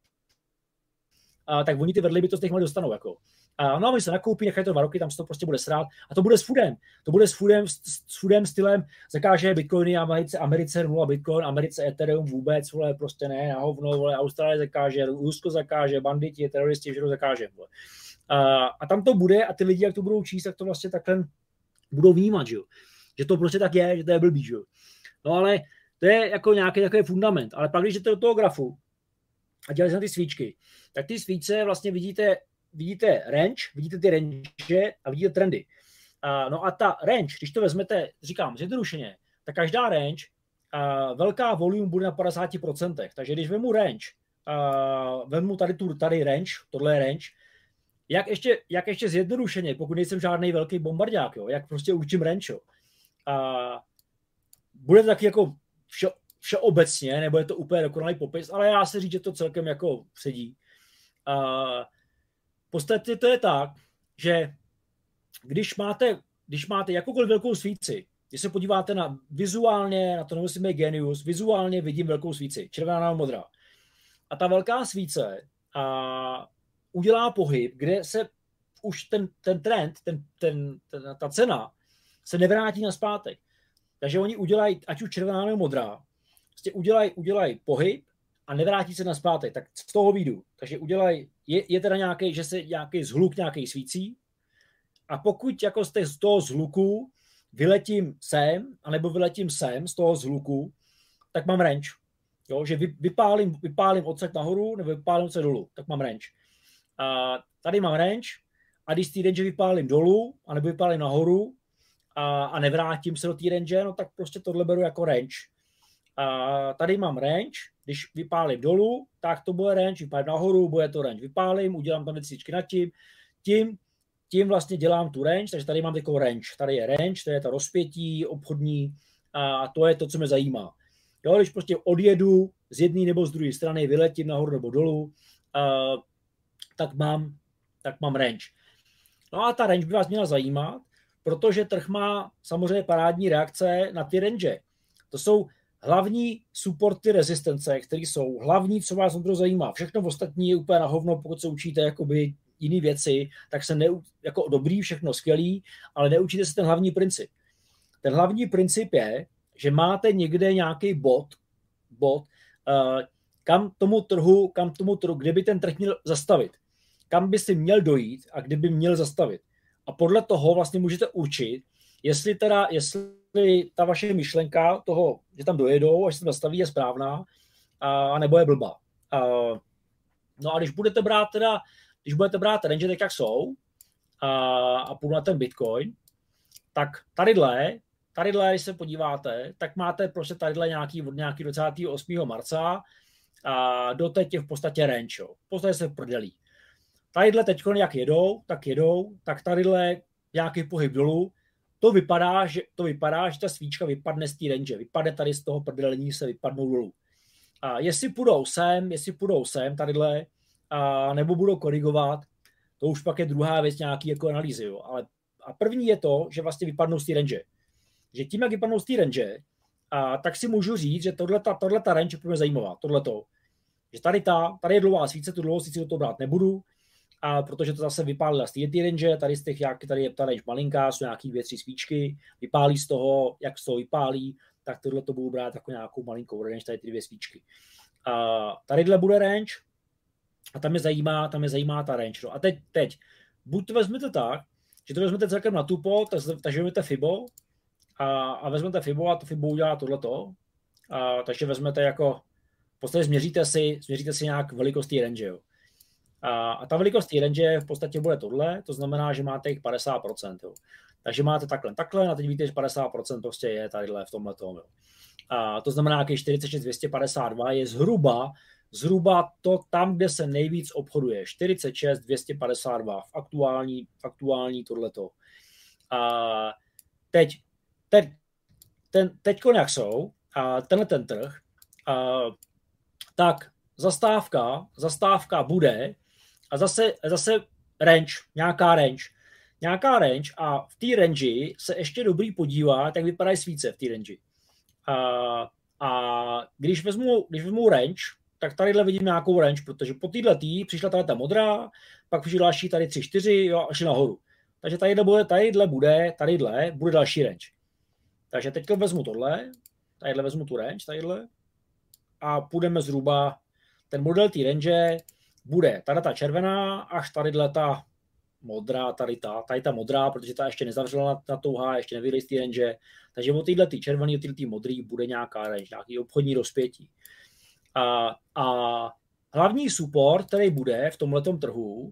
tak oni ty vedly by to z těch malých dostanou. Jako. No a my se nakoupí, nechají to 2 roky, tam se to prostě bude srát a to bude s foodem. To bude s foodem stylem, zakáže Bitcoiny Americe 0 Bitcoin, Americe Ethereum vůbec, vole, prostě ne, na hovno, vole, Austrálie zakáže, Rusko zakáže, banditi, teroristi, všechno zakáže. Vole. A tam to bude a ty lidi, jak to budou číst, tak to vlastně takhle budou vnímat, že to prostě tak je, že to je blbý. Že? No ale to je jako nějaký takový fundament. Ale pak, když jdete do toho grafu a děláte na ty svíčky, tak ty svíčce vlastně vidíte range, vidíte ty range a vidíte trendy. No a ta range, když to vezmete, říkám, zjednodušeně, tak každá range, velká volume bude na 50%. Takže když vezmu range, vezmu tady range, tohle je range, jak ještě zjednodušeně, pokud nejsem žádný velký bombardák, jo, jak prostě určím range, jo. Bude to taky jako všeobecně, nebo je to úplně dokonalý popis, ale já se říct, že to celkem jako sedí. V podstatě to je tak, že když máte jakoukoliv velkou svíci, když se podíváte vizuálně, na to nemusíme Genius, vizuálně vidím velkou svíci, červená nebo modrá. A ta velká svíce udělá pohyb, kde se už ten trend, ta cena se nevrátí nazpátek. Takže oni udělají, ať už červená nebo modrá, prostě udělají pohyb a nevrátí se nazpátek. Tak z toho výjdu. Takže je teda nějaký, že se nějaký zhluk nějaký svící a pokud jako z toho zhluku vyletím sem, anebo vyletím sem z toho zhluku, tak mám range. Jo, že vypálím odsek nahoru nebo vypálím odsek dolů, tak mám range. A tady mám range a když z té range vypálím dolů anebo vypálím nahoru a nevrátím se do té range, no tak prostě tohle beru jako range. A tady mám range, když vypálím dolů, tak to bude range, vypálím nahoru, bude to range, vypálím, udělám tam věcičky nad tím vlastně dělám tu range, takže tady mám takovou range. Tady je range, to je ta rozpětí obchodní a to je to, co mě zajímá. Jo, když prostě odjedu z jedné nebo z druhé strany, vyletím nahoru nebo dolů, tak mám range. No a ta range by vás měla zajímat, protože trh má samozřejmě parádní reakce na ty range. To jsou hlavní supporty rezistence, které jsou hlavní, co vás to zajímá. Všechno ostatní je úplně na hovno, pokud se učíte jakoby jiné věci, tak se jako dobrý, všechno skvělý, ale neučíte se ten hlavní princip. Ten hlavní princip je, že máte někde nějaký bod, kam tomu trhu, kde by ten trh měl zastavit. Kam by si měl dojít a kde by měl zastavit. A podle toho vlastně můžete určit, jestli ta vaše myšlenka toho, že tam dojedou, až se tam zastaví, je správná, a nebo je blbá. No a když budete brát range, tak jak jsou, a půjdu na ten Bitcoin, tak tadyhle, když se podíváte, tak máte prostě tadyhle nějaký 28. marca a doteď je v podstatě range. Jo. V podstatě se prodělí. Tadyhle teď, jak jedou, tak tadyhle nějaký pohyb dolů. To vypadá, že ta svíčka vypadne z té range. Vypadne tady z toho prodělení, se vypadnou dolů. A jestli půjdou sem tadyhle, nebo budou korigovat, to už pak je druhá věc nějaký jako analýzy. Jo. A první je to, že vlastně vypadnou z té range. Že tím, jak vypadnou z té range, tak si můžu říct, že tohleta range je pro mě zajímavá. Tohleto. Že tady je dlouhá svíce, tu dlouhou svíci do toho brát nebudu, protože to zase vypálila z té range, tady je ta range malinká, jsou nějaký 2-3 svíčky, vypálí z toho, jak z toho vypálí, tak tohle to budu brát jako nějakou malinkou range, tady ty 2 svíčky. Tadyhle bude range a tam je zajímá ta range. No. A teď, buď to vezmete tak, že to vezmete celkem na tupo, takže vezmete Fibo a vezmete Fibo a to Fibo udělá tohleto, takže vezmete jako, v podstatě změříte si nějak velikost té range. Jo. A ta velikost té range v podstatě bude tohle, to znamená, že máte jich 50%. Jo. Takže máte takhle a teď víte, že 50% prostě je tadyhle v tomhletom. Jo. A to znamená, že 46,252 je zhruba to tam, kde se nejvíc obchoduje. 46,252 v aktuální tohleto. A teď jak jsou, a tenhle ten trh, tak zastávka bude a zase range, nějaká range a v té range se ještě dobrý podívat, jak vypadají svíce v té range. A když vezmu range, tak tadyhle vidím nějakou range, protože po této přišla tady ta modrá, pak přišla další tady 3-4 a šli nahoru. Takže tadyhle bude další range. Takže teď vezmu tadyhle vezmu tu range, a půjdeme zhruba, ten model té range bude tady ta červená, až tadyhle ta modrá, tady ta modrá, protože ta ještě nezavřela na touha, ještě nevyjde z té range, takže od této červený, od této modrý bude nějaká range, nějaký obchodní rozpětí. A hlavní support, který bude v tomhletom trhu,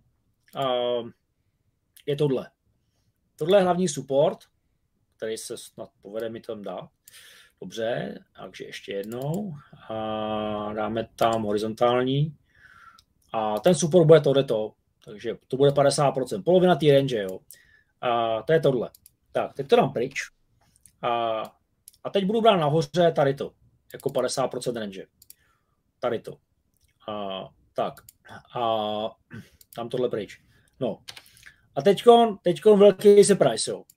je tohle. Tohle je hlavní support, který se snad povede mi tam dát. Dobře, takže ještě jednou. Dáme tam horizontální. A ten support bude tohleto. Takže to bude 50%. Polovina té range, jo. To je tohle. Tak, teď to dám pryč. A teď budu brát nahoře tady to. Jako 50% range. Tady to. Tak. A tam tohle pryč. No. A teďkon velký surprise, jo.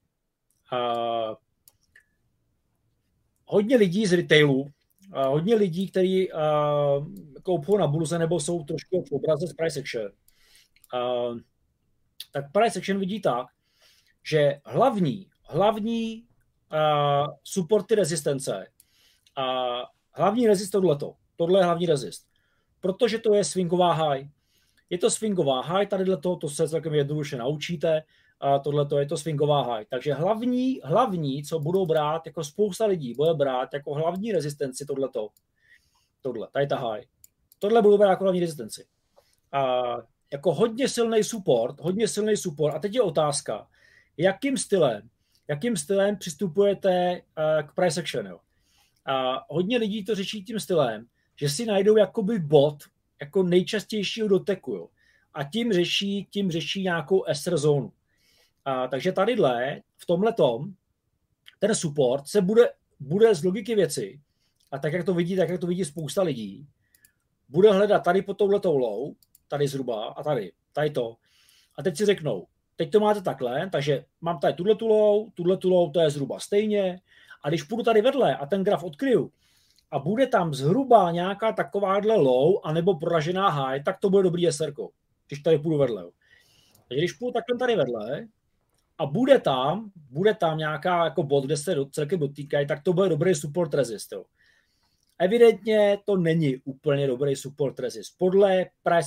Hodně lidí z retailu, hodně lidí, kteří koupou na burze nebo jsou trošku v obraze z price action, tak price action vidí tak, že hlavní supporty rezistence, hlavní rezist tohle je hlavní rezist, protože to je swingová high. Je to swingová high, tadyhle to se celkem jednoduše naučíte, a tohleto je to swingová high. Takže hlavní, co budou brát, jako spousta lidí bude brát jako hlavní rezistenci tady ta high. Tohle budou brát jako hlavní rezistenci. Jako hodně silný support. A teď je otázka, jakým stylem přistupujete k price action. Jo? A hodně lidí to řeší tím stylem, že si najdou jakoby bod jako nejčastějšího doteku, jo. A tím řeší nějakou ester zónu. Takže tadyhle, v tomhletom, ten support se bude z logiky věci, a tak jak to vidí spousta lidí, bude hledat tady pod touhletou low, tady zhruba a tady to. A teď si řeknou, teď to máte takhle, takže mám tady tuhletu low, to je zhruba stejně. A když půjdu tady vedle a ten graf odkryju a bude tam zhruba nějaká takováhle low anebo proražená high, tak to bude dobrý SRko, když tady půjdu vedle. Jo. Takže když půjdu takhle tady vedle a bude tam nějaká jako bod, kde se celkem dotýkají, tak to bude dobrý support resist. Jo. Evidentně to není úplně dobrý support resist. Podle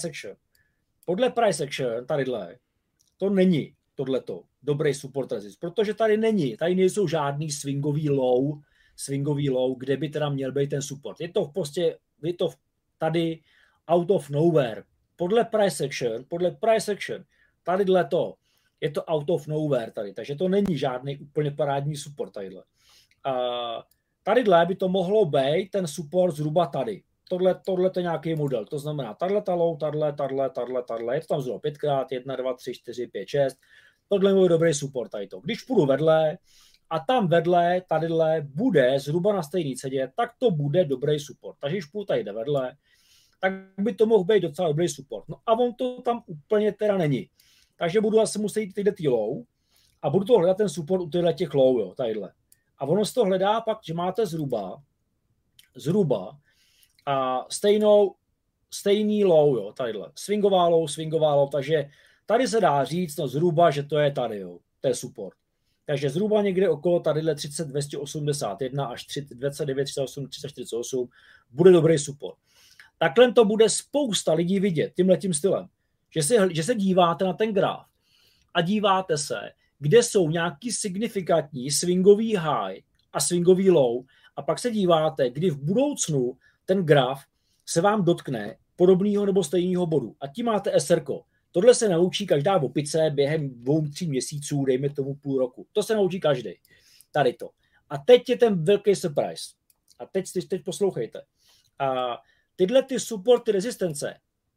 price action tadyhle, to není tohleto dobrý support resist, protože tady nejsou žádný swingový low, kde by teda měl být ten support. Je to tady out of nowhere. Podle price action, tadyhle to, je to out of nowhere tady, takže to není žádný úplně parádní support tadyhle. Tadyhle by to mohlo být ten support zhruba tady. Tohle je nějaký model, to znamená tato low, tato, je to tam zhruba 5x, 1, 2, 3, 4, 5, 6. Tohle je dobrý support tady to. Když půjdu vedle a tam vedle, tadyhle bude zhruba na stejný ceně, tak to bude dobrý support. Takže když půjdu tady vedle, tak by to mohl být docela dobrý support. No a on to tam úplně teda není. Takže budu asi muset jít tyhle low a budu to hledat ten support u těch low, jo, tadyhle. A ono se to hledá pak, že máte zhruba a stejný low, jo, tadyhle. Swingová low, takže tady se dá říct, no zhruba, že to je tady, jo, to je support. Takže zhruba někde okolo tadyhle 30, 281 až 29, 38, 348 bude dobrý support. Takhle to bude spousta lidí vidět tímhletím stylem, že se díváte na ten graf a díváte se, kde jsou nějaký signifikantní swingový high a swingový low a pak se díváte, kdy v budoucnu ten graf se vám dotkne podobného nebo stejného bodu. A tím máte SRko. Tohle se naučí každá opice během 2-3 měsíců, dejme tomu půl roku. To se naučí každý. Tady to. A teď je ten velký surprise. A teď poslouchejte. A tyhle ty supporty rezistence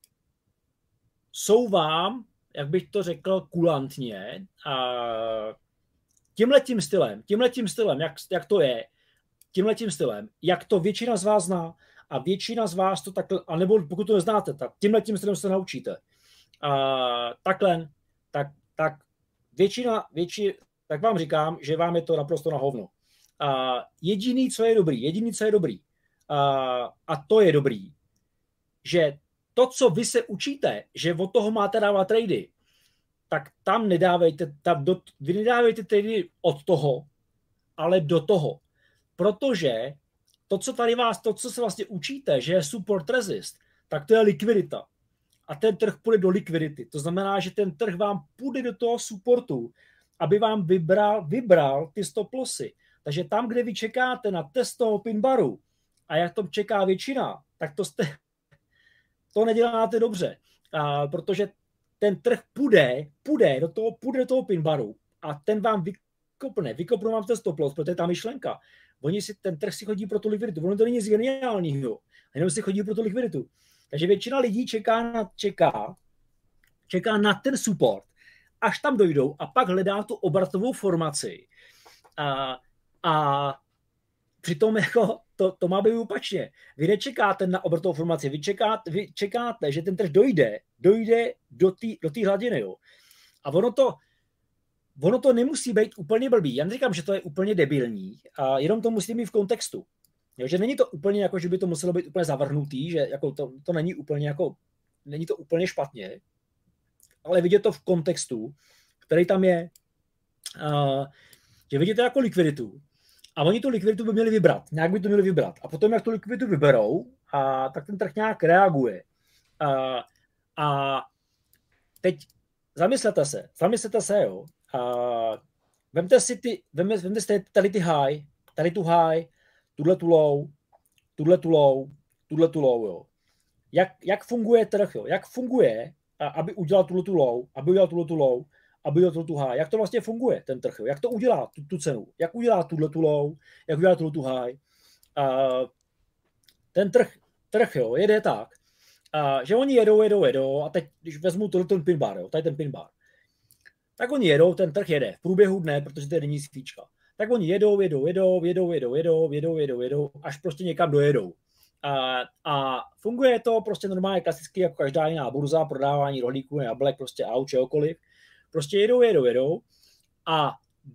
jsou vám, jak bych to řekl kulantně, tímhletím stylem, jak to je, tímhletím stylem, jak to většina z vás zná a většina z vás to takhle, anebo pokud to neznáte, tak tímhletím stylem se naučíte. Takhle, tak většina, tak vám říkám, že vám je to naprosto na hovno. Jediný, co je dobrý, a to je dobrý, že to, co vy se učíte, že od toho máte dávat trady, tak tam vy nedávejte trady od toho, ale do toho. Protože to, co se vlastně učíte, že je support resist, tak to je likvidita. A ten trh půjde do likvidity. To znamená, že ten trh vám půjde do toho supportu, aby vám vybral ty stop lossy. Takže tam, kde vy čekáte na test toho pin baru a jak to čeká většina, tak to neděláte dobře. Protože ten trh půjde do toho pin baru a ten vám vykopne vám ten stop loss, protože je ta myšlenka. Ten trh si chodí pro tu likviditu. Ono to není nic geniálního, jenom si chodí pro tu likviditu. Takže většina lidí čeká na ten support, až tam dojdou a pak hledá tu obratovou formaci. A přitom jako to má být opačně. Vy nečekáte na obratovou formaci, vy čekáte, že ten trh dojde do té hladiny. Jo. A ono to nemusí být úplně blbý. Já neříkám, že to je úplně debilní, a jenom to musí mít v kontextu. Jo, že není to úplně jako, že by to muselo být úplně zavrhnutý, že jako to není úplně jako, není to úplně špatně, ale vidět to v kontextu, který tam je, že vidíte jako likviditu a oni tu likviditu by měli vybrat, nějak by to měli vybrat a potom, jak tu likviditu vyberou, tak ten trh nějak reaguje. A teď zamyslete se, jo. Vemte si tady ty high, tady tu high, tuhle tu low, jo. Jak funguje trh, jo? Jak funguje, aby udělal tuhle low, aby udělal tu high. Jak to vlastně funguje, ten trh, jo? Jak to udělá, tu cenu. Jak udělá tuhle low, jak udělá tuhle high. ten trh jo, jede tak, že oni jedou a teď, když vezmu ten pin bar, jo, tady ten pin bar, tak oni jedou, ten trh jede v průběhu dne, protože to je denní svíčka. Tak oni jedou, až prostě někam dojedou. A funguje to prostě normálně klasicky jako každá jiná burza, prodávání rohlíků, jablek, prostě aut, čehokoliv. Prostě jedou. A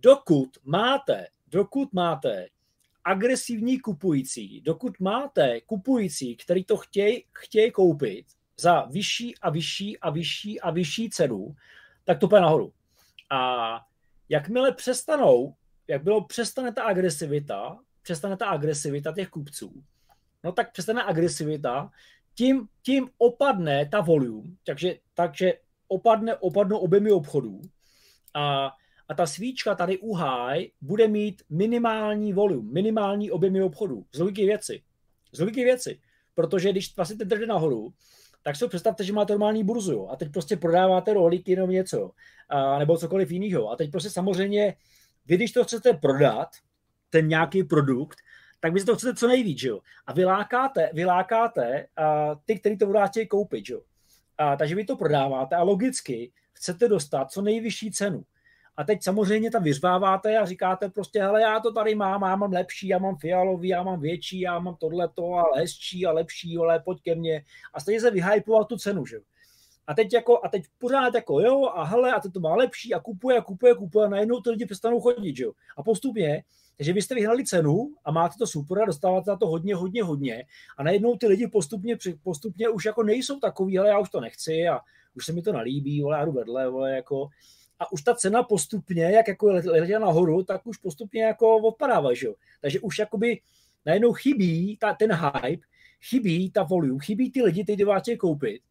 dokud máte agresivní kupující, dokud máte kupující, který to chtějí koupit za vyšší cenu, tak to půjde nahoru. A jakmile přestane ta agresivita těch kupců, no tak přestane agresivita, tím opadne ta volume, takže opadnou objemy obchodů a ta svíčka tady u high bude mít minimální volume, minimální objemy obchodů. Z logiky věci. Protože když vlastně ten trh jde nahoru, tak si představte, že máte normální burzu, jo, a teď prostě prodáváte rohlíky jenom něco, nebo cokoliv jiného. A teď prostě samozřejmě, vy když to chcete prodat, ten nějaký produkt, tak vy si to chcete co nejvíc, jo. A vylákáte ty, kteří to budou chtějí koupit, jo. Takže vy to prodáváte a logicky chcete dostat co nejvyšší cenu. A teď samozřejmě tam vyřváváte a říkáte prostě, hele, já to tady mám, já mám lepší, já mám fialový, já mám větší, já mám tohleto a hezčí a lepší, ale pojď ke mně. A stejně se vyhypovat tu cenu, že jo. A teď pořád jako jo a hele, a teď to má lepší a kupuje a najednou ty lidi přestanou chodit, že jo. A postupně, takže vy jste vyhnali cenu a máte to super a dostáváte na to hodně a najednou ty lidi postupně už jako nejsou takový, hele, já už to nechci a už se mi to nalíbí, vole, já jdu vedle, vole, jako. A už ta cena postupně, jak jako letěla nahoru, tak už postupně jako odpadává, že jo. Takže už jakoby najednou chybí ten hype, chybí ta volume, chybí ty lidi, kteří vás chtějí koupit.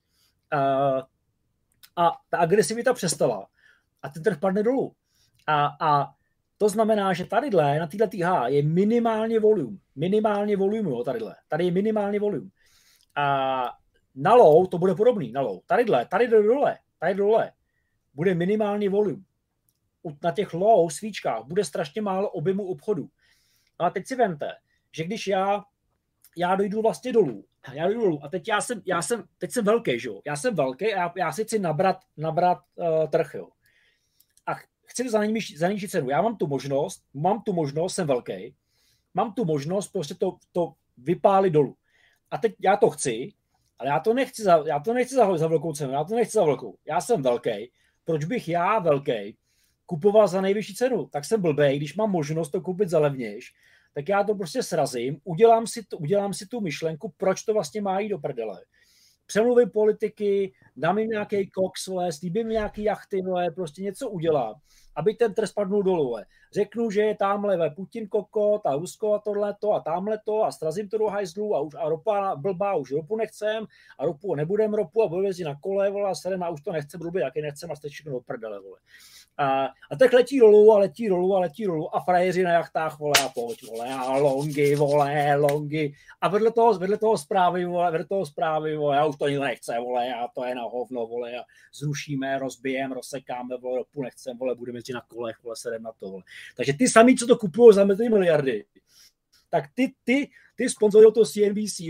A ta agresivita přestala. A ten trh padne dolů. A to znamená, že tadyhle, na této je minimálně volume. Jo, tadyhle. Tady je minimálně volume. A na low to bude podobný, na low. Tady dole. Bude minimální volume. Na těch low svíčkách bude strašně málo objemu obchodu. No a teď si vemte, že když já dojdu vlastně dolů a teď teď jsem velký, že jo? Já jsem velký a já si chci nabrat trh, jo? A chci to za nižší cenu. Já mám tu možnost, jsem velký, mám tu možnost prostě to vypálit dolů. A teď já to chci, ale já to nechci za velkou cenu, Já jsem velký. Proč bych já velký kupoval za nejvyšší cenu? Tak jsem blbej, když mám možnost to koupit za levnější, tak já to prostě srazím, udělám si tu myšlenku, proč to vlastně má jít do prdele. Přemluvím politiky, dám jim nějaký koks, slíbím nějaký jachty, prostě něco udělám, aby ten trh spadnul dolů. Řeknu, že je tamhle Putin kokot a Rusko a tohleto a tamhleto a srazím to do hajzlu a ropa blbá, už ropu nechcem a nebudem ropu a budu jezdit na kole, vole, a sedem a už to nechcem, blbě, jaký nechcem a jste všechno do prdele, vole. A tak letí dolů a frajeři na jachtách, vole, a pojď, vole, a longy. A vedle toho zprávy, vole, já už to nikdo nechce, vole, a to je na hovno, vole, a zrušíme, rozbijeme, rozsekáme, vole, ropu nechcem, vole, budeme jezdit na kolech, vole, sedem na to, vole. Takže ty sami, co to kupují za miliardy, tak ty sponzorují to CNBC,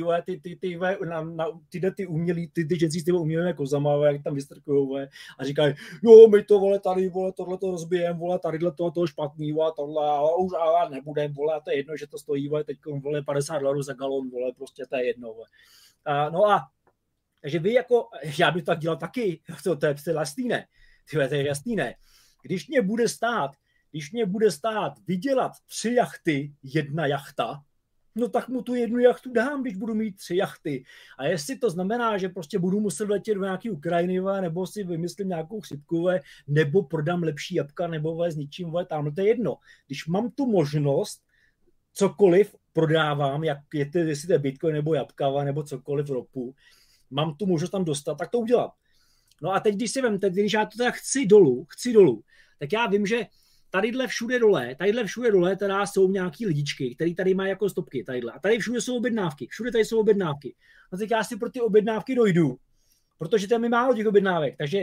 ty umělí, ty ženci s těmi umělými kozama, jak tam vystrkujou, a říkají, jo, my to, vole, tady, vole, tohleto rozbijeme, vole, tadyhle toho špatný, vole, tohle, a už nebudem, vole, a to je jedno, že to stojí, vole, teď, vole, $50 za galon, vole, prostě to je jedno, vole. Takže vy jako, já bych to tak dělal taky, to je jasný, ne? To je jasný, ne? Když mě bude stát vydělat 3 jachty, 1 jachta, no tak mu tu 1 jachtu dám, když budu mít 3 jachty. A jestli to znamená, že prostě budu muset letět do nějaký Ukrajiny, nebo si vymyslím nějakou chřipku, nebo prodám lepší jabka, nebo s ničím, tamhle to je jedno. Když mám tu možnost, cokoliv prodávám, jestli to je Bitcoin, nebo jabka, nebo cokoliv ropu, mám tu možnost tam dostat, tak to udělám. No a teď, když já to tak chci dolů, tak já vím, že tadyhle všude dole teda jsou nějaký lidičky, který tady mají jako stopky, tadyhle. A tady všude jsou objednávky, jsou objednávky. No tak já si pro ty objednávky dojdu, protože tam je málo těch objednávek, takže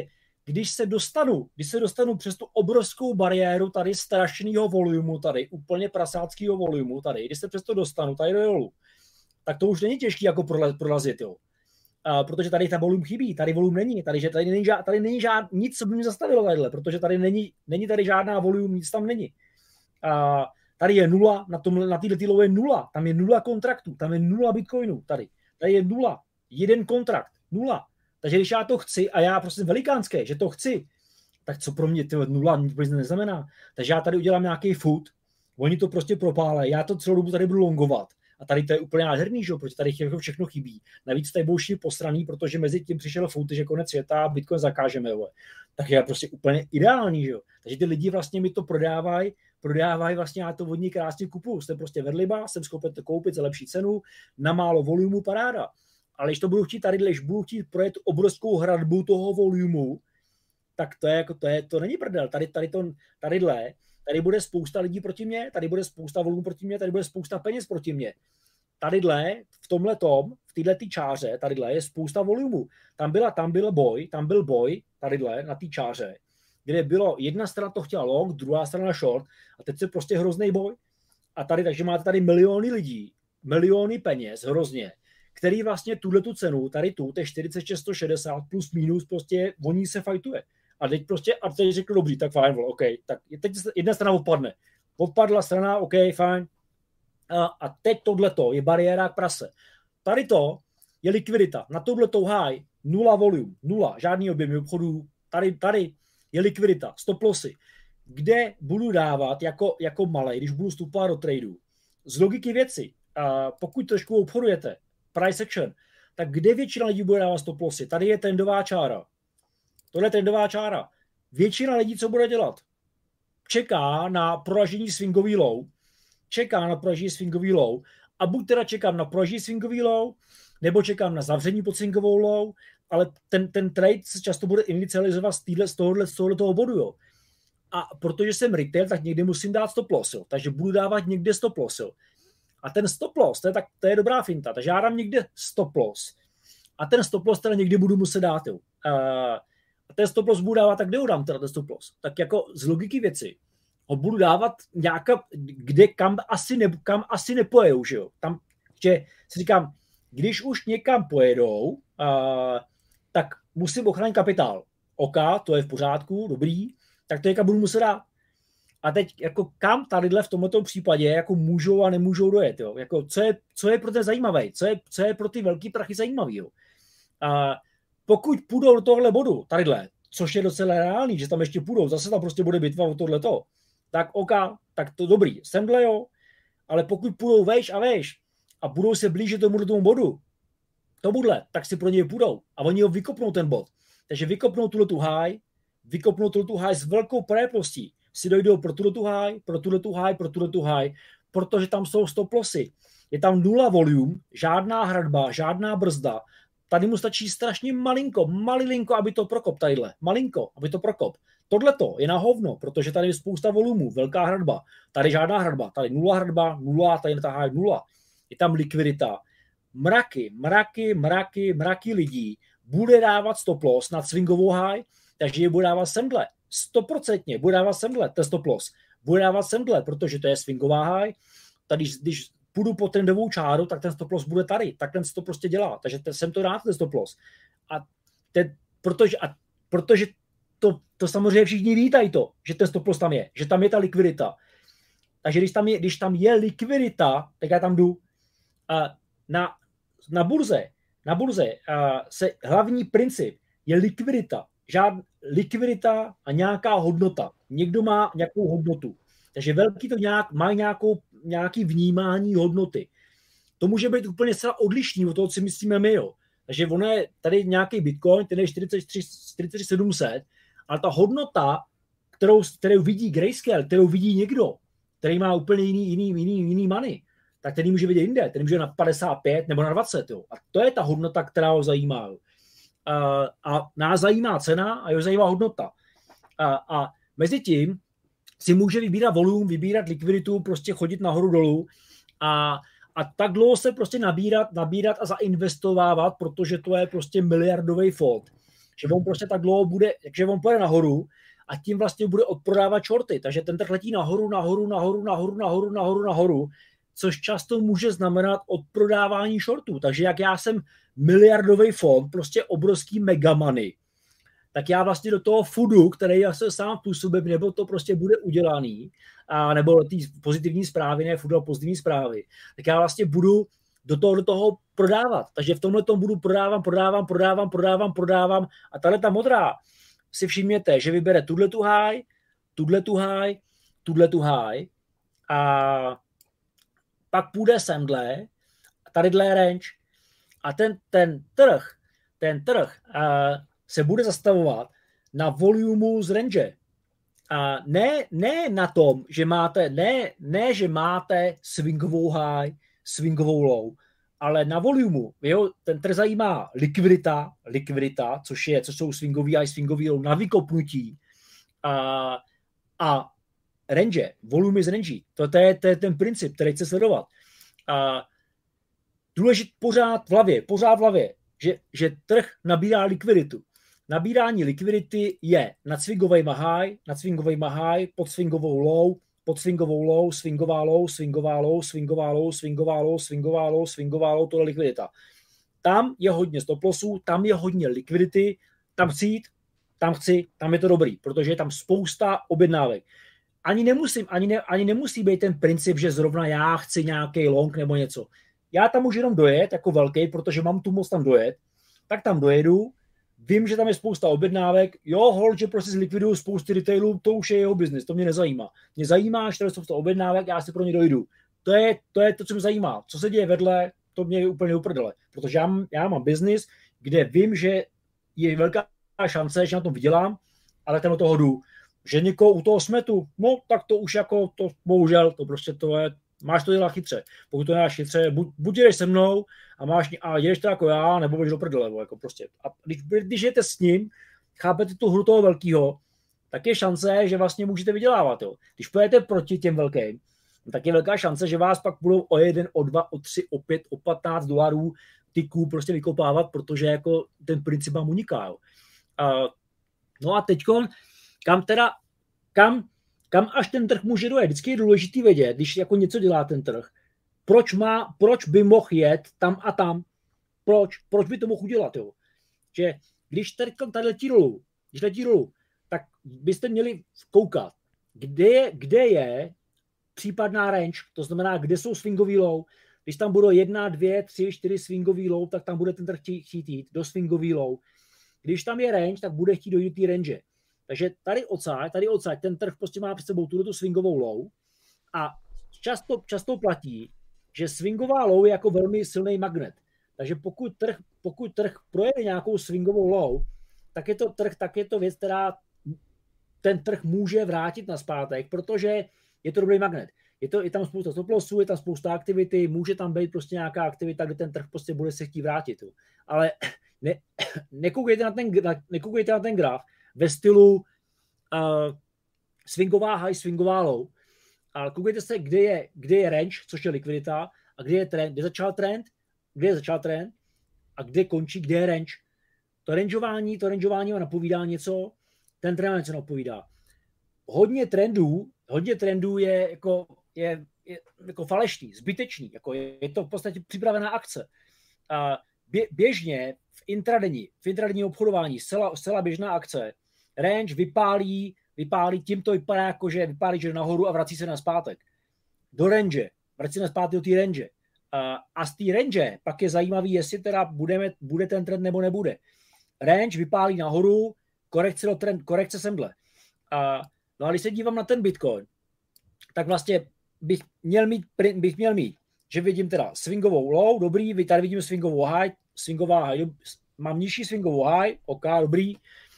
když se dostanu přes tu obrovskou bariéru tady strašného volumu, tady úplně prasáckého volumu, tady, když se přes to dostanu tady dolů, tak to už není těžký jako prorazit, jo. Protože tady ta volum chybí, tady volum není, tady není nic, co by mě zastavilo tadyhle, protože tady není tady žádná volum, nic tam není. Tady je nula, na této low je nula, tam je nula kontraktů, tam je nula bitcoinů, tady je nula, jeden kontrakt, nula. Takže když já to chci a já prostě velikánské, že to chci, tak co pro mě nula nic neznamená. Takže já tady udělám nějaký food, oni to prostě propálejí, já to celou dobu tady budu longovat. A tady to je úplně nádherný, že? Protože tady všechno chybí. Navíc tady budou posraný, protože mezi tím přišel food, že konec světa a Bitcoin zakážeme. Jo. Tak je prostě úplně ideální, že jo. Takže ty lidi vlastně mi to prodávají vlastně, já to od ní krásně kupuju. Jsem prostě vedliba, jsem schopen to koupit za lepší cenu, na málo volumu, paráda. Ale když to budu chtít tady, když budu chtít projet obrovskou hradbu toho volumu, tak to není prdel. Tady bude spousta lidí proti mě, tady bude spousta volumu proti mě, tady bude spousta peněz proti mě. Tadyhle, v této čáře, tadyhle je spousta volumu. Tam byl boj, tadyhle na té čáře, kde bylo jedna strana to chtěla long, druhá strana short a teď se prostě hrozný boj. A tady, takže máte tady miliony lidí, miliony peněz, hrozně, který vlastně tuhletu cenu, tady tu, to je 4660 plus minus, prostě o ní se fajtuje. A teď řekl, dobrý, tak fajn, OK, tak teď jedna strana odpadne. Odpadla strana, OK, fajn. A teď tohleto je bariéra k prase. Tady to je likvidita. Na tohletou high, nula volume, nula, žádný objem obchodů. Tady je likvidita, stop lossy. Kde budu dávat jako malej, když budu vstupovat do tradu. Z logiky věci, pokud trošku obchodujete, price action, tak kde většina lidí bude dávat stop lossy? Tady je trendová čára. Tohle je trendová čára. Většina lidí, co bude dělat? Čeká na proražení swingový low, a buď teda čekám na proražení swingový low, nebo čekám na zavření pod swingovou low, ale ten trade se často bude inicializovat z tohoto bodu. Jo. A protože jsem retail, tak někde musím dát stop loss. Jo. Takže budu dávat někde stop loss. Jo. A ten stop loss, to je dobrá finta. Takže já dám někde stop loss. A ten stop loss teda někdy budu muset dát. Jo. A ten stop loss budu dávat, tak kde ho dám teda ten stop loss? Tak jako z logiky věci ho budu dávat kam asi nepojejou, že jo? Tam, že si říkám, když už někam pojedou, tak musím ochránit kapitál. OK, to je v pořádku, dobrý, tak to někam budu muset dát. A teď jako kam tadyhle v tomto případě jako můžou a nemůžou dojet, jo? Jako, co je pro ten zajímavý, co je pro ty velký prachy zajímavý, jo? Pokud půjdou do tohle bodu, tadyhle, což je docela reálný, že tam ještě půjdou, zase tam prostě bude bitva o tohleto, tak OK, tak to dobrý, semhle jo, ale pokud půjdou vejš a budou se blížit tomu bodu, tak si pro něj půjdou a oni ho vykopnou ten bod. Takže vykopnou tuhletu high s velkou pravděpodobností, si dojdou pro tuhletu high, protože tam jsou stop lossy. Je tam nula volume, žádná hradba, žádná brzda. Tady mu stačí strašně malilinko, aby to prokop tadyhle. Malinko, aby to prokop. Tohleto je na hovno, protože tady je spousta volumů, velká hradba. Tady žádná hradba, tady nula hradba, nula, tady ta high nula. Je tam likvidita. Mraky lidí bude dávat stop loss nad swingovou high, takže je bude dávat semhle. 100% bude dávat semhle, ten stop loss. Bude dávat semhle, protože to je swingová high. Tady, když půjdu po trendovou čáru, tak ten stop loss bude tady. Tak ten to prostě dělá. Takže jsem to rád, ten stop loss. Protože to samozřejmě všichni vítají to, že ten stop loss tam je. Že tam je ta likvidita. Takže když tam je likvidita, tak já tam jdu. Na burze se hlavní princip je likvidita. Likvidita a nějaká hodnota. Někdo má nějakou hodnotu. Takže velký to má nějaký vnímání hodnoty. To může být úplně zcela odlišný od toho, co myslíme my. Jo. Takže ono je tady nějaký Bitcoin, ten je 4700, ale ta hodnota, kterou vidí Grayscale, kterou vidí někdo, který má úplně jiný money, tak ten může vidět jinde, ten může na 55 nebo na 20. Jo. A to je ta hodnota, která ho zajímá. A nás zajímá cena a jeho zajímá hodnota. A mezi tím si může vybírat volum, vybírat likviditu, prostě chodit nahoru dolů a tak dlouho se prostě nabírat a zainvestovávat, protože to je prostě miliardový fond. že on prostě tak dlouho bude, že on půjde nahoru a tím vlastně bude odprodávat shorty, takže ten trh letí nahoru, což často může znamenat odprodávání shortů. Takže jak já jsem miliardový fond, prostě obrovský megamoney, tak já vlastně do toho foodu, který já se sám působím, nebo to prostě bude udělaný, a nebo ty pozitivní zprávy, ne food, ale pozitivní zprávy, tak já vlastně budu do toho prodávat. Takže v tomhle tom budu prodávám a tahle ta modrá, si všimněte, že vybere tuhle high a pak půjde semhle, tadyhle range a ten trh se bude zastavovat na volumu z range. A ne na tom, že máte, že máte swingovou high, swingovou low, ale na volumu. Ten trh zajímá likvidita, což jsou swingový high, swingový low na vykopnutí a range, volume z range. To je ten princip, který chce sledovat. Důležitý pořád v hlavě, že trh nabírá likviditu. Nabírání likvidity je nad swingovejma high, pod swingovou low, swingová low, tohle likvidita. Tam je hodně stop lossů, tam je hodně likvidity, tam chci jít, tam je to dobrý, protože je tam spousta objednávek. Ani nemusí být ten princip, že zrovna já chci nějaký long nebo něco. Já tam můžu jenom dojet jako velký, protože mám tu moc tam dojet, tak tam dojedu, vím, že tam je spousta objednávek, že prostě zlikviduju spousty retailů, to už je jeho biznis, to mě nezajímá. Mě zajímá, že tam je spousta objednávek, já si pro ně dojdu. To je to, co mě zajímá. Co se děje vedle, to mě je úplně uprdele. Protože já mám biznis, kde vím, že je velká šance, že na tom vydělám, ale tam do toho jdu. Že někoho u toho smetu, no tak to už jako, to bohužel, to prostě to je, máš to dělat chytře. Pokud to děláš chytře, buď jdeš se mnou a jedeš to jako já, nebo budeš do prdele, jako prostě. A když jdete s ním, chápete tu hru toho velkýho, tak je šance, že vlastně můžete vydělávat. Jo. Když pojedete proti těm velkým, tak je velká šance, že vás pak budou o 1, o 2, o 3, o 5, o $15 tyků prostě vykopávat, protože jako ten princip vám uniká. Jo. No a teďkon, kam až ten trh může dojet. Vždycky je důležitý vědět, když jako něco dělá ten trh, proč by mohl jet tam a tam. Proč by to mohl udělat. Jo? Že když tady letí dolů, tak byste měli koukat, kde je případná range, to znamená, kde jsou swingový low. Když tam budou 1, 2, 3, 4 swingový low, tak tam bude ten trh chtít jít do swingový low. Když tam je range, tak bude chtít dojít té range. Takže tady odsaď, ten trh prostě má před sebou tu swingovou low a často platí, že swingová low je jako velmi silný magnet. Takže pokud trh projede nějakou swingovou low, tak je to věc, která ten trh může vrátit nazpátek, protože je to dobrý magnet. Je tam spousta stop lossů, je tam spousta aktivity, může tam být prostě nějaká aktivita, kde ten trh prostě bude se chtít vrátit. Jo. Ale nekoukejte na ten graf ve stylu swingová high, swingová low, ale koukejte se, kde je range, což je likvidita, a kde je trend, kde začal trend a kde končí, kde je range. To rangeování vám napovídá něco, ten trend něco napovídá. Hodně trendů je jako falešný, zbytečný, jako je to v podstatě připravená akce. Běžně v intradenní obchodování zcela běžná akce, range vypálí, tím to vypadá jako, že vypálí, že nahoru a vrací se nazpátek. Do range, vrací se nazpátek do té range. A z té range pak je zajímavý, jestli teda bude ten trend nebo nebude. Range vypálí nahoru, korekce semhle. No a když se dívám na ten Bitcoin, tak vlastně bych měl mít, že vidím teda swingovou low, dobrý, tady vidím swingová high, mám nižší swingovou high, OK, dobrý.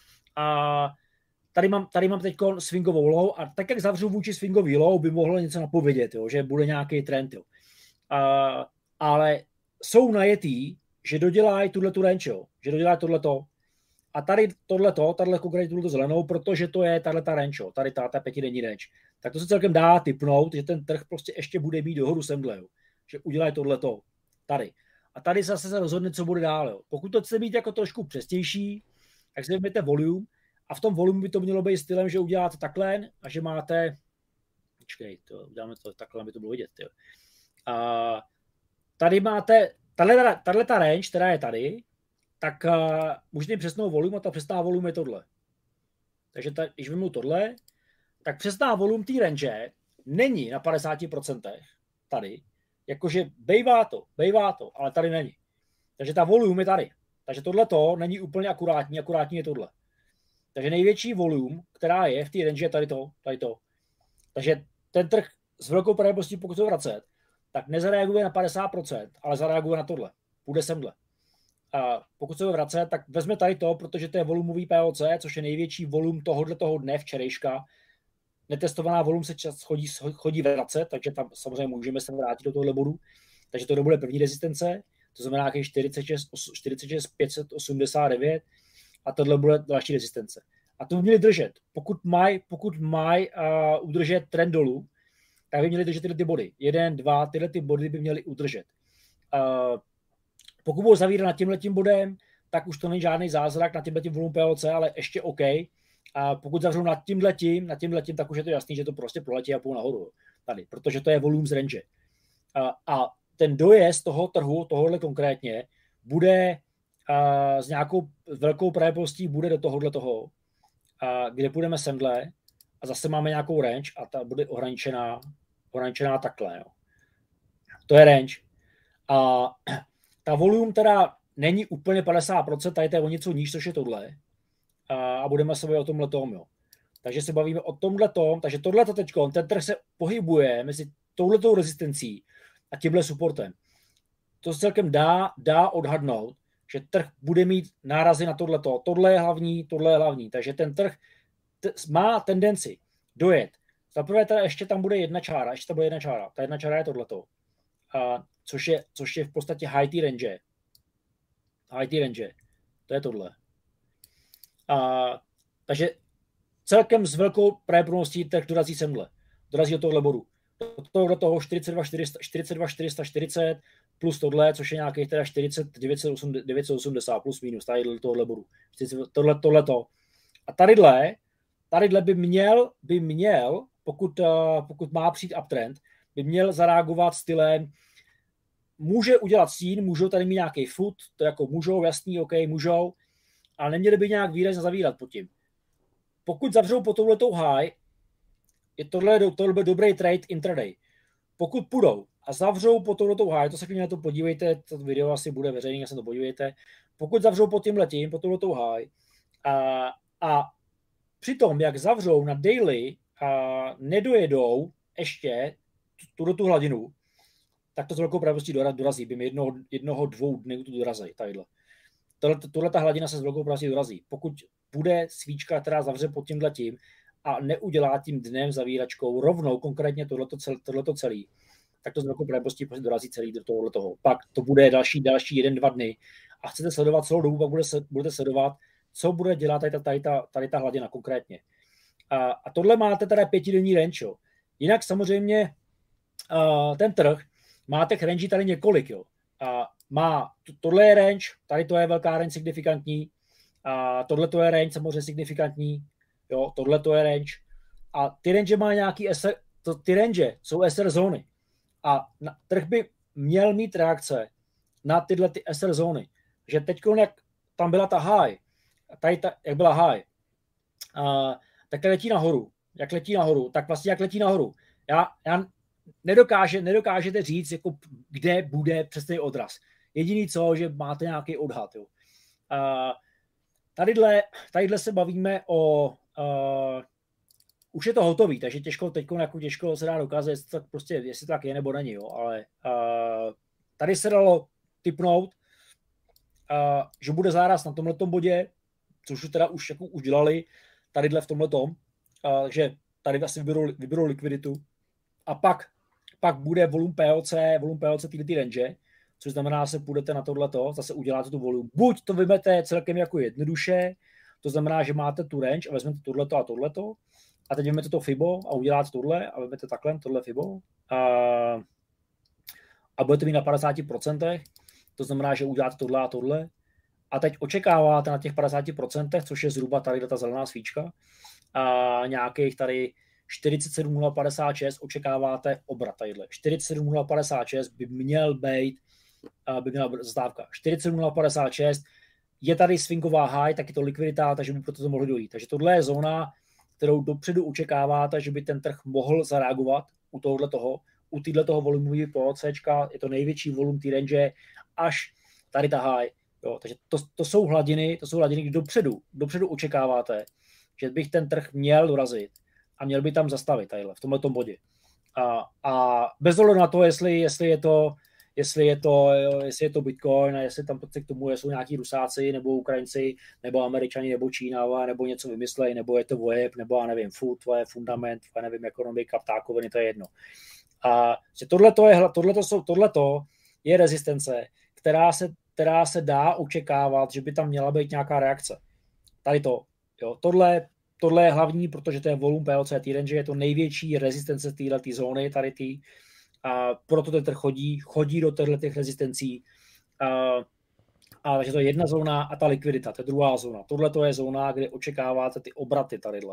A tady mám teď swingovou low a tak, jak zavřu vůči swingový low, by mohlo něco napovědět, jo, že bude nějaký trend. Jo. Ale jsou najetý, že dodělají tu range, jo, že dodělají tohleto. A tady tahle konkrétně tuto zelenou, protože to je tato range, jo, tady ta pětidenní range. Tak to se celkem dá tipnout, že ten trh prostě ještě bude mít dohodu semhle, jo, že udělají tohleto tady. A tady zase se rozhodne, co bude dál. Jo. Pokud to chce být jako trošku přesnější, tak si vezmete volume a v tom volume by to mělo být stylem, že uděláte takhle a že máte, počkej, uděláme to takhle, aby to bylo vidět. Jo. A tady máte, tahle ta range, která je tady, tak můžete mít přesnou volume a ta přesná volume je tohle. Takže když vezmu tohle, tak přesná volume té range není na 50% tady. Jakože bejvá to, ale tady není. Takže ta volume je tady. Takže tohleto není úplně akurátní je tohle. Takže největší volume, která je v té range, je tady to. Takže ten trh s velkou pravděpodobností, pokud se vracet, tak nezareaguje na 50%, ale zareaguje na tohle. Půjde semhle. A pokud se vracet, tak vezme tady to, protože to je volumový POC, což je největší volum tohoto dne, včerejška. Netestovaná volum se čas chodí vracet, takže tam samozřejmě můžeme se vrátit do tohohle bodu. Takže to bude první rezistence, to znamená nějaký 46 589 a tohle bude další rezistence. A to by měli držet. Pokud mají udržet trend dolů, tak by měli držet tyhle ty body. 1, 2, tyhle ty body by měli udržet. Pokud budou zavírat nad tímhletím bodem, tak už to není žádný zázrak na tímhletím volum POC, ale ještě OK. A pokud zavřou nad tímhletím, tak už je to jasný, že to prostě proletí a půl nahoru. Tady, protože to je volum z range. A ten dojezd toho trhu, tohohle konkrétně, bude s nějakou velkou pravděpodobností bude do tohohle toho, kde půjdeme semhle a zase máme nějakou range a ta bude ohraničená takhle. Jo. To je range. A ta volum teda není úplně 50%, tady to je o něco níž, což je tohle. A budeme se bavit o tomhletom, jo. Takže se bavíme o tomhletom, takže tohleto teďko, ten trh se pohybuje mezi touhletou rezistencí a tímhle supportem. To se celkem dá odhadnout, že trh bude mít nárazy na tohleto. Tohle je hlavní. Takže ten trh má tendenci dojet. Zaprvé teda ještě tam bude jedna čára. Ta jedna čára je tohleto. Což je v podstatě high T range. To je tohle. Takže celkem s velkou pravděpodobností trh dorazí semhle. Dorazí do tohle bodu. Do toho 42 440 plus tohle, což je nějakých teda 40 980 plus minus, tady do tohle bodu. Tohleto. A tadyhle by měl, pokud má přijít uptrend, by měl zareagovat stylem, může udělat stín, můžou tady mít nějaký foot, to jako můžou, jasný, OK, můžou, ale neměli by nějak výrazně zavírat pod tím. Pokud zavřou po touhletou high, tohle byl dobrý trade intraday. Pokud půjdou a zavřou po touhletou high, to se klidně na to podívejte, to video asi bude veřejný, se to podívejte. Pokud zavřou po tímhletím, po touhletou high a přitom, jak zavřou na daily a nedojedou ještě tu hladinu, tak to s velkou pravděpodobností dorazí. Bym jednoho 2 dnů tu dorazí. Tohle ta hladina se s velkou pravděpodobností dorazí. Pokud bude svíčka, která zavře pod tímhletím a neudělá tím dnem zavíračkou rovnou, konkrétně tohleto celý, tak to s velkou pravděpodobností dorazí celý do tohoto. Pak to bude další 1-2 dny a chcete sledovat celou dobu, pak budete sledovat, co bude dělat tady ta hladina konkrétně. A tohle máte teda 5denní range. Jo. Jinak samozřejmě ten trh má těch range tady několik. Jo. Tohle je range, tady to je velká range signifikantní, a tohle to je range samozřejmě signifikantní, jo, tohle to je range. A ty range má nějaký ty range jsou SR zóny. A trh by měl mít reakce na tyhle ty SR zóny. Že teď, jak tam byla ta high, jak byla high, tak letí nahoru. Jak letí nahoru. Já nedokážete říct, jako, kde bude přesný odraz. Jediný co, že máte nějaký odhad. Jo. Tadyhle se bavíme o... už je to hotový, takže těžko se dá dokázat, jestli to tak je nebo není. Jo. Ale tady se dalo tipnout, že bude záraz na tomhletom bodě, což teda už dělali, tadyhle v tomhletom, takže tady asi vyberou likviditu a pak bude volum POC ty range, což znamená, že se půjdete na tohleto, zase uděláte tu volum. Buď to vymete celkem jako jednoduše, to znamená, že máte tu range a vezmete tohleto a tohleto, a teď vezmete to FIBO a uděláte tohle a vezmete takhle tohle FIBO a budete mít na 50%, to znamená, že uděláte tohle a tohle a teď očekáváte na těch 50%, což je zhruba tady ta zelená svíčka, a nějakých tady 47,056 očekáváte obrat tadyhle. 47,056 by měla zastávka. 47,056 je tady swingová high, tak je to likvidita, takže by proto to mohlo dojít. Takže tohle je zóna, kterou dopředu očekáváte, že by ten trh mohl zareagovat u této volumového POCčka, je to největší volum té range, až tady ta high. Jo, takže to jsou hladiny, kdy dopředu očekáváte, že bych ten trh měl dorazit a měl by tam zastavit tadyhle, v tomhletom bodě. A bez ohledu na to, jestli je to Bitcoin a jestli tam k tomu jsou nějaký Rusáci, nebo Ukrajinci, nebo Američani, nebo Čína, nebo něco vymyslej, nebo je to VOEP, nebo já nevím, food, to je fundament, já nevím, ekonomika, ptákoviny, to je jedno. A tohleto je rezistence, která se dá očekávat, že by tam měla být nějaká reakce. Tady to. Jo, tohle je hlavní, protože to je volum POC range, je to největší rezistence této zóny, tady tý. A proto ten trh chodí do těch rezistencí. Takže to je jedna zóna a ta likvidita, to je druhá zóna. Tohle to je zóna, kde očekáváte ty obraty tadyhle.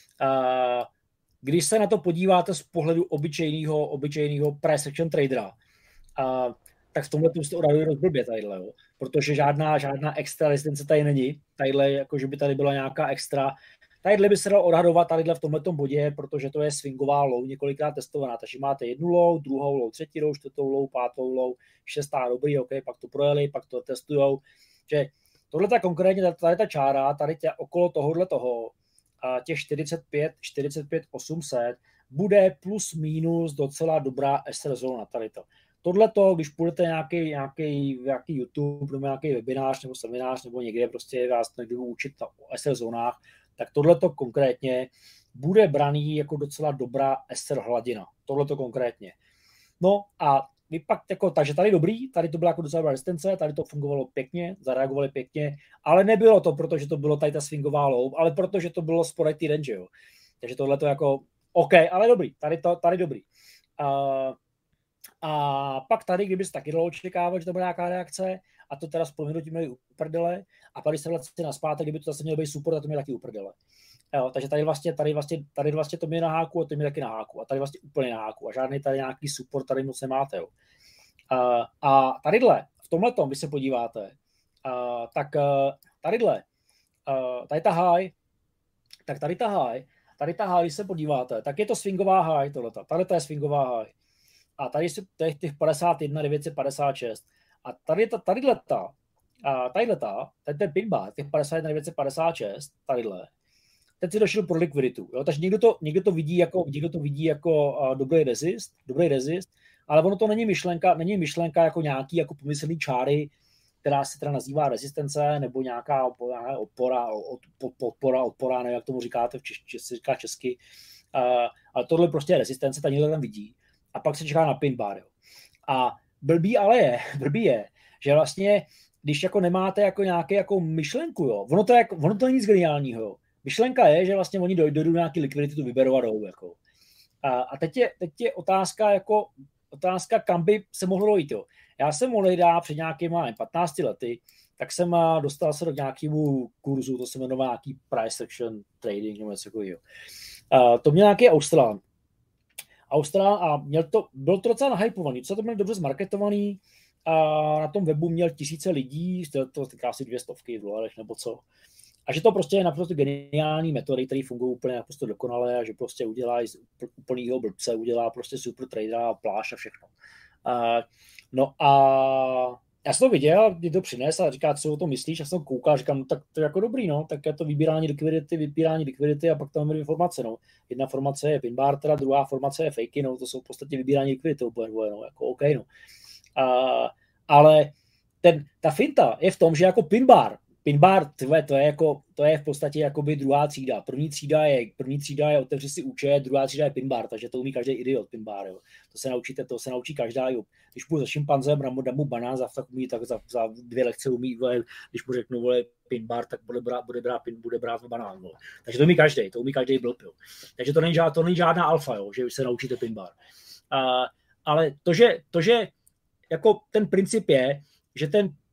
Když se na to podíváte z pohledu obyčejného price action tradera, tak v tomhle se odhaduje rozblbě tadyhle, jo. Protože žádná extra rezistence tady není. Tadyhle, jako že by tady byla nějaká extra. Tadyhle by se dalo odhadovat tadyhle v tomhletom bodě, protože to je swingová low, několikrát testovaná. Takže máte jednu low, druhou low, třetí low, čtvrtou low, pátou low, šestá, dobrý, OK, pak to projeli, pak to testujou. Že tohle ta konkrétně, tady ta čára, tady okolo toho, a těch 45 800 bude plus minus docela dobrá SR zóna tady to. Tohleto, když půjdete nějaký YouTube nebo nějaký webinář nebo seminář nebo někde prostě vás někdo učit o SR zónách, tak tohleto konkrétně bude braný jako docela dobrá SR hladina. Tohleto konkrétně. No a vy pak takže tady dobrý, tady to byla jako docela dobrá rezistence, tady to fungovalo pěkně, zareagovali pěkně, ale nebylo to, protože to bylo tady ta swingová low, ale protože to bylo spodek ty range, jo. Takže tohleto jako OK, ale dobrý, tady dobrý. A pak tady, kdyby se taky dalo očekávat, že to bude nějaká reakce, a to teda s proměnutím měli uprdele, a pak když se vrátí naspátek, kdyby to zase mělo být support, a to měli taky uprdele. Jo, takže tady vlastně to mě na háku, a to mě taky na háku, a tady vlastně úplně na háku, a žádný tady nějaký support tady moc nemáte. Jo. A tadyhle, v tomhletom, když se podíváte, tak tadyhle, tady ta high, když se podíváte, tak je to swingová high tohleta, tadyhle je swingová high. A tady jsou těch 51 956. A tady ten pin bar, těch 51 956, tadyhle. Teď si došel pro likviditu. Jo? Takže někdo to vidí jako dobrý rezist, ale ono to není myšlenka jako nějaký jako pomyslný čáry, která se teda nazývá rezistence, nebo nějaká odpora, nevím, jak tomu říkáte, říká česky. Ale tohle prostě je rezistence, ta někdo tam vidí. A pak se čeká na pin bar. Jo. A blbý je, že vlastně, když jako nemáte jako nějaké jako myšlenku, jo, ono to je nic geniálního. Jo. Myšlenka je, že vlastně oni dojdou nějaký likvidity, tu vyberou a jdou. Jako. A teď je otázka, kam by se mohlo dojít. Jo. Já jsem mohl dát před nějakýma 15 lety, tak jsem dostal se do nějakému kurzu, to se jmenuje nějaký price action trading nebo něco takového. To měl nějaký Australán a byl to docela nahypovaný, co to bylo dobře zmarketovaný, a na tom webu měl tisíce lidí, to týká asi $200 nebo co. A že to prostě je naprosto geniální metody, které fungují úplně naprosto dokonale a že prostě udělá z úplnýho blbce, udělá prostě super tradera, pláž a všechno. No a já jsem to viděl, mě to přinesl a říká, co o tom myslíš, já jsem koukal, říkám, no tak to je jako dobrý, no, tak je to vybírání likvidity a pak tam máme informace, no. Jedna formace je pin bar, teda druhá formace je fakey, no, to jsou v podstatě vybírání likvidity úplně dvoje, no, jako OK, no. Ale ta finta je v tom, že jako pin bar, to je v podstatě jakoby druhá třída. První třída je otevři si účet, druhá třída je pin bar, takže to umí každý idiot pin bar, jo. To se naučí každá, jo. Když půjdu za šimpanzem, dám mu banán, tak za 2 lekce umí, když mu řeknu, vole, pin bar, tak bude brát banán, vole. Takže to umí každý blb, jo. Takže to není žádná alfa, jo, že se naučíte pin bar. Ale to, že jako ten princip je, že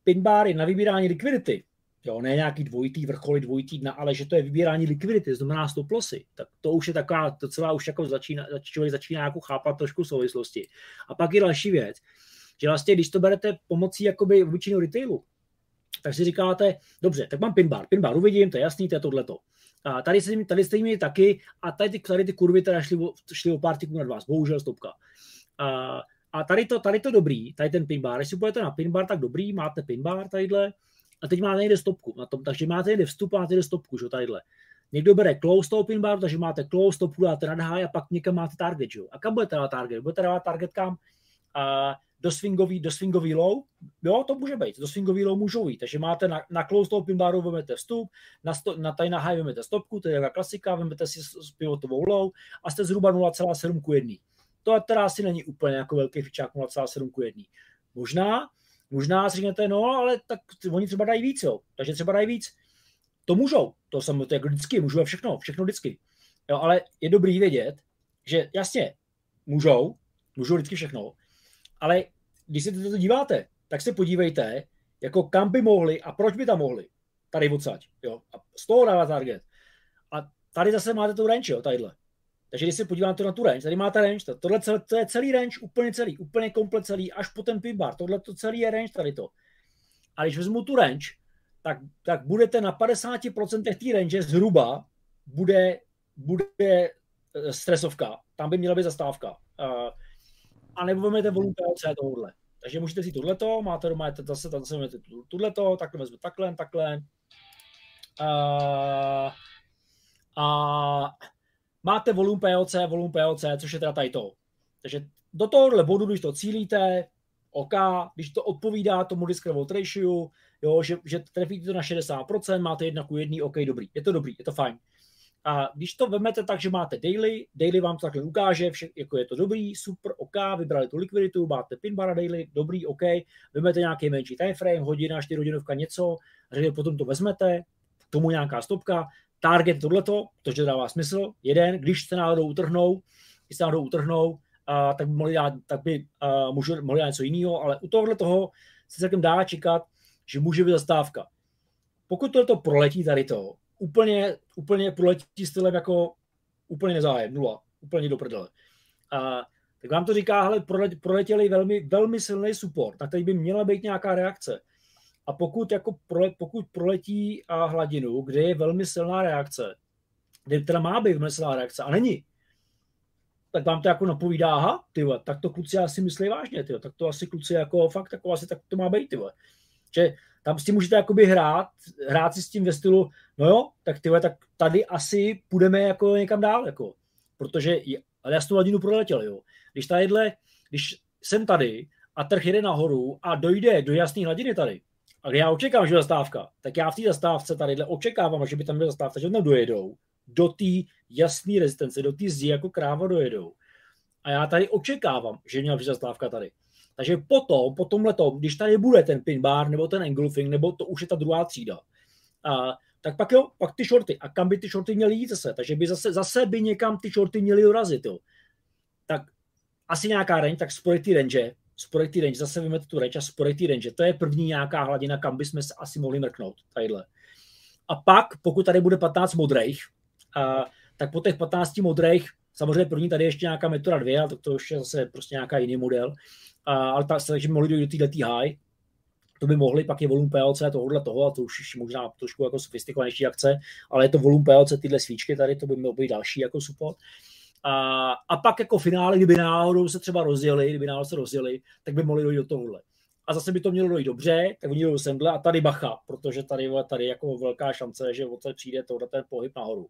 pin bar je na vybírání likvidity, jo, ne nějaký dvojitý vrcholy, dvojitý dna, ale že to je vybírání likvidity, to znamená stop lossy, tak to už je taková, docela už jako člověk začíná jako chápat trošku souvislosti. A pak je další věc, že vlastně, když to berete pomocí jakoby obyčejného retailu, tak si říkáte, dobře, tak mám pin bar uvidím, to je jasný, to je tohleto. A tady jste měli taky a tady ty kurvy teda šly o pár tyků nad vás, bohužel stopka. A tady to dobrý, tady ten pin bar, když si půjdete na pin bar, tak dobrý, máte pin bar tadyhle a teď máte někde stopku na tom, takže máte někde vstup a máte někde stopku, že tadyhle. Někdo bere close toho pin baru, takže máte close, stopku dáte nad high a pak někam máte target, že? A kam budete dávat target? Budete dávat target kam? Do swingový low, jo, to může být, do swingový low můžou jít, takže máte na close toho pin baru, vezmete vstup, na high vezmete stopku, to je taková klasika, vezmete si pivotovou low a jste zhruba 0,7:1. To teda asi není úplně jako velký fičák 0,7:1. Možná si řeknete, no, ale tak oni třeba dají víc, jo, takže třeba dají víc. To můžou, to jako vždycky, můžou všechno vždycky. Jo, ale je dobrý vědět, že jasně, můžou vždycky všechno, ale když se to díváte, tak se podívejte, jako kam by mohli a proč by tam mohli. Tady odsaď, jo. A z toho dává target. A tady zase máte tu range, jo, tadyhle. Takže když se podíváte na tu range, tady máte range, tohle to je celý range, úplně komplet celý, až po ten pin bar. Tohle to celý je range, tady to. A když vezmu tu range, tak budete na 50% té range zhruba bude stresovka. Tam by měla být zastávka. A nebo vezmete volum POC tohle. Takže můžete si tohleto, máte zase tohleto, takhle vezmete takhle. A máte volum POC, což je teda tady to. Takže do tohohle bodu, když to cílíte, OK, když to odpovídá tomu risk reward ratio, jo, že trefíte to na 60%, máte 1:1, OK, dobrý, je to fajn. A když to vezmete tak, že máte daily vám to takhle ukáže, jako je to dobrý, super, OK, vybrali tu likviditu, máte pin bar daily, dobrý, OK, vezmete nějaký menší time frame, hodina, 4 hodinovka, něco, potom to vezmete, k tomu nějaká stopka, target tohleto, protože dává smysl, jeden, když se náhodou utrhnou, tak by mohli dát něco jiného, ale u tohohle toho se celkem dá čekat, že může být zastávka. Pokud tohleto proletí tady to, úplně proletí stylem jako úplně nezájem, 0, úplně do prdele. Tak vám to říká, hele, proletěli velmi, velmi silný support, na který by měla být nějaká reakce. A pokud proletí hladinu, kde je velmi silná reakce, kde teda má být velmi silná reakce a není, tak vám to jako napovídá, aha, tyhle, tak to kluci asi myslí vážně, tyhle, tak to asi kluci jako fakt, jako asi tak to má být, tyhle. Že tam s tím můžete jakoby hrát si s tím ve stylu, no jo, tak tyhle, tak tady asi půjdeme jako někam dál, jako, protože ale já tu hladinu proletěl, jo. Když jsem tady a trh jede nahoru a dojde do jasné hladiny tady, a já očekávám, že je zastávka, tak já v té zastávce tadyhle očekávám, že by tam byla zastávka, že tam dojedou do té jasné rezistence, do té zdi jako kráva dojedou. A já tady očekávám, že měla přijít zastávka tady. Takže po tomhletom, když tady bude ten pin bar nebo ten engulfing, nebo to už je ta druhá třída, tak pak ty shorty. A kam by ty shorty měly jít zase? Takže by zase by někam ty shorty měly dorazit. Jo. Tak asi nějaká range, tak spojit ty range, zase vyjmete tu range a spojit ty range. To je první nějaká hladina, kam bychom se asi mohli mrknout. Tadyhle. A pak, pokud tady bude 15 modrých, tak po těch 15 modrých, samozřejmě první tady ještě nějaká metoda 2, ale to už je zase prostě nějaká jiný model, ale takže by mohli dojít do této high, to by mohli, pak je volum PLC tohohle toho, a to už možná trošku jako sofistikovanější akce, ale je to volum PLC tyhle svíčky tady, to by mělo být další jako support. A pak jako finále, kdyby náhodou se třeba rozjeli, tak by mohli dojít do tohohle. A zase by to mělo dojít dobře, tak oni jdou semhle a tady bacha, protože tady jako velká šance, že odsaď přijde ten pohyb nahoru.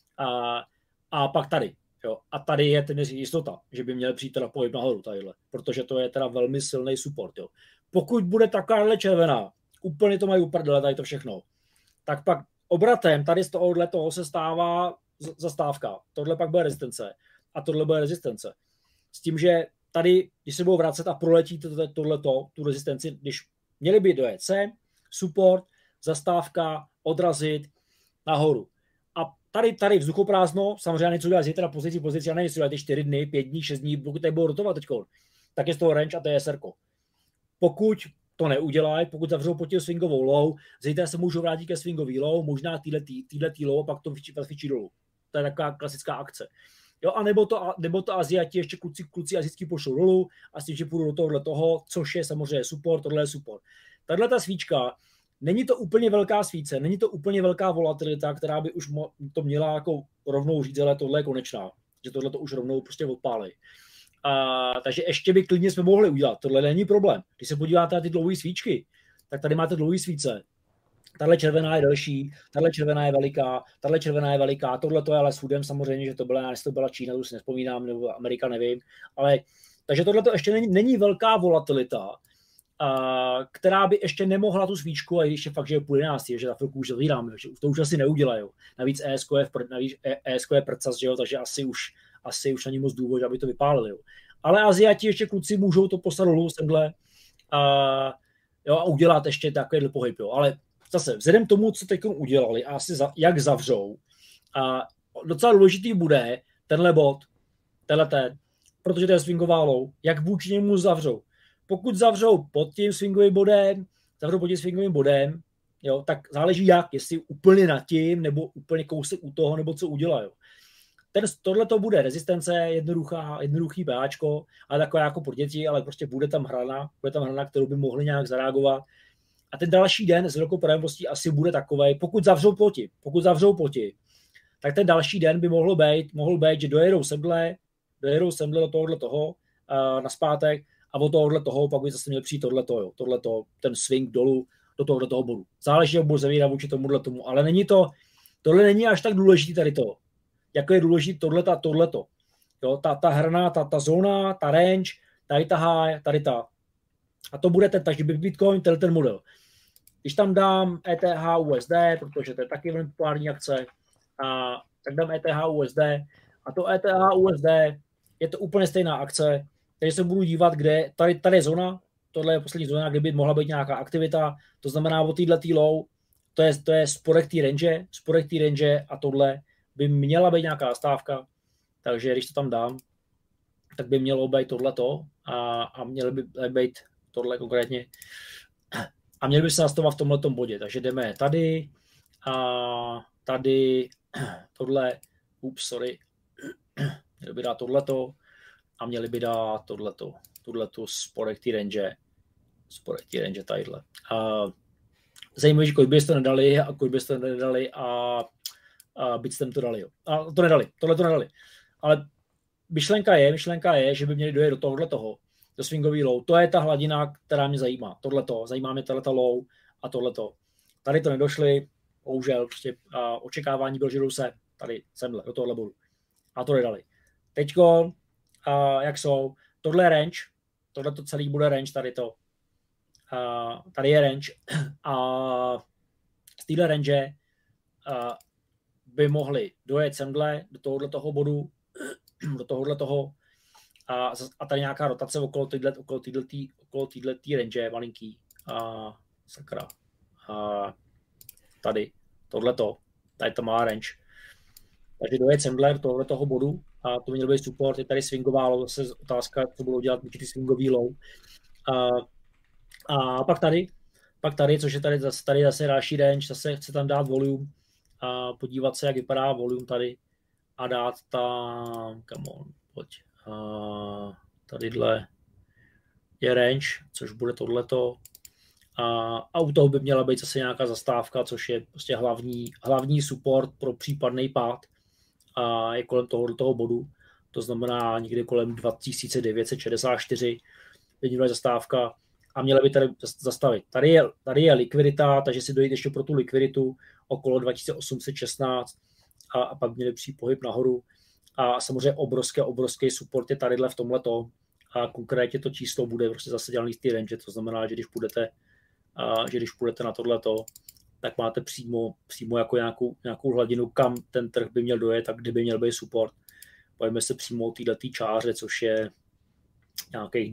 A pak tady. Jo. A tady je téměř jistota, že by měl přijít teda pohyb nahoru tadyhle, protože to je teda velmi silný support. Jo. Pokud bude takováhle červená, úplně to mají uprdele, tady to všechno, tak pak obratem tady z toho se stává zastávka. Tohle pak bude rezistence a tohle bude rezistence. S tím, že tady, když se budou vracet a proletí tu rezistenci, když měli by dojet sem, support, zastávka, odrazit nahoru. A tady vzduchoprázdno, samozřejmě něco dělat zítra pozici, a nevím, jestli dělat 4 dny, 5 dní, 6 dní, pokud tady budou rotovat teďko, tak je z toho range a to je SRko. Pokud to neudělají, pokud zavřou pod tím swingovou low, zítra se můžou vrátit ke swingový low, možná týhletý low, a pak to vycvičí dolů. To je taková klasická akce. Jo, a nebo to Aziati, ještě kluci azijský pošlou dolů a s tím, že půjdu do tohohle toho, což je samozřejmě support, tohle je support. Tahle ta svíčka, není to úplně velká svíce, není to úplně velká volatilita, která by už to měla jako rovnou říct, ale tohle je konečná, že tohle to už rovnou prostě odpálí. Takže ještě by klidně jsme mohli udělat, tohle není problém. Když se podíváte na ty dlouhé svíčky, tak tady máte dlouhé svíce. Tahle červená je delší, tahle červená je veliká, tahle červená je veliká, tohle to je ale s Foodem samozřejmě, že to byla Čína, to si nevzpomínám, nebo Amerika, nevím, ale takže tohle to ještě není velká volatilita, která by ještě nemohla tu svíčku, a když je fakt, že je půl 11, že za chvilku už zavíráme, že to už asi neudělají. Navíc ESK je prcas, že jo, takže asi už není moc důvod, aby to vypálili. Jo. Ale Aziati ještě kluci můžou to poslat dolů semhle a udělat ještě takovýhle pohyb. Jo. Ale zase, vzhledem k tomu, co teď udělali a asi jak zavřou, a docela důležitý bude tenhle bod, protože to je swingová low, jak vůči němu zavřou. Pokud zavřou pod tím swingovým bodem, jo, tak záleží jak, jestli úplně nad tím, nebo úplně kousek u toho, nebo co udělají. Tohle to bude rezistence, jednoduchý PAčko, ale takové jako pro děti, ale prostě bude tam hrana, kterou by mohli nějak zareagovat. A ten další den s velkou pravděpodobností asi bude takovej, pokud zavřou poti, tak ten další den by mohl být, že dojedou semhle do tohohle toho naspátek, a od tohohle toho pak by zase měl přijít tohleto, ten swing dolů do tohoto bodu. Záleží, jak budu zavírat vůči tomu, ale tohle není až tak důležitý tady to, jako je důležitý tohleto. Jo, ta hrana, ta zóna, ta range, tady ta high, tady ta. A to bude takže by Bitcoin ten model. Když tam dám ETH USD, protože to je taky velmi populární akce, tak dám ETH USD a to ETH USD je to úplně stejná akce, takže se budu dívat, kde, tady je zóna, tohle je poslední zóna, kde by mohla být nějaká aktivita, to znamená o této low, to je spodek té range a tohle by měla být nějaká stávka, takže když to tam dám, tak by mělo být tohleto a mělo by být tohle konkrétně a měli by se nastavovat v tomhletom bodě, takže jdeme tady a tady tohle, měli by dát tohleto a měli by dát tohleto spodek té range tadyhle. Zajímavé, že kolik byste nedali a Bitstamp to dali. Jo. A to nedali, tohle to nedali. Ale myšlenka je, že by měli dojet do tohohle toho, do swingový low. To je ta hladina, která mě zajímá. Zajímá mě tato low a tohleto. Tady to nedošli, bohužel, prostě očekávání bylo, že jdou se tady semhle, do tohohle bodu. A to nedali. Teďko, jak jsou, tohle je range, tohle to celý bude range, tady je range a z téhle range by mohli dojet semhle do tohohle toho bodu, do tohohle toho a tady nějaká rotace okolo této range malinký sakra. Tady tohleto, tady to má range. Takže dojet semhle do tohohle toho bodu a to měl být support, je tady swingová low, zase otázka, co budou dělat ty swingový low. A pak tady, což je tady zase další range, zase chce tam dát volume a podívat se, jak vypadá volume tady a dát tam, come on, pojď. Tadyhle je range, což bude tohleto. A u toho by měla být zase nějaká zastávka, což je prostě hlavní support pro případný pád. A je kolem toho bodu. To znamená někde kolem 2964 by měla zastávka a měla by tady zastavit. Tady je likvidita, takže si dojít ještě pro tu likviditu okolo 2816 a pak měli přijít pohyb nahoru. A samozřejmě obrovský support je tadyhle v tomhleto a konkrétně to číslo bude prostě zase dělaný z té range, to znamená, že když půjdete na tohleto, tak máte přímo jako nějakou hladinu, kam ten trh by měl dojet a kde by měl být support. Pojďme se přímo o této čáře, což je nějakých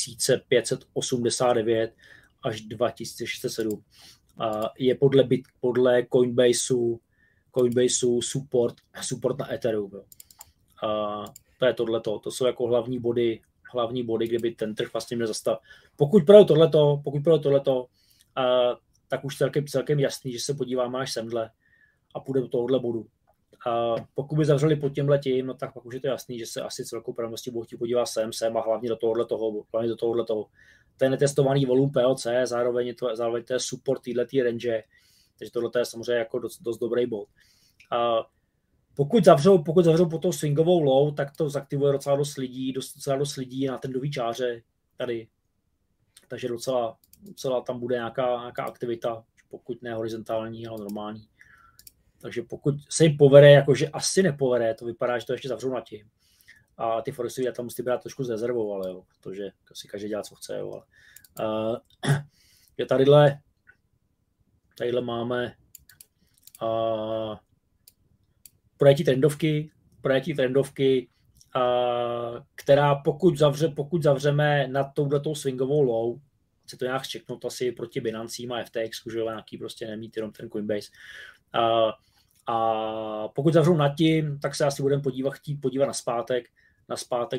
2589 až 2607. Je podle Coinbaseu support na Ethereum. To je tohleto. To jsou jako hlavní body hlavní body, kde by ten trh vlastně měl zastavit. Pokud pro tohleto, tak už celkem jasný, že se podíváme až semhle a půjde do tohohle bodu. A pokud by zavřeli pod tímhletím, no tak pak už je to jasný, že se asi celkou pravděpodobností budou chtít podívat sem a hlavně do tohohletoho. Ten netestovaný volum POC, zároveň to je support této range, takže tohle je samozřejmě jako dost dobrý bod. A pokud zavřou po tou swingovou low, tak to zaktivuje docela dost lidí na trendový čáře tady. Takže docela tam bude nějaká aktivita, pokud ne horizontální, ale normální. Takže pokud se jim povede, jakože asi nepovede, to vypadá, že to ještě zavřou na tím. A ty foresty tam musí brát trošku s rezervou, ale jo, protože si každý dělá, co chce. Jo, ale, je tadyhle máme projektí trendovky, která pokud zavřeme nad touhletou swingovou low, se to nějak čeknout asi proti Binancím a FTX, že nějaký prostě nemít jenom ten Coinbase. A pokud zavřou nad tím, tak se asi budeme chtít podívat na zpátek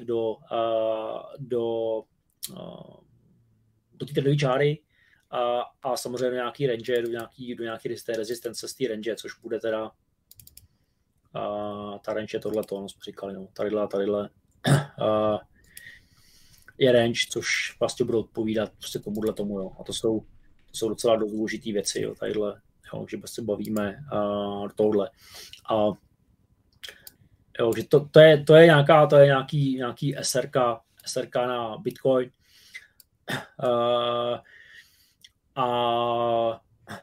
do té trendové čáry a samozřejmě do nějaký range, do nějaký rezistence z té range, což bude teda ta range je tohleto, no jsme říkali, no, tadyhle je range, což vlastně bude odpovídat prostě tomuhletomu, jo. A to jsou docela dost důležitý věci, jo, tadyhle, jo, že se bavíme do tohle. A jo, že to je nějaký SRK na Bitcoin. A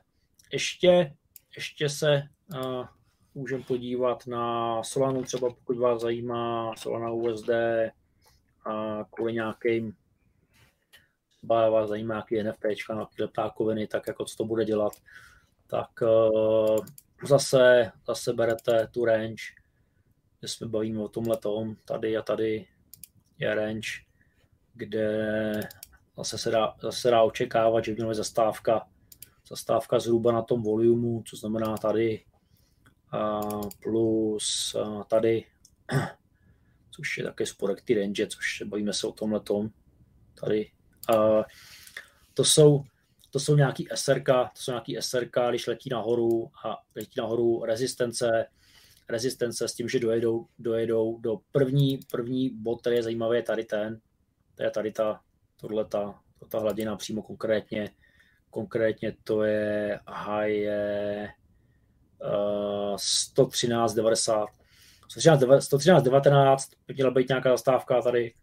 ještě se můžeme podívat na Solanu, třeba pokud vás zajímá Solana USD a kvůli nějakým vás zajímá nějaký NFTčka, nějaký leptákoviny, tak jako co to bude dělat, tak zase berete tu range, kde jsme bavíme o tomhletom, tady a tady je range, kde zase se dá očekávat, že měla být zastávka zhruba na tom volumu, co znamená tady plus tady, což je také spodek ty range, což bavíme se o tomhletom tady. To jsou nějaký SRK, když letí nahoru rezistence s tím, že dojedou do první bod, který je zajímavý, je tady ta hladina přímo konkrétně to je high 113.90. 113.19, měla být nějaká zastávka tady,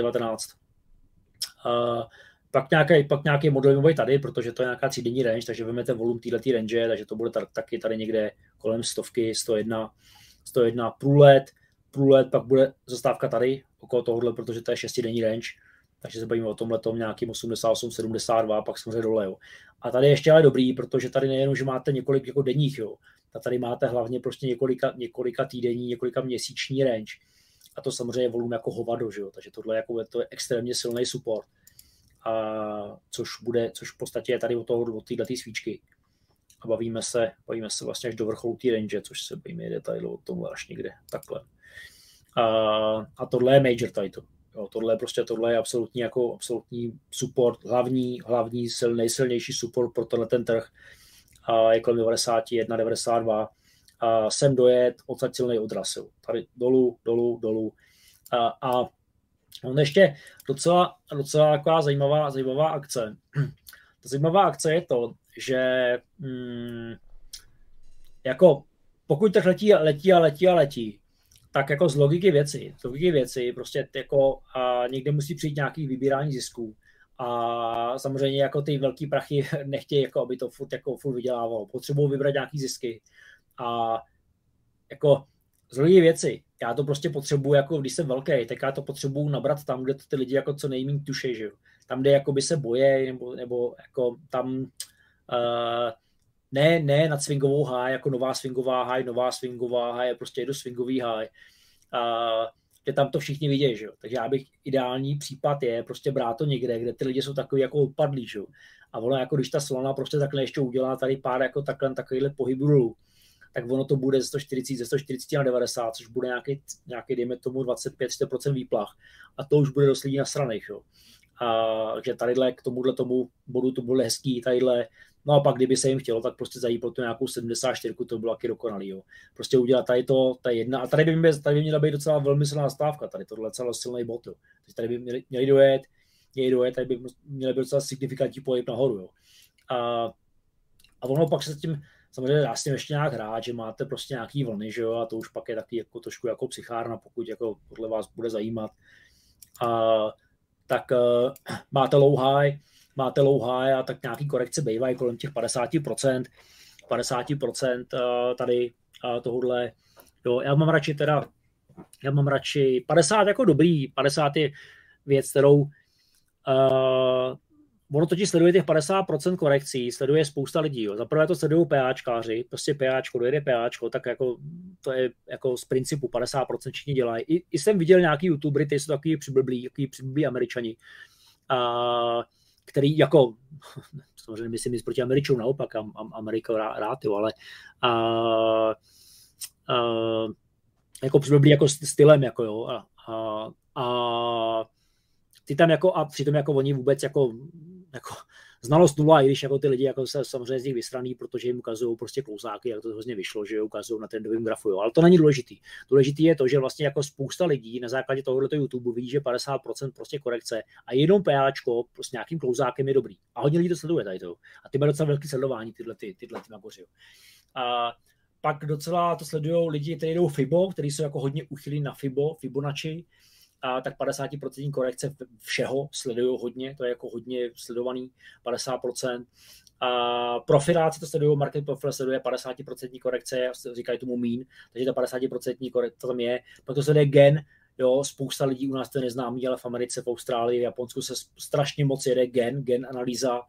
113.19. Pak nějaký modelový tady, protože to je nějaká třídenní range, takže vezmete volum této range, takže to bude taky tady někde kolem 100, 101 průlet, pak bude zastávka tady, okolo tohohle, protože to je 6denní range, takže se bavíme o tomhletom nějakým 88, 72, pak samozřejmě dole. Jo. A tady ještě ale dobrý, protože tady nejenom, že máte několik jako denních, jo, a tady máte hlavně prostě několika týdenní, několika měsíční range. A to samozřejmě je volum jako hovado, že jo, takže tohle jako to je extrémně silný support. Což v podstatě je tady od této svíčky. A bavíme se vlastně až do vrcholu té range, což se bavíme jde tady o tomhle až někde takhle. A tohle je major title. Jo, tohle je absolutní support, hlavní nejsilnější support pro tenhle ten trh. Je kolem 91, 92. Sem dojet, odsaď silnej odraz. Jo. Tady dolů. A on ještě docela taková zajímavá akce. Ta zajímavá akce je to, že jako pokud trh letí, tak jako z logiky věci prostě jako někde musí přijít nějaký vybírání zisků. A samozřejmě jako ty velký prachy nechtějí, jako aby to furt vydělávalo. Potřebují vybrat nějaký zisky. A jako z logiky věci, já to prostě potřebuji, jako když jsem velký, tak já to potřebuji nabrat tam, kde to ty lidi jako co nejméně tušejí, že jo. Tam, kde jakoby se bojejí, nebo jako tam ne nad swingovou high, jako nová swingová high, prostě jedu swingový high. Že tam to všichni vidějí, že jo. Takže já bych ideální případ je prostě brát to někde, kde ty lidi jsou takový jako odpadlí, že jo. A ono jako když ta Solana prostě takhle ještě udělá tady pár jako takovýhle pohybů dolů, tak ono to bude ze 140 na 90, což bude nějaký dejme tomu 25-30% výplach. A to už bude dost lidí nasraných, jo. Takže tadyhle k tomu bodu to bude hezký, tadyhle. No a pak, kdyby se jim chtělo, tak prostě zajít pro tu nějakou 74, to bylo taky dokonalý, jo. Prostě udělat tady to, ta jedna, a tady by měla být docela velmi silná stávka, tady tohle celý silný bod, jo. Tady by měli dojet, tady by měly být docela signifikantní pohyb nahoru, jo. A ono pak se s tím, samozřejmě dá s tím ještě nějak hrát, že máte prostě nějaký vlny, že jo, a to už pak je taky jako trošku jako psychárna, pokud jako podle vás bude zajímat. Tak máte low high a tak nějaký korekce bývají kolem těch 50% tady tohodle. Jo, já mám radši 50 jako dobrý, 50 je věc, kterou ono totiž sleduje těch 50% korekcí, sleduje spousta lidí. Jo. Zaprvé to sledují PAčkáři, prostě PAčko, dojede PAčko, tak jako to je jako z principu 50% všichni dělají. I jsem viděl nějaký youtubery, kteří jsou takový přiblblí Američani, který jako, samozřejmě myslím nic proti Američanům, naopak, Amerika rád, jo, ale jako přiblblí jako stylem, jako jo, ty tam jako, a přitom jako oni vůbec jako znalost nula, i když jako ty lidi jako se samozřejmě z nich vysraný, protože jim ukazují prostě klousáky, jak to hrozně vyšlo, že ukazují na trendovém grafu, jo. Ale to není důležitý. Důležitý je to, že vlastně jako spousta lidí na základě tohoto YouTube vidí, že 50% prostě korekce a jenom PAčko prostě nějakým klousákem je dobrý. A hodně lidí to sleduje tady to. A ty mají docela velký sledování tyhle nahoře. A pak docela to sledují lidi, kteří jdou FIBO, kteří jsou jako hodně uchylí na Fibonacci, a tak 50% korekce všeho sledují hodně, to je jako hodně sledovaný, 50%. A profiláci to sledují, market profile sleduje 50% korekce, říkají tomu mean, takže ta 50% korekce to tam je. Pak to sleduje gen, jo, spousta lidí u nás to je neznámý, ale v Americe, v Austrálii, v Japonsku se strašně moc jede gen analýza,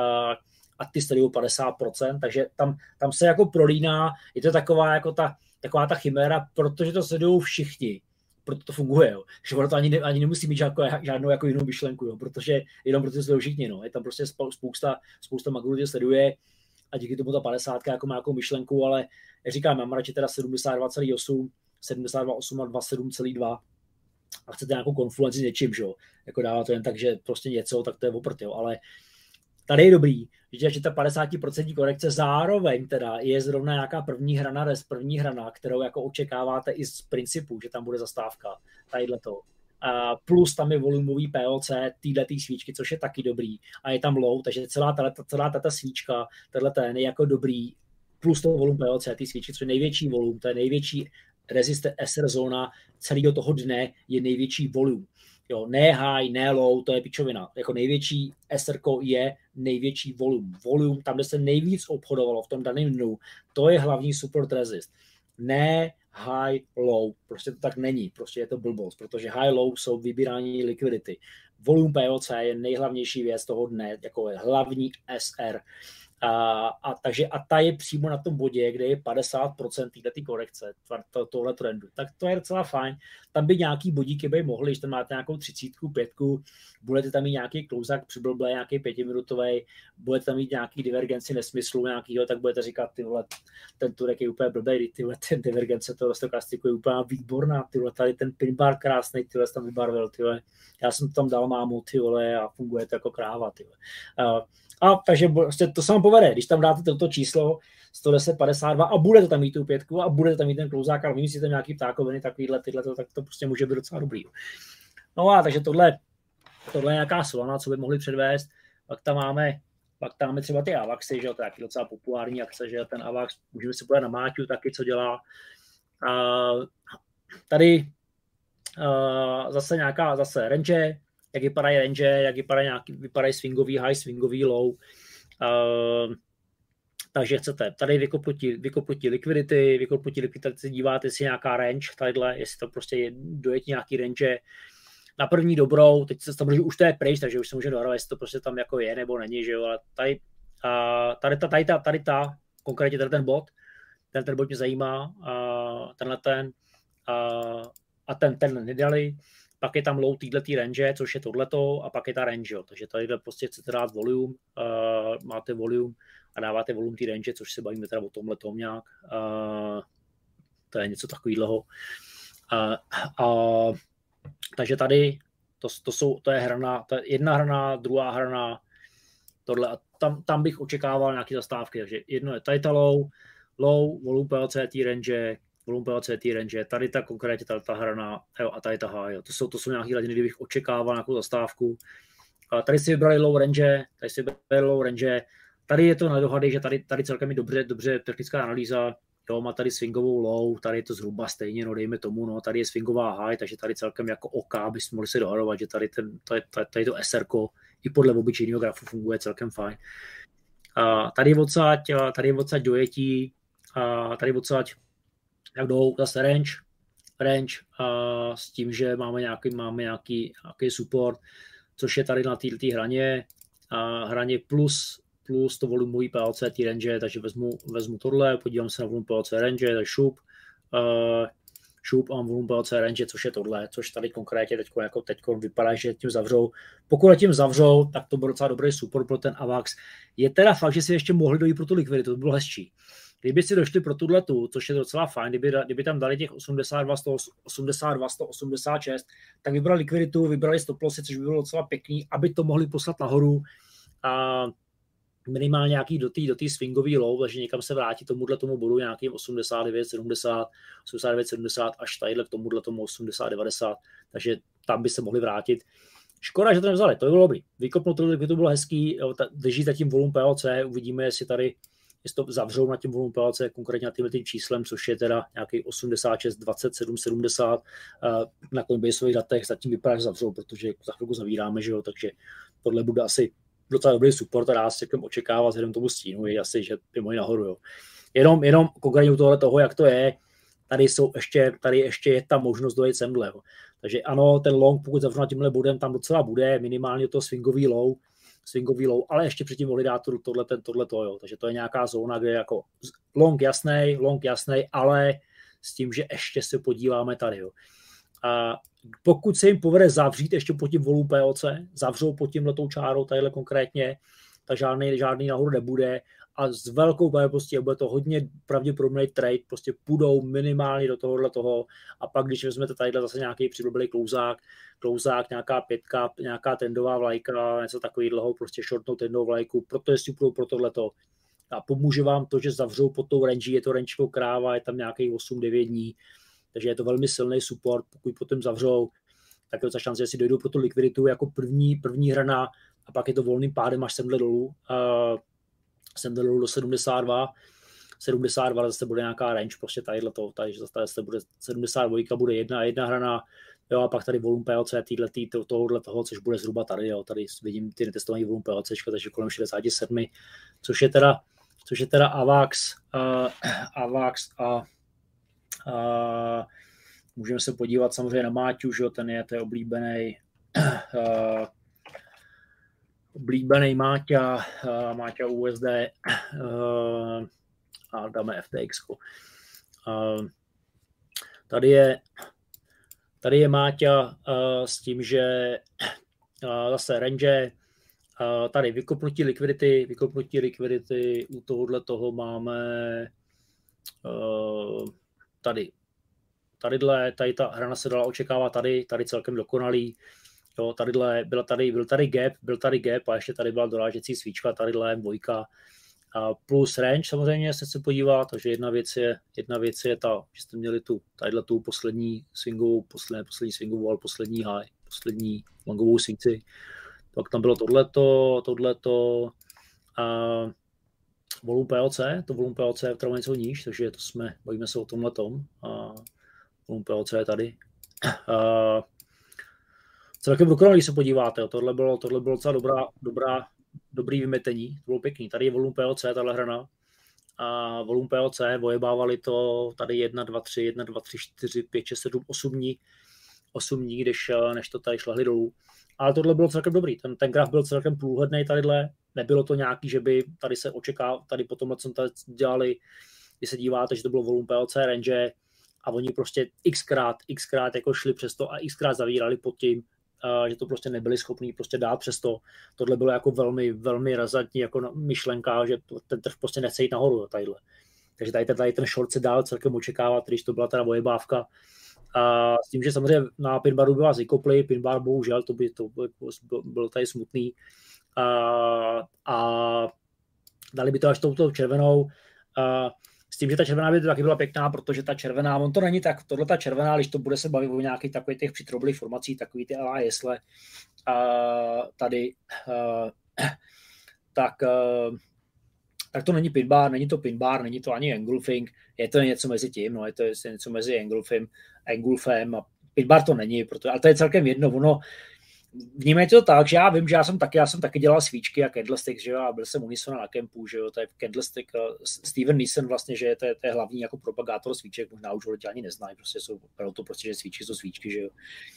a ty sledují 50%, takže tam se jako prolíná, je to taková ta chiméra, protože to sledují všichni. Proto to funguje, jo. Že ono to ani nemusí mít žádnou jako jinou myšlenku, jo, protože jenom proto sledují všichni, no. Je tam prostě spousta magů, který sleduje a díky tomu ta 50 jako má nějakou myšlenku, ale jak říkám, mám radši teda 72,8, 72,8 a 27,2 a chcete nějakou konfluenci s něčím, že jo. Jako dává to jen tak, že prostě něco, tak to je oprt, jo, ale tady je dobrý, že ta 50% korekce zároveň teda je zrovna nějaká první hrana, kterou jako očekáváte i z principu, že tam bude zastávka, tadyhleto. Plus tam je volumový POC této svíčky, což je taky dobrý. A je tam low, takže celá tato svíčka, ten je jako dobrý, plus to volum POC té svíčky, což je největší volum, to je největší resistance SR zóna celého toho dne, je největší volum. Jo, ne high, ne low, to je pičovina. Jako největší SR je největší volum. Volum, tam, kde se nejvíc obchodovalo v tom daném dnu, to je hlavní support resist. Ne high, low. Prostě to tak není. Prostě je to blbost, protože high, low jsou vybírání likvidity. Volum POC je nejhlavnější věc toho dne, jako je hlavní SR. Takže ta je přímo na tom bodě, kde je 50% této korekce, tohle trendu. Tak to je docela fajn. Tam by nějaký bodíky by mohli, když tam máte nějakou 30, 5, budete tam mít nějaký klouzák přiblblé, nějaký 5minutový, budete tam mít nějaký divergenci nesmyslu nějakýho, tak budete říkat, tyhle, ten turek je úplně blbej, tyhle, ten divergence toho stokastiku je úplně výborná, tyhle, tady ten pinbar krásnej, tyhle tam vybarvil, tyhle. Já jsem to tam dal mámu, tyhle, a funguje to jako kráva, tyhle. Takže to se vám povede, když tam dáte toto číslo 110,52 a budete tam mít tu 5 a budete tam mít ten klouzák a vymyslíte nějaký ptákoviny, takovýhle, tak to prostě může být docela dobrý. No a takže tohle je nějaká solana, co by mohli předvést. Pak tam máme třeba ty Avaxy, že jo, to je docela populární akce, že ten Avax, můžeme si podívat na Máťu taky, co dělá. Tady zase range, jak vypadají range, jak vypadají swingový high, swingový low. Takže chcete tady vykopnutí likvidity, díváte si nějaká range, tadyhle, jestli to prostě dojete nějaký range. Na první dobrou, teď se samozřejmě už to je pryč, takže už se může dohrát, jestli to prostě tam jako je nebo není, že jo, ale tady ta, konkrétně tady ten bod mě zajímá, ten nedali. Pak je tam low týhletý range, což je tohleto, a pak je ta range, jo. Takže tady prostě chcete dát volume, máte volume, a dáváte volum té range, což se bavíme teda o tomhletom nějak. To je něco takového. Takže tady to je hrana, to je jedna hrana, druhá hrana, tohle a tam bych očekával nějaké zastávky, takže jedno je tady ta low, volum PLC té range, tady ta konkrétně ta hrana, jo, a tady ta high, jo. To jsou nějaké hladiny, kdy bych očekával nějakou zastávku. A tady si vybrali low range, tady je to na dohady, že tady celkem je dobře technická analýza, jo, má tady swingovou low, tady je to zhruba stejně, no dejme tomu, no, tady je swingová high, takže tady celkem jako OK bychom mohli se dohadovat, že tady to SR-ko i podle obyčejného grafu funguje celkem fajn. Tady je odsaď dojetí, tady odsaď jak jdou zase range s tím, že máme nějaký support, což je tady na této hraně plus to volumový PLC té range, takže vezmu tohle, podívám se na volum PLC range, takže šup a volum PLC range, což je tohle, což tady konkrétně teď vypadá, že tím zavřou. Pokud tím zavřou, tak to byl docela dobrý support pro ten AVAX. Je teda fakt, že si ještě mohli dojít pro tu likviditu, to bylo hezčí. Kdyby si došli pro tuhletu, což je docela fajn, kdyby tam dali těch 82, 186, tak vybrali likviditu, vybrali stop lossy, což by bylo docela pěkný, aby to mohli poslat nahoru a minimálně nějaký do té swingový low, takže někam se vrátí tomu bodu nějakým 89, 70 až tadyhle k tomu 80, 90, takže tam by se mohli vrátit. Škoda, že to nevzali, to by bylo dobrý. Vykopnout to bylo hezký, drží zatím volum PLC, uvidíme, jestli to zavřou na tím volum PLC, konkrétně na tím číslem, což je teda nějaký 86, 27, 70. Na Coinbaseových datech zatím vypadá, že zavřou, protože za chvilku zavíráme, že jo, takže tohle bude asi docela dobrý support a dá se očekávat vzhledem tomu stínu, je asi, že je moji nahoru. Jo. Jenom konkrétně u toho, jak to je, tady ještě je ta možnost dojít semhle. Jo. Takže ano, ten long, pokud zavřu na tímhle bodem, tam docela bude, minimálně to swingový low, ale ještě předtím mohli dát tohleto, jo. Takže to je nějaká zóna, kde jako long jasnej, ale s tím, že ještě se podíváme tady. Jo. A pokud se jim povede zavřít ještě pod tím volum PLC, zavřou pod tímhletou čárou, tadyhle konkrétně, tak žádný nahoru nebude a s velkou pravděpodobností bude to hodně pravděpodobný trade, prostě půjdou minimálně do toho a pak, když vezmete tadyhle zase nějaký přiblblý klouzák, nějaká pětka, nějaká tendová vlajka, něco takového, prostě shortnou tendovou vlajku, proto jestli půjdou pro tohleto. A pomůže vám to, že zavřou pod tou range, je to range kráva, je tam nějakých 8-9 dní, takže je to velmi silný support, pokud potom zavřou, tak je to šance, že si dojdou pro tu likviditu jako první hrana a pak je to volným pádem až semhle dolů do 72 zase bude nějaká range, prostě tadyhleto, takže zase bude 72, bude jedna hrana, jo, a pak tady volum PLC tohohle, což bude zhruba tady, jo, tady vidím ty netestovaný volum PLC, takže kolem 67, což je teda AVAX a můžeme se podívat samozřejmě na Máťu, že ten je oblíbený Máťa USD a dáme FTX. Tady je Máťa s tím, že zase range, tady vykopnutí likvidity, u tohohle toho máme tady ta hrana se dala očekávat tady celkem dokonalý. Jo, byl tady gap a ještě tady byla dorážecí svíčka, tadyhle dvojka plus range samozřejmě se podívat, takže jedna věc je ta, že jste měli tu poslední swingovou, ale poslední high, poslední longovou svíci. Pak tam bylo tohleto volum PLC, to volum PLC je třeba něco níž, takže bavíme se o tomhletom. Volum PLC je tady. Celkem dokonalý, když se podíváte, tohle bylo docela dobrý vymetení, to bylo pěkný. Tady je volum PLC, tahle hrana. A volum PLC, vojebávali to tady 1, 2, 3, 4, 5, 6, 7, 8 dní, než to tady šlehli dolů. Ale tohle bylo celkem dobrý, ten graf byl celkem průhledný tadyhle, nebylo to nějaký, že by tady se očekával, tady po tomhle, co tady dělali, když se díváte, že to bylo volum PLC range a oni prostě xkrát jako šli přes to a xkrát zavírali pod tím že to prostě nebyli schopní prostě dát přesto. Tohle bylo jako velmi, velmi razantní jako myšlenka, že ten trh prostě nechce jít nahoru tadyhle. Takže tady ten short se dál celkem očekávat, když to byla teda ojebávka. A s tím, že samozřejmě na pinbaru by vás vykopli, pinbar bohužel, to byl tady smutný. A dali by to až touto červenou. S tím, že ta červená by to taky byla pěkná, protože ta červená, on to není tak, tohle ta červená, když to bude se bavit o nějakých takových těch přitroblých formací, takový ty ala jesle tady, tak to není pinbar, není to pinbar, není to ani engulfing, je to něco mezi tím, no, je to něco mezi engulfem a pinbar to není, ale to je celkem jedno, ono, vnímejte to tak, že já vím, že já jsem taky dělal svíčky a candlestick, že jo, a byl jsem Unisona na kempu, že jo, to je candlestick, Steven Nissen vlastně, že to je hlavní jako propagátor svíček, možná už ho lidi ani neznají, prostě jsou to prostě, že svíčky jsou svíčky, že jo.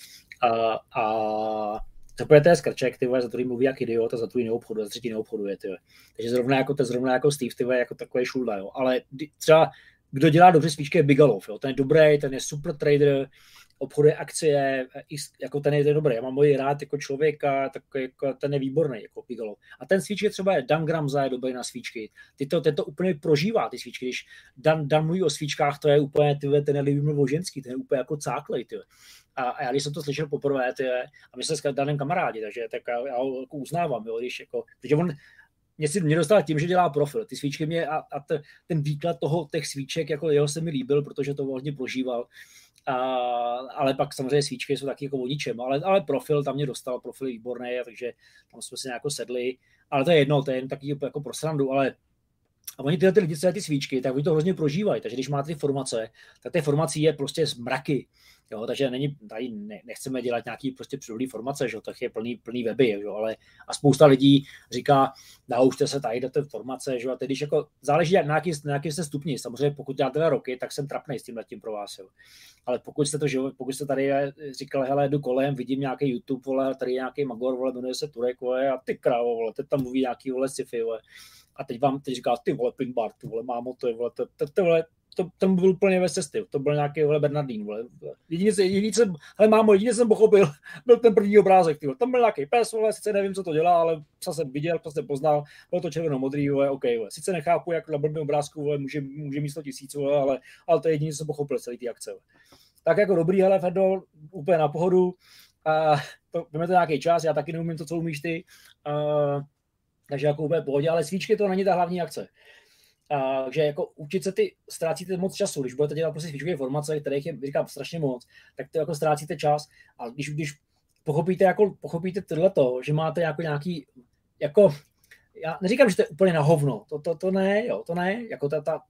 A to je skrček, ty vole, za druhý mluví jak idiot a za druhý neobchoduje, za třetí neobchoduje, ty vole. Takže zrovna jako Steve, ty vole, jako takový šulda, jo. Ale třeba kdo dělá dobře svíčky je Bigalov, jo. Ten je dobrý, ten je super trader, obchoduje akcie, jako ten je dobrý. Já mám moji rád jako člověka, tak jako ten je výborný, jako Bigalov. A ten svíčky třeba je Dan Gramza je dobrý na svíčky. Ten to úplně prožívá, ty svíčky. Když Dan mluví o svíčkách, to je úplně, ten je líbí o ženský, ten je úplně jako cáklej, ty. A já když jsem to slyšel poprvé, ty, a my jsme s Danem kamarádi, takže tak já ho jako uznávám, jo, když jako, protože on mě dostal tím, že dělá profil. Ty svíčky mě ten výklad těch svíček, jako jeho se mi líbil, protože to hodně prožíval. Ale pak samozřejmě svíčky jsou taky jako o ničem, ale profil tam mě dostal, profil je výborný, takže tam jsme si nějak sedli, ale to je jedno, to je jen taky jako pro srandu, ale a oni tyhle lidi, co je ty svíčky, tak oni to hrozně prožívají, takže když máte ty formace, tak ty formací je prostě zmraky, jo, takže tady nechceme dělat nějaký prostě přírodní formace, že tak je plný weby, jo, ale a spousta lidí říká, naučte se tady do té formace, že a teď když jako záleží na nějaký jste stupni, samozřejmě pokud děláte 2 roky, tak jsem trapnej s tímhletím pro vás, jo. Ale pokud jste tady říkali, hele, jdu kolem, vidím nějaký YouTube, vole, tady nějaký magor, vole, jmenuje se Turek, vole, a ty krávo, vole, teď tam mluví nějaký, vole, sci-fi, vole. A teď říká, ty vole, pinbar, ty vole, mámo, to je, vole, ten byl úplně ve cesty, to byl nějaký, vole, Bernardín, vole. Jediný jsem pochopil, byl ten první obrázek, ty vole. Tam byl nějaký pes, vole, sice nevím, co to dělá, ale psa jsem viděl, psa jsem poznal, bylo to červeno-modrý, vole, OK, vole. Sice nechápu, jak na blbém obrázku, vole, může mít 100 000, vole, ale to je jediný, co jsem pochopil celý ty akce, vole. Tak jako dobrý, hele, Ferdo, úplně na pohodu, víme to nějaký čas, já taky neumím to, co umíš ty, takže jako úplně pohodě, ale svíčky to není ta hlavní akce. Takže jako učit se ztrácíte moc času, když budete dělat prostě svíčkové formace, kterých je, říkám, strašně moc, tak to jako ztrácíte čas a když pochopíte tohleto, že máte jako nějaký, jako, já neříkám, že to je úplně na hovno, to ne, jo, to ne, jako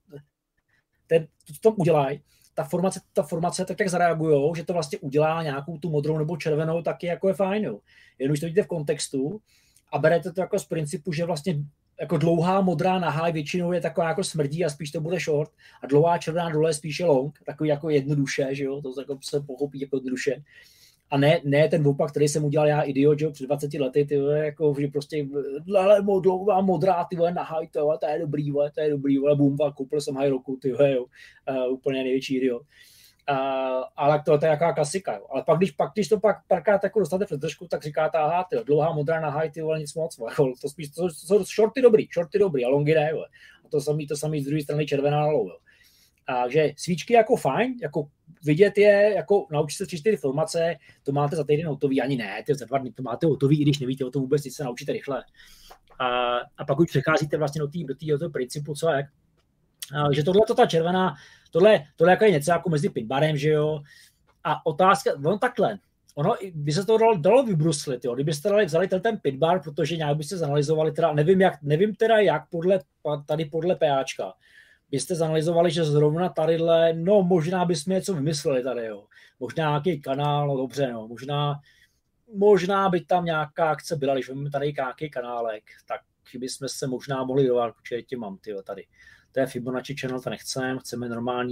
to udělají, ta formace tak zareagujou, že to vlastně udělá nějakou tu modrou nebo červenou, taky jako je fajn, jo. Jenom když to vidíte v kontextu a berete to jako z principu, že vlastně jako dlouhá modrá na high většinou je taková jako smrdí a spíš to bude short a dlouhá červená dole je spíše long, takový jako jednoduše, že jo, to jako se pochopí jako jednoduše. A ne ten opak, který jsem udělal já idiot, že jo, před 20 lety, ty vole, jako, že prostě dlouhá modrá, ty vole, na high, to je dobrý, vole, boom, koupil jsem high roku, ty vole, jo, úplně největší idiot. Ale to je jaká klasika, jo. Ale když to párkrát jako dostáte před držku, tak říkáte, aha, ty dlouhá modrá na high, ty vole, nic moc, jako, to spíš, to jsou shorty dobrý, a longy ne, jo. A to samý z druhé strany červená na low, jo. Takže svíčky jako fajn, jako vidět je, jako naučit se 3-4 formace, to máte za týden hotový, ani ne, za 2 dny to máte hotový, i když nevíte o tom vůbec, nic se naučíte rychle. A pak už přecházíte vlastně do toho principu, co jak. Že ta červená, tohle jako je něco jako mezi pinbarem, že jo. A otázka, ono by se to dalo vybruslit, jo, kdybyste vzali ten pinbar, protože nějak byste zanalizovali, teda nevím teda jak podle PAčka, byste zanalizovali, že zrovna tadyhle, no možná bychom něco vymysleli tady, jo. Možná nějaký kanál, no dobře, no, možná by tam nějaká akce byla, když máme tady nějaký kanálek, tak bychom se možná mohli dovádět, protože tě mám, tyjo, tady. To je Fibonacci channel, to chceme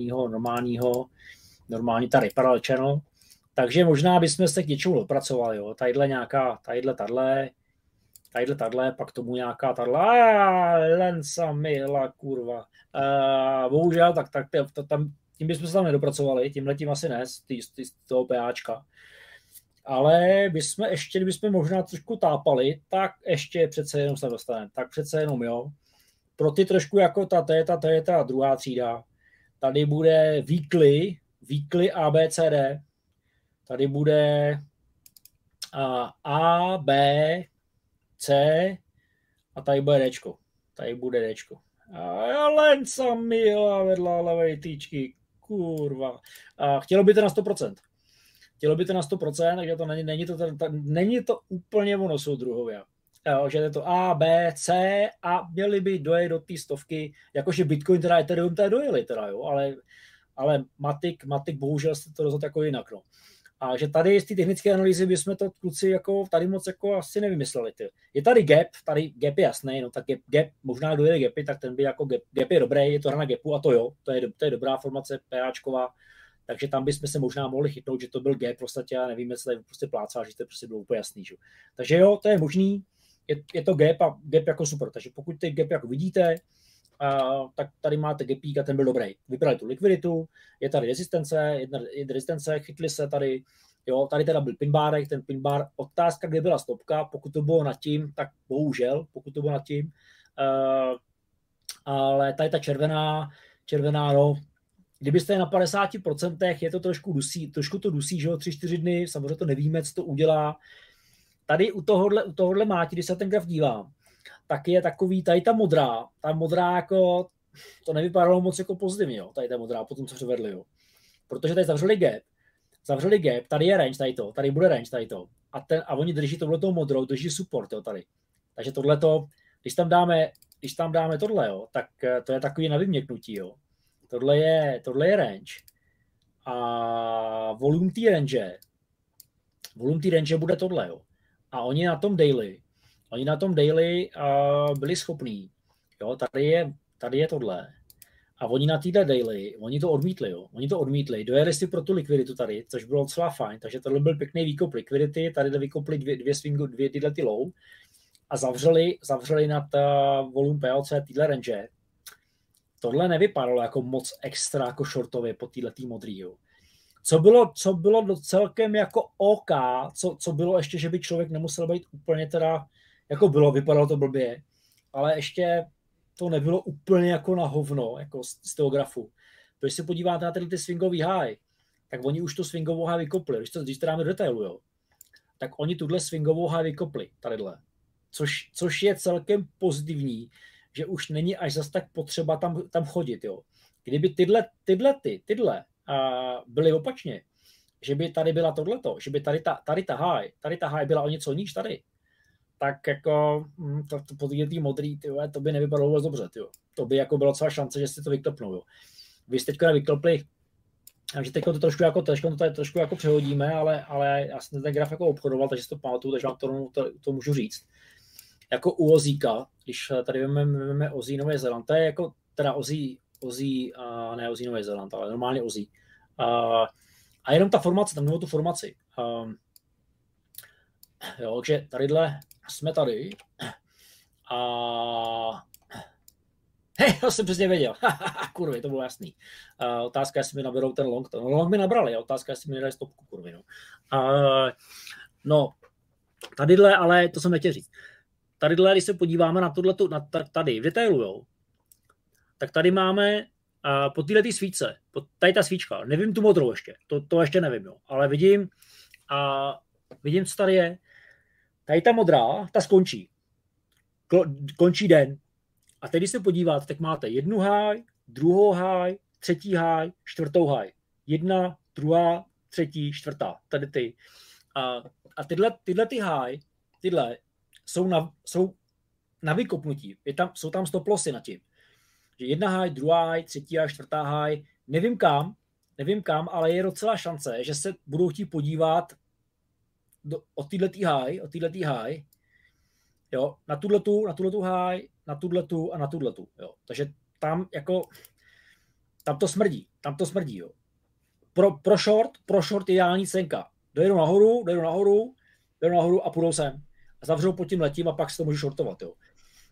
normální tady parallel channel, takže možná bychom se k něčemu dopracovali, jo. Tadyhle, pak tomu nějaká lensa mila, kurva. Bohužel, tak tím bychom se tam nedopracovali, tímhletím asi ne, z toho PAčka. Ale kdybychom možná trošku tápali, tak ještě přece jenom se dostaneme. Tak přece jenom, jo. Pro ty trošku jako to je ta druhá třída. Tady bude weekly A, B, C, D. Tady bude A, B, C a tady bude Dčko. Tady bude Dčko. A Lenca Mila vedla levej týčky. Kurva. A chtělo by to na 100%. Takže to není to úplně ono soudruhově. Že je to A, B, C a měli by dojet do té stovky, jakože Bitcoin teda Ethereum teda dojeli teda, jo, ale Matic bohužel se to rozhodl jako jinak, no. A že tady z té technické analýzy bychom to kluci jako tady moc jako asi nevymysleli. Ty. Je tady gap je jasný, no tak gap možná dojeli gapy, tak ten by jako gap je dobrý, je to hra na gapu a to jo, to je dobrá formace PAčková, takže tam bychom se možná mohli chytnout, že to byl gap, prostě já nevím, jestli to prostě plácá, že to prostě bylo úplně jasný. Že? Takže jo, to je možný, je to gap a gap jako super, takže pokud ty gap jako vidíte, tak tady máte gapík a ten byl dobrý. Vybrali tu likviditu, je tady rezistence, chytli se tady, jo, tady teda byl pinbárek, ten pinbár, otázka, kde byla stopka, pokud to bylo nad tím, tak bohužel, ale tady ta červená, no, kdybyste je na 50%, je to trošku to dusí, že jo, 3-4 dny, samozřejmě to nevíme, co to udělá. Tady u tohohle máti, když se ten graf dívám, tak je takový, tady ta modrá jako, to nevypadalo moc jako pozitivně, jo, tady ta modrá, potom co převedli, jo. Protože tady zavřeli gap, tady je range, tady bude range, a oni drží tohleto modrou, drží support, jo, tady. Takže tohleto, když tam dáme tohle, jo, tak to je takový na vyměknutí, jo. Tohle je range a volume té range bude tohle, jo. A oni na tom daily byli schopní, jo, tady je tohle. A oni na této daily, oni to odmítli, dojeli si pro tu likviditu tady, což bylo docela fajn, takže tohle byl pěkný výkop likvidity, tady vykopli dvě tyhle ty low a zavřeli nad volume PLC tyhle range. Tohle nevypadalo jako moc extra jako shortově po této modrý, jo. Co bylo celkem jako OK, co bylo ještě, že by člověk nemusel být úplně teda, jako vypadalo to blbě, ale ještě to nebylo úplně jako na hovno, jako z toho grafu. Když se podíváte na ty swingový high, tak oni už tu swingovou high vykopli. Když to dáme do detailu, jo, tak oni tuhle swingovou high vykopli, tadyhle. Což je celkem pozitivní, že už není až zas tak potřeba tam chodit, jo. Kdyby tyhle byly opačně, že by tady byla tohleto, že by tady ta high byla o něco níž tady, tak jako to po té modrý, tyhle, to by nevypadalo vůbec dobře, tyjo. To by jako byla celá šance, že si to vyklepnou, jo. Vy jste teďka nevyklepli, takže teď to trošku jako přehodíme, ale já jsem ten graf jako obchodoval, takže si to pamatuju, takže vám to můžu říct. Jako u Ozíka, když tady vezmeme Ozí Nový Zéland, to je jako teda Ozí, ne Ozí Nový Zéland, ale normálně Ozí. A jenom ta formace, tam nebo tu formaci. Jo, takže tadyhle jsme tady a hej, to jsem přesně věděl. Kurvy, to bylo jasný. Otázka, jestli mi naberou ten long. No, long mi nabrali, otázka, jestli mi nedají stopku, kurvy. No, tadyhle, ale to jsem nechtěl říct. Tadyhle, když se podíváme na tohleto, tady v detailu, jo, tak tady máme po této svíčce, tady ta svíčka, nevím tu modrou ještě, to ještě nevím, jo, ale vidím, co tady je. Tady ta modrá, ta skončí. Končí den. A teď, když se podíváte, tak máte jednu high, druhou high, třetí high, čtvrtou high. Jedna, druhá, třetí, čtvrtá. Tady ty. A tyhle ty high, jsou na vykopnutí. Jsou tam stop lossy na tím. Že jedna high, druhá high, třetí high, čtvrtá high. Nevím kam, ale je docela šance, že se budou chtít podívat od této high, jo, na tuhletu high, na tuhletu a na tuhletu, jo. Takže tam tam to smrdí, jo. Pro short ideální cenka. Dojedu nahoru a půjdou sem. A zavřou pod tím letím a pak se to můžu shortovat, jo.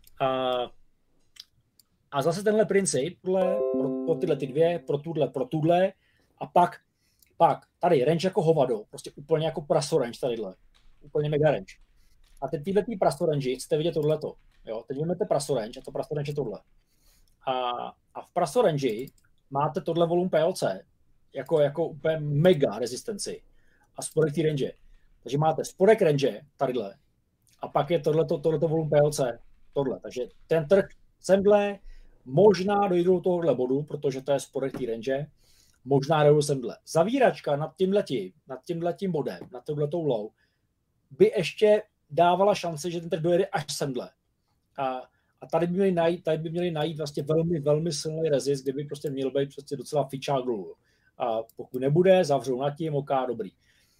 A zase tenhle princip, pro tyhle ty dvě, pro tuhle a Pak tady range jako hovado, prostě úplně jako praso range tadyhle. Úplně mega range. A teď tyhle praso range chcete vidět tohleto. Jo? Teď vezmete praso range a to praso range je tohle. A v praso range máte tohle volume PLC jako úplně mega rezistenci a spodek té range. Takže máte spodek range tadyhle a pak je tohleto volume PLC tohle. Takže ten trh semhle možná dojdu do tohohle bodu, protože to je spodek té range, možná dojdu semhle. Zavíračka nad tímhletím bodem, nad touhletou low, by ještě dávala šance, že ten trh dojede až semhle. A tady by měli najít vlastně velmi, velmi silný rezist, kde by prostě měl být prostě docela fičák dolů. A pokud nebude, zavřou nad tím, OK, dobrý.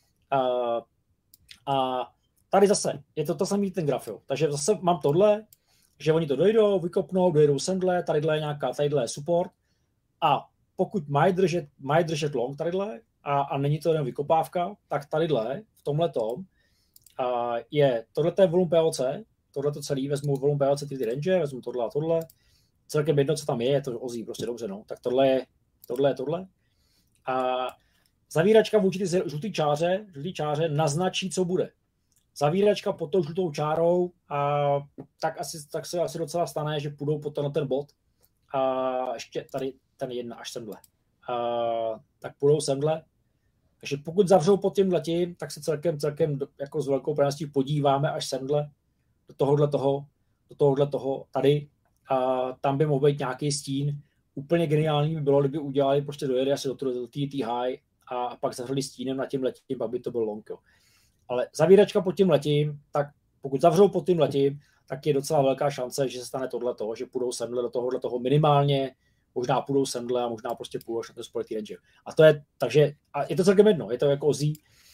A tady zase, je to samý ten graf, jo. Takže zase mám tohle, že oni to dojdou, vykopnou, dojedou semhle, tadyhle je nějaká, tadyhle je support. A pokud mají držet long tadyhle, a není to jen vykopávka, tak tadyhle, v tomhletom, je tohleto je volume PLC, tohleto celý, vezmu volume PLC ty range, vezmu tohle a tohle, celkem jedno, co tam je to ozí prostě dobře, no. Tak tohle je tohle. A zavíračka vůči ty žlutý čáře naznačí, co bude. Zavíračka pod tou žlutou čárou, tak se asi docela stane, že půjdou pod ten bod. A ještě tady ten jedna až semhle. Tak půjdou semhle. Takže pokud zavřou pod tímhletím, tak se celkem jako s velkou pravděpodobností podíváme až semhle do tohohle toho tady. A tam by mohl být nějaký stín. Úplně geniální by bylo, kdyby udělali, prostě dojeli asi do té high a pak zavřeli stínem na tímhletím, pak by to byl long. Jo. Ale zavíračka pod tímhletím, tak pokud zavřou pod tímhletím, tak je docela velká šance, že se stane tohleto, že půjdou semhle do tohohle minimálně, možná půjdou semhle a možná prostě půjdou až na to společný range. A to je, takže, a je to celkem jedno, je to jako ozí.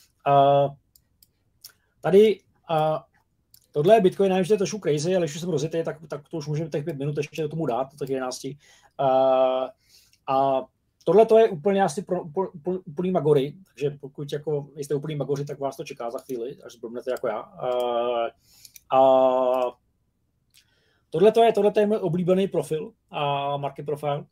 Tady tohle je Bitcoin, nevím, že to je trošku crazy, ale když už jsem rozjetý, tak to už můžeme těch 5 minut ještě do tomu dát, do těch 11. A tohle to je úplně asi pro úplný magory, takže pokud jako jste úplný magoři, tak vás to čeká za chvíli, až zblbnete jako já. Tohle je můj oblíbený profil, market profile.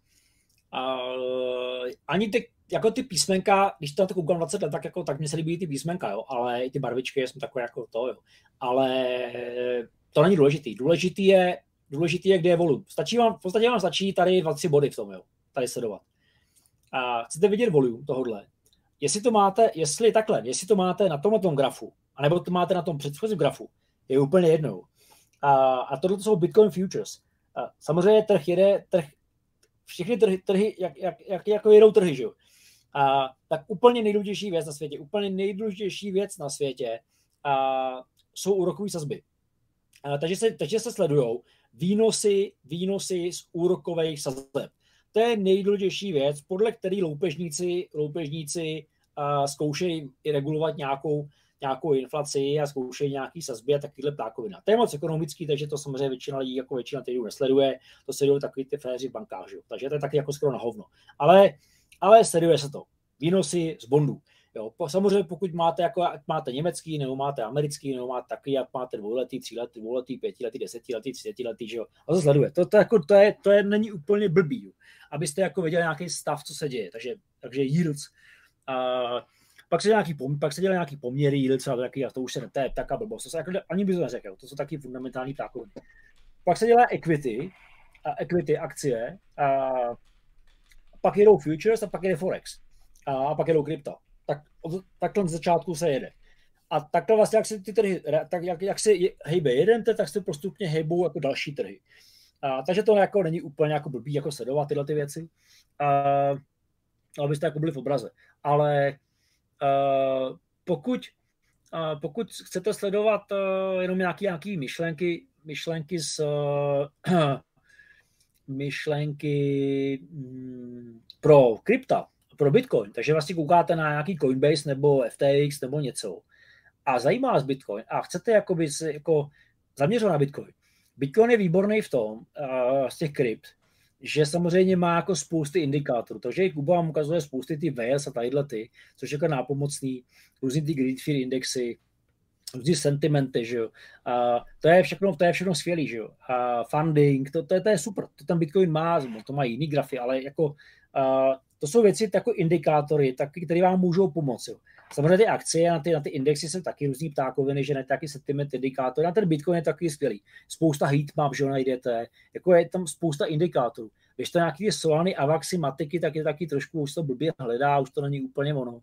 Ani ty písmenka, když to koukám 20 let, tak mně se líbí ty písmenka, jo, ale i ty barvičky jsem takové jako to, jo. Ale to není důležitý. Důležitý je, kde je volume. V podstatě vám stačí tady 2-3 body v tom, jo, tady sledovat. A chcete vidět volume tohodle. Jestli to máte na tomhle grafu, anebo to máte na tom předchozím grafu, je úplně jednou. A tohle jsou Bitcoin futures. Samozřejmě všechny trhy, jak jako jedou trhy, že jo. Tak úplně nejdůležitější věc na světě, jsou úrokové sazby. Takže se sledujou výnosy z úrokových sazeb. To je nejdůležitější věc, podle který loupežníci zkoušejí regulovat nějakou inflaci a zkoušejí nějaký sazby a takovýhle ptákovina. To je moc ekonomický, takže to samozřejmě většina lidí jako většina týdnů nesleduje, to sledují takový ty féři v bankách, že? Takže to je taky jako skoro na hovno. Ale sleduje se to. Výnosy z bondů. Jo, samozřejmě pokud máte německý, nebo máte americký, nebo máte taky, jak máte 2letý, 3letý, 2letý, 5letý, 10letý, 30letý, že jo. A to sleduje. To není úplně blbý, jo. Abyste jako viděli nějaký stav, co se děje. Takže yields. Pak se dělají nějaký poměry yields, a to už se to je taká blbost. To se jako, ani by to neřekl, to jsou taky fundamentální ptákoviny. Pak se dělá equity akcie, pak jedou futures a pak jede forex. A pak jedou krypta. Takhle z začátku se jede. A takhle vlastně, jak se ty trhy, jak se hejbe jeden trh, tak se postupně hejbou jako další trhy. Takže to jako není úplně jako blbý jako sledovat tyhle ty věci, abyste jako byli v obraze. Ale pokud chcete sledovat jenom nějaký myšlenky pro krypta, pro Bitcoin, takže vlastně koukáte na nějaký Coinbase nebo FTX nebo něco a zajímá vás Bitcoin a chcete jakoby se jako zaměřovat na Bitcoin. Bitcoin je výborný v tom, z těch krypt, že samozřejmě má jako spousty indikátorů, takže Kuba vám ukazuje spousty ty whales a tadyhle ty, což je jako nápomocný, různý ty greed fear indexy, různý sentimenty, že jo. To je všechno skvělý, že jo. Funding, to je super, to ten Bitcoin má, to má jiný grafy, ale jako To jsou věci jako indikátory, které vám můžou pomoci. Jo. Samozřejmě ty akcie na ty indexy jsou taky různý ptákoviny, že ne taky sentiment indikátor. Na ten Bitcoin je taky skvělý. Spousta heatmap, že ho najdete, jako je tam spousta indikátorů. Když to nějaký Solany, Avaxy, Matiky, tak je taky trošku, už to blbě hledá, už to není úplně ono.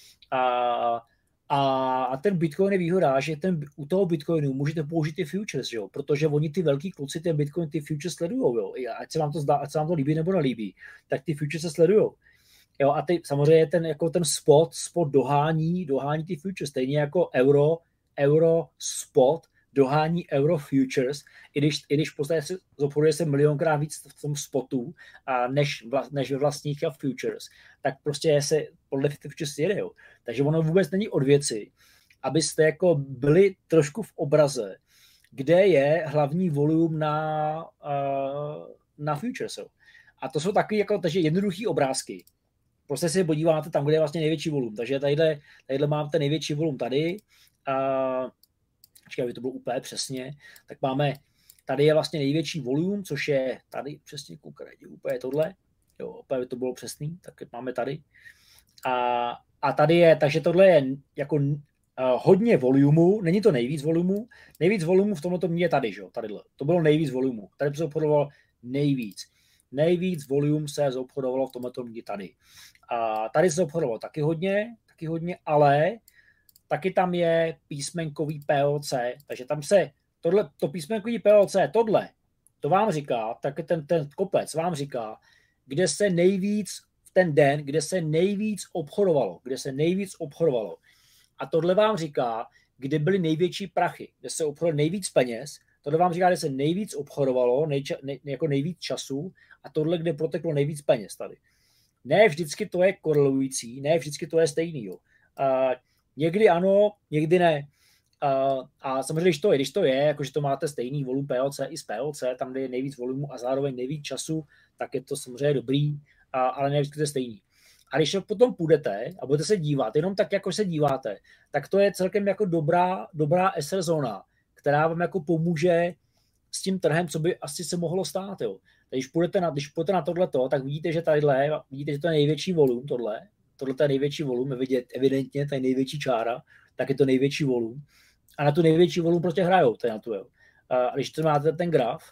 A ten Bitcoin je výhoda, že u toho Bitcoinu můžete použít ty futures, jo? Protože oni ty velký kluci, ten Bitcoin, ty futures sledujou, jo? Ať se vám to zdá, ať se vám to líbí nebo nelíbí, tak ty futures se sledujou. Jo? A samozřejmě ten spot dohání ty futures, stejně jako euro spot dohání euro futures, i když v podstatě se obchoduje se milionkrát víc v tom spotu, než ve vlastních futures, tak prostě se podle futures jede. Jo. Takže ono vůbec není od věci, abyste jako byli trošku v obraze, kde je hlavní volum na futures. Jo. A to jsou taky jako takže jednoduchý obrázky. Prostě si podíváte tam, kde je vlastně největší volum. Takže tadyhle máte největší volum tady. Aby to bylo úplně přesně, tak máme, tady je vlastně největší volum, což je tady přesně, koukajte, úplně tohle, jo, úplně to bylo přesný, tak máme tady. A tady je, takže tohle je jako hodně volumu, není to nejvíc volumu v tomto mě je tady, že jo, tadyhle, to bylo nejvíc volumu, tady se obchodovalo nejvíc volum se obchodovalo v tomto mě tady. A tady se obchodovalo taky hodně, ale taky tam je písmenkový POC, takže tam se to písmenkový POC, to vám říká, tak ten kopec vám říká, kde se nejvíc v ten den, kde se nejvíc obchodovalo. A tohle vám říká, kde byly největší prachy, kde se obchodovalo nejvíc peněz, tohle vám říká, kde se nejvíc obchodovalo, jako nejvíc času a tohle, kde proteklo nejvíc peněz tady. Ne vždycky to je korelující, ne vždycky to je stejný. Jo. Někdy ano, někdy ne. A samozřejmě, když to je, jakože to máte stejný volum POC i z POC, tam, kde je nejvíc volumu a zároveň nejvíc času, tak je to samozřejmě dobrý, ale ne vždycky to je stejný. A když potom půjdete a budete se dívat, jenom tak, jako se díváte, tak to je celkem jako dobrá SR zóna, která vám jako pomůže s tím trhem, co by asi se mohlo stát. Jo. Když půjdete na tohleto, tak vidíte, že vidíte, že to je největší volum, tohle je největší volum, je vidět evidentně, to je největší čára, tak je to největší volum. A na tu největší volum prostě hrajou, to je na tu, jo. A když to máte ten graf,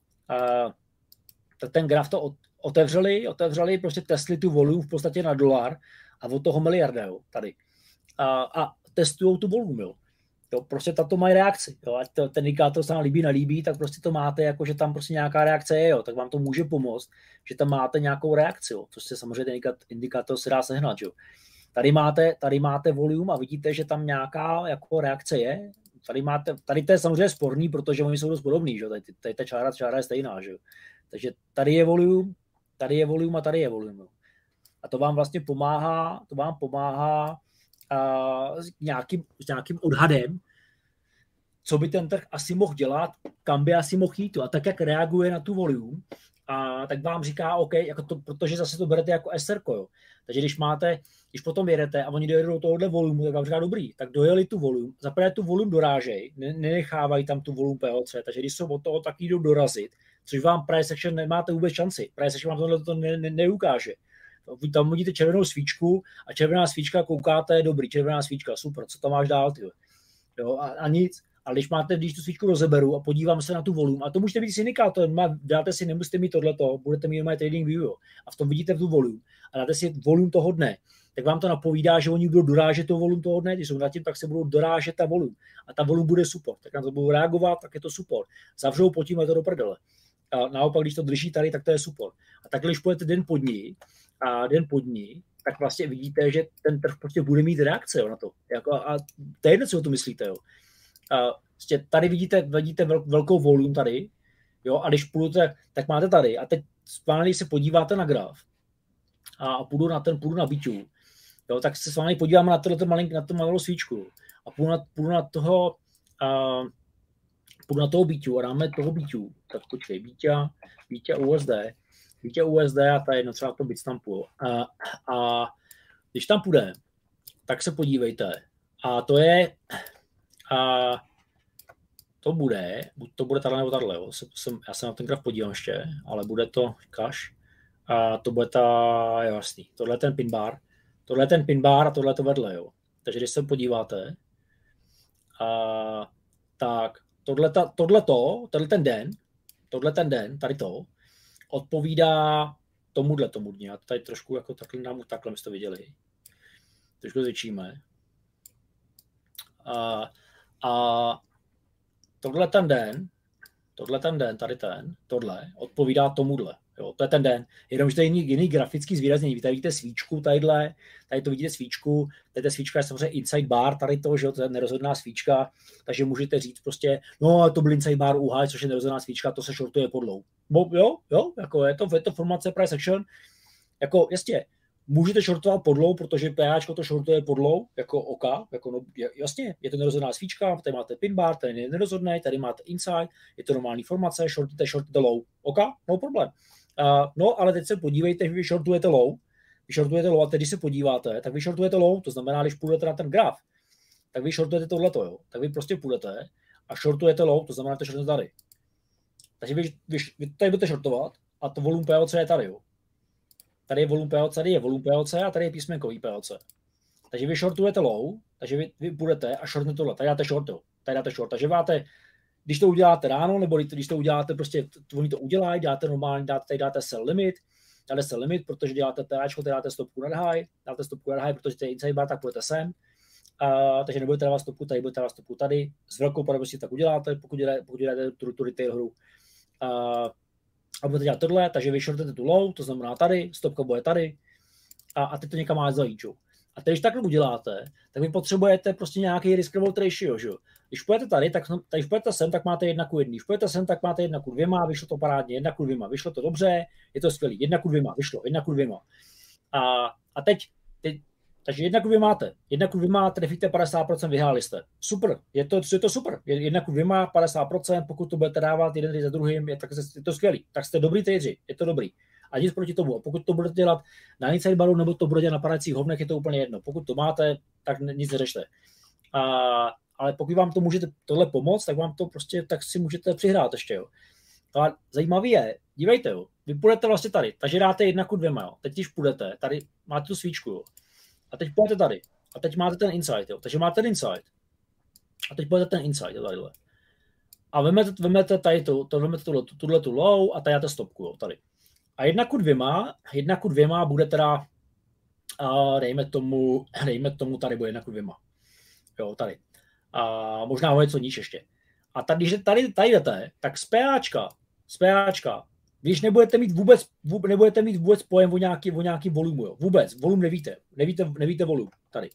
tak ten graf to otevřeli, prostě testli tu volum v podstatě na $1 a od toho miliarda, jo, tady. A testujou tu volum, jo. Jo, prostě tato mají reakci. Jo. Ať ten indikátor se vám líbí, nelíbí, tak prostě to máte, jako, že tam prostě nějaká reakce je, jo. Tak vám to může pomoct, že tam máte nějakou reakci, jo. Což se samozřejmě ten indikátor se dá sehnat. Jo. Tady máte volum a vidíte, že tam nějaká jako reakce je. Tady to je samozřejmě sporný, protože oni jsou dost podobný. Že? Tady ta čára je stejná. Že? Takže tady je volum a tady je volum. Jo. A to vám vlastně pomáhá s nějakým odhadem, co by ten trh asi mohl dělat, kam by asi mohl jít. A tak, jak reaguje na tu volum, tak vám říká, OK, jako to, protože zase to berete jako SRko. Jo. Takže když potom jedete a oni dojedou do tohohle volumu, tak vám říká, dobrý, tak dojeli tu volum, zaprvé tu volum dorážej, nenechávají tam tu volum POC, takže když jsou od toho, tak jdou dorazit, což vám price action nemáte vůbec šanci. Price action vám tohle to neukáže. Vy tam vidíte červenou svíčku a červená svíčka koukáte, dobrý, červená svíčka, super, co tam máš dál, ty? Jo, a nic. Ale když tu svíčku rozeberu a podívám se na tu volum, a to můžete být s indikátorem, dáte si, nemusíte mít tohleto, budete mít mé trading view, jo, a v tom vidíte tu volum a dáte si volum toho dne, tak vám to napovídá, že oni budou dorážet to volum toho dne, když jsou nad tím, tak se budou dorážet ta volum a ta volum bude super, tak na to budou reagovat, tak je to super. Zavřou pod tím, je to do prdele. A naopak, když to drží tady, tak to je super. A takhle, když půjdete den pod ní, tak vlastně vidíte, že ten trh prostě bude mít reakce, jo, na to. Jako, a to je jedno, co o to myslíte. Jo. Tady vidíte velkou volume tady, jo, a když půjdete, tak máte tady. A teď když se podíváte na graf a půjdu na BTU, jo, tak se s vámi podíváme na tu malou svíčku a půjdu na toho BTU a dáme toho BTU. Tak počkej, BTU USD a ta jedno třeba to Bitstampu. A když tam půjde, tak se podívejte. A to je to bude tady nebo tadyhle. Já se na ten graf podívám ještě, ale bude to cash. A to bude jasný. Tohle je ten pin bar a tohle je to vedle, jo. Takže když se podíváte, tak tohle ten den, tady to, odpovídá tomuhle. Já to tady trošku jako takhle jste to viděli. Trošku zvětšíme. A tohle ten den, tohle odpovídá tomuhle. Jo, to je ten den. Jenomže to je jiný grafický zvýraznění. Vy tady vidíte svíčku, tady to vidíte svíčku, tady ta svíčka je samozřejmě inside bar, tady to, že jo, to je nerozhodná svíčka, takže můžete říct prostě, no to byl inside bar UH, což je nerozhodná svíčka, to se shortuje pod low. Jo, jako je to formace price action, jako jasně, můžete shortovat pod low, protože PAčko to shortuje pod low, jako OK, jako no, jasně, je to nerozhodná svíčka, tady máte pin bar, tady je nerozhodný, tady máte inside, je to normální formace, shortujete low, OK, no problém. No, ale teď se podívejte, vy shortujete low a teď, když se podíváte, tak vy shortujete low, to znamená, když půjdete na ten graf, tak vy shortujete tohleto, jo. Tak vy prostě půjdete a shortujete low, to znamená, že to shortujete tady. Takže vy tady budete shortovat a to volume POC je tady, jo. Tady je volume POC a tady je písmenkový POC. Takže vy shortujete low, takže vy půjdete a shortnete tohle, tady dáte short, jo. Takže máte, když to uděláte ráno, nebo když to uděláte, prostě oni to udělají, dáte normálně, tady dáte sell limit, protože děláte PAčko, tady dáte stopku nad high, protože to je inside bar, tak půjdete sem. Takže nebudete dávat stopku tady, budete dávat stopku tady. S velkou pravděpodobností tak uděláte, pokud děláte tu retail hru. A budete dělat tohle, takže vy shortujete tu low, to znamená tady, stopka bude tady a teď to někam máte zajít. A teď, když takhle uděláte, tak vy potřebujete prostě nějaký risk-reward ratio, že? Když půjdete tady, když půjdete sem, tak máte 1:1. Když půjdete sem, tak máte 1:2, vyšlo to parádně, 1:2, vyšlo to dobře, je to skvělý, 1:2, vyšlo, 1:2. A teď takže 1:2 máte, 1:2 trefíte 50%, vyhráli jste. Super, je to super, 1:2, 50%, pokud to budete dávat jeden za druhým, tak je to skvělý, tak jste dobrý tradeři, je to dobrý. A nic proti tomu. A pokud to budete dělat na inside baru, nebo to budete na padajících hovnech, je to úplně jedno. Pokud to máte, tak nic neřešte. Ale pokud vám to můžete tohle pomoct, tak vám to prostě, tak si můžete přihrát ještě, jo. Ale zajímavý je, dívejte, jo, vy půjdete vlastně tady, takže dáte 1:2, jo. Teď když půjdete, tady máte tu svíčku, jo. A teď půjdete tady. A teď máte ten inside, jo. Takže máte ten inside. A teď půjdete ten inside, jo, tadyhle. A vemete tady tuhle tu low a tady dáte stopku, jo, tady. A 1:2 bude teda, dejme tomu tady bude 1:2. Jo, tady. A možná o něco níž ještě. A tady, když tady jdete, tak z PAčka, když nebudete mít vůbec pojem o nějaký volumu, jo. Vůbec, volum nevíte volum, tady.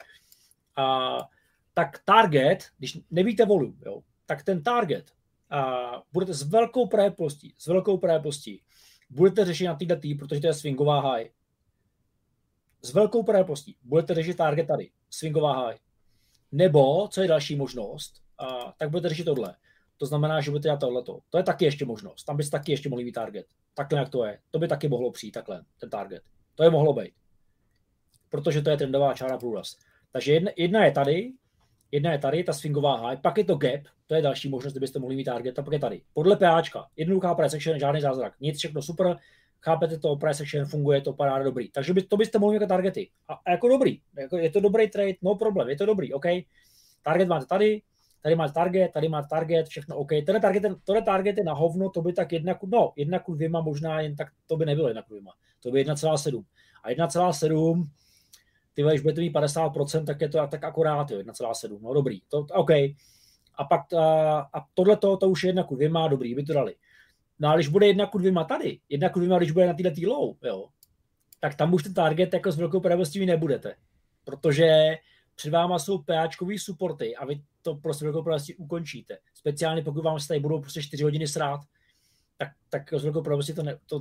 Tak target, když nevíte volum, jo, tak ten target budete s velkou pravděpodobností, budete řešit na této protože to je swingová high. S velkou pravděpodobností budete řešit target tady, swingová high. Nebo, co je další možnost, tak budete řešit tohle. To znamená, že budete dělat tohleto. To je taky ještě možnost. Tam byste taky ještě mohli mít target. Takhle jak to je. To by taky mohlo přijít takhle, ten target. To je mohlo být. Protože to je trendová čára průraz. Takže jedna je tady, ta swingová high, pak je to gap, to je další možnost, kdybyste mohli mít target, a pak je tady. Podle PAčka, jednoduchá price action, žádný zázrak, nic, všechno super, chápete to, price action funguje, to paráda, dobrý. Takže to byste mohli mít jako targety. A jako dobrý, je to dobrý trade, no problém, je to dobrý, OK. Target máte tady máte target, všechno OK. Tohle target je na hovno, to by tak 1:2 možná, jen tak to by nebylo 1:2, to by 1,7. A 1,7, ty když budete mít 50%, tak je to tak akorát, jo, 1,7, no dobrý, to OK. A pak tohleto, to už je 1:2, dobrý, by to dali. No a když bude 1:2 tady, 1:2, když bude na této low, jo, tak tam už ten target jako s velkou pravděpodobností nebudete, protože před váma jsou PAčkový supporty a vy to prostě velkou pravděpodobností ukončíte. Speciálně pokud vám se tady budou prostě 4 hodiny srát, tak s velkou pravděpodobností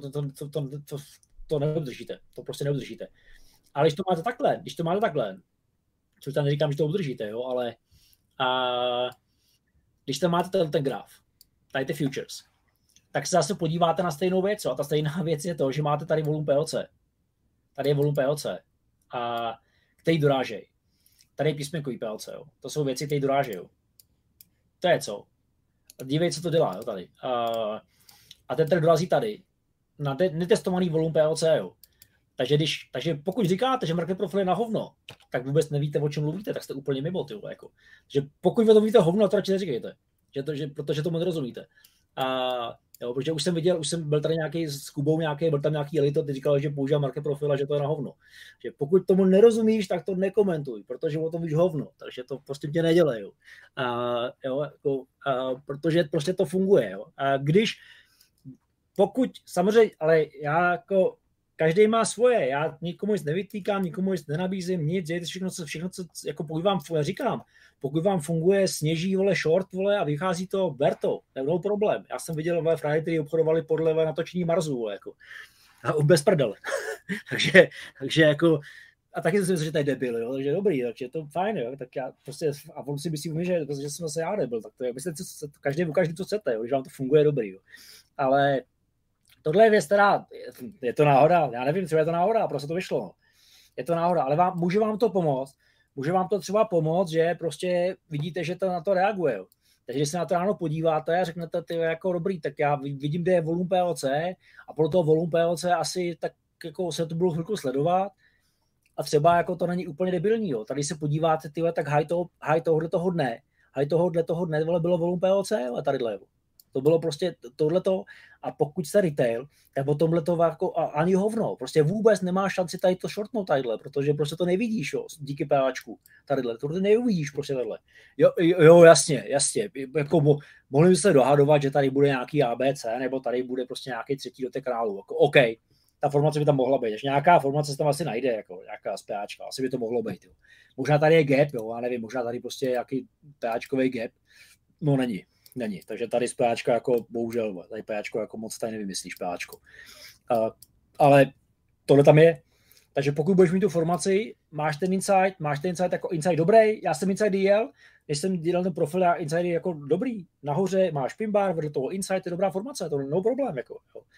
to neudržíte. To prostě neudržíte. Ale když to máte takhle, což tam neříkám, že to udržíte, jo, ale když tam máte ten graf, tady ty futures, tak se zase podíváte na stejnou věc. A ta stejná věc je to, že máte tady volum POC. Tady je volum POC, který dorážejí. Tady je písmenkový POC. Jo. To jsou věci, které dorážejí. To je co. Dívej, co to dělá, jo, tady. A ten trh dorazí tady. na netestovaný volum PLC, jo. Takže pokud říkáte, že market profil je na hovno, tak vůbec nevíte, o čem mluvíte, tak jste úplně mimo, tyhle, jako. Že pokud vy to víte hovno, to radši neříkejte, protože tomu nerozumíte. A jo, protože už jsem byl tady nějaký s Kubou, byl tam nějaký elito, ty říkal, že používá market profil a že to je na hovno. Že pokud tomu nerozumíš, tak to nekomentuj, protože o tom víš hovno, takže to prostě tě nedělej, jo. Protože prostě to funguje, jo. A pokud samozřejmě, ale já jako každý má svoje, já nikomu nic nevytýkám, nikomu nic nenabízím, nic, dějte všechno, co jako pokud vám funguje sněží, vole, short, vole, a vychází to, ber to, no problém. Já jsem viděl ve Friday, který obchodovali podle natočení Marsu, vole, jako, a bez prdele. takže jako, a taky jsem si myslel, že to je debil, jo, takže dobrý, takže to fajn, jo, tak já prostě, a on si myslí, že jsem zase já debil, tak to je, myslíte, každý, co chcete, jo, že vám to funguje dobrý, jo. Ale tohle je věc, která, je to náhoda, já nevím, třeba je to náhoda, prostě to vyšlo. Je to náhoda, ale může vám to pomoct. Může vám to třeba pomoct, že prostě vidíte, že to na to reaguje. Jo. Takže když se na to ráno podíváte a řeknete, ty jako dobrý, tak já vidím, kde je volum PLC a podle toho volum PLC asi tak jako se to budu chvilku sledovat a třeba jako to není úplně debilní. Jo. Tady se podíváte, tyhle, tak high tohoto dne bylo volum PLC a tadyhle. To bylo prostě tohleto a pokud jste retail, tak o tomhleto jako ani hovno. Prostě vůbec nemá šanci tady to shortnout tadyhle, protože prostě to nevidíš, jo, díky PAčku tadyhle. To nevidíš prostě tadyhle. Jo, jasně. Jako mohli by se dohadovat, že tady bude nějaký ABC, nebo tady bude prostě nějaký třetí dotek kanálu. Jako, OK, ta formace by tam mohla být. Až nějaká formace se tam asi najde, jako nějaká z PAčka. Asi by to mohlo být. Jo. Možná tady je gap, jo, já nevím, možná tady prostě nějaký PAčkový gap. No není, takže tady z PAčko jako, bohužel, tady PAčko jako moc tady nevymyslíš PAčko. Ale tohle tam je. Takže pokud budeš mít tu formaci, máš ten insight jako insight dobrý, já jsem insight jel, když jsem dělal ten profil, já insight jako dobrý, nahoře máš pinbar, vedle toho insight je dobrá formace, to no problém. Jako,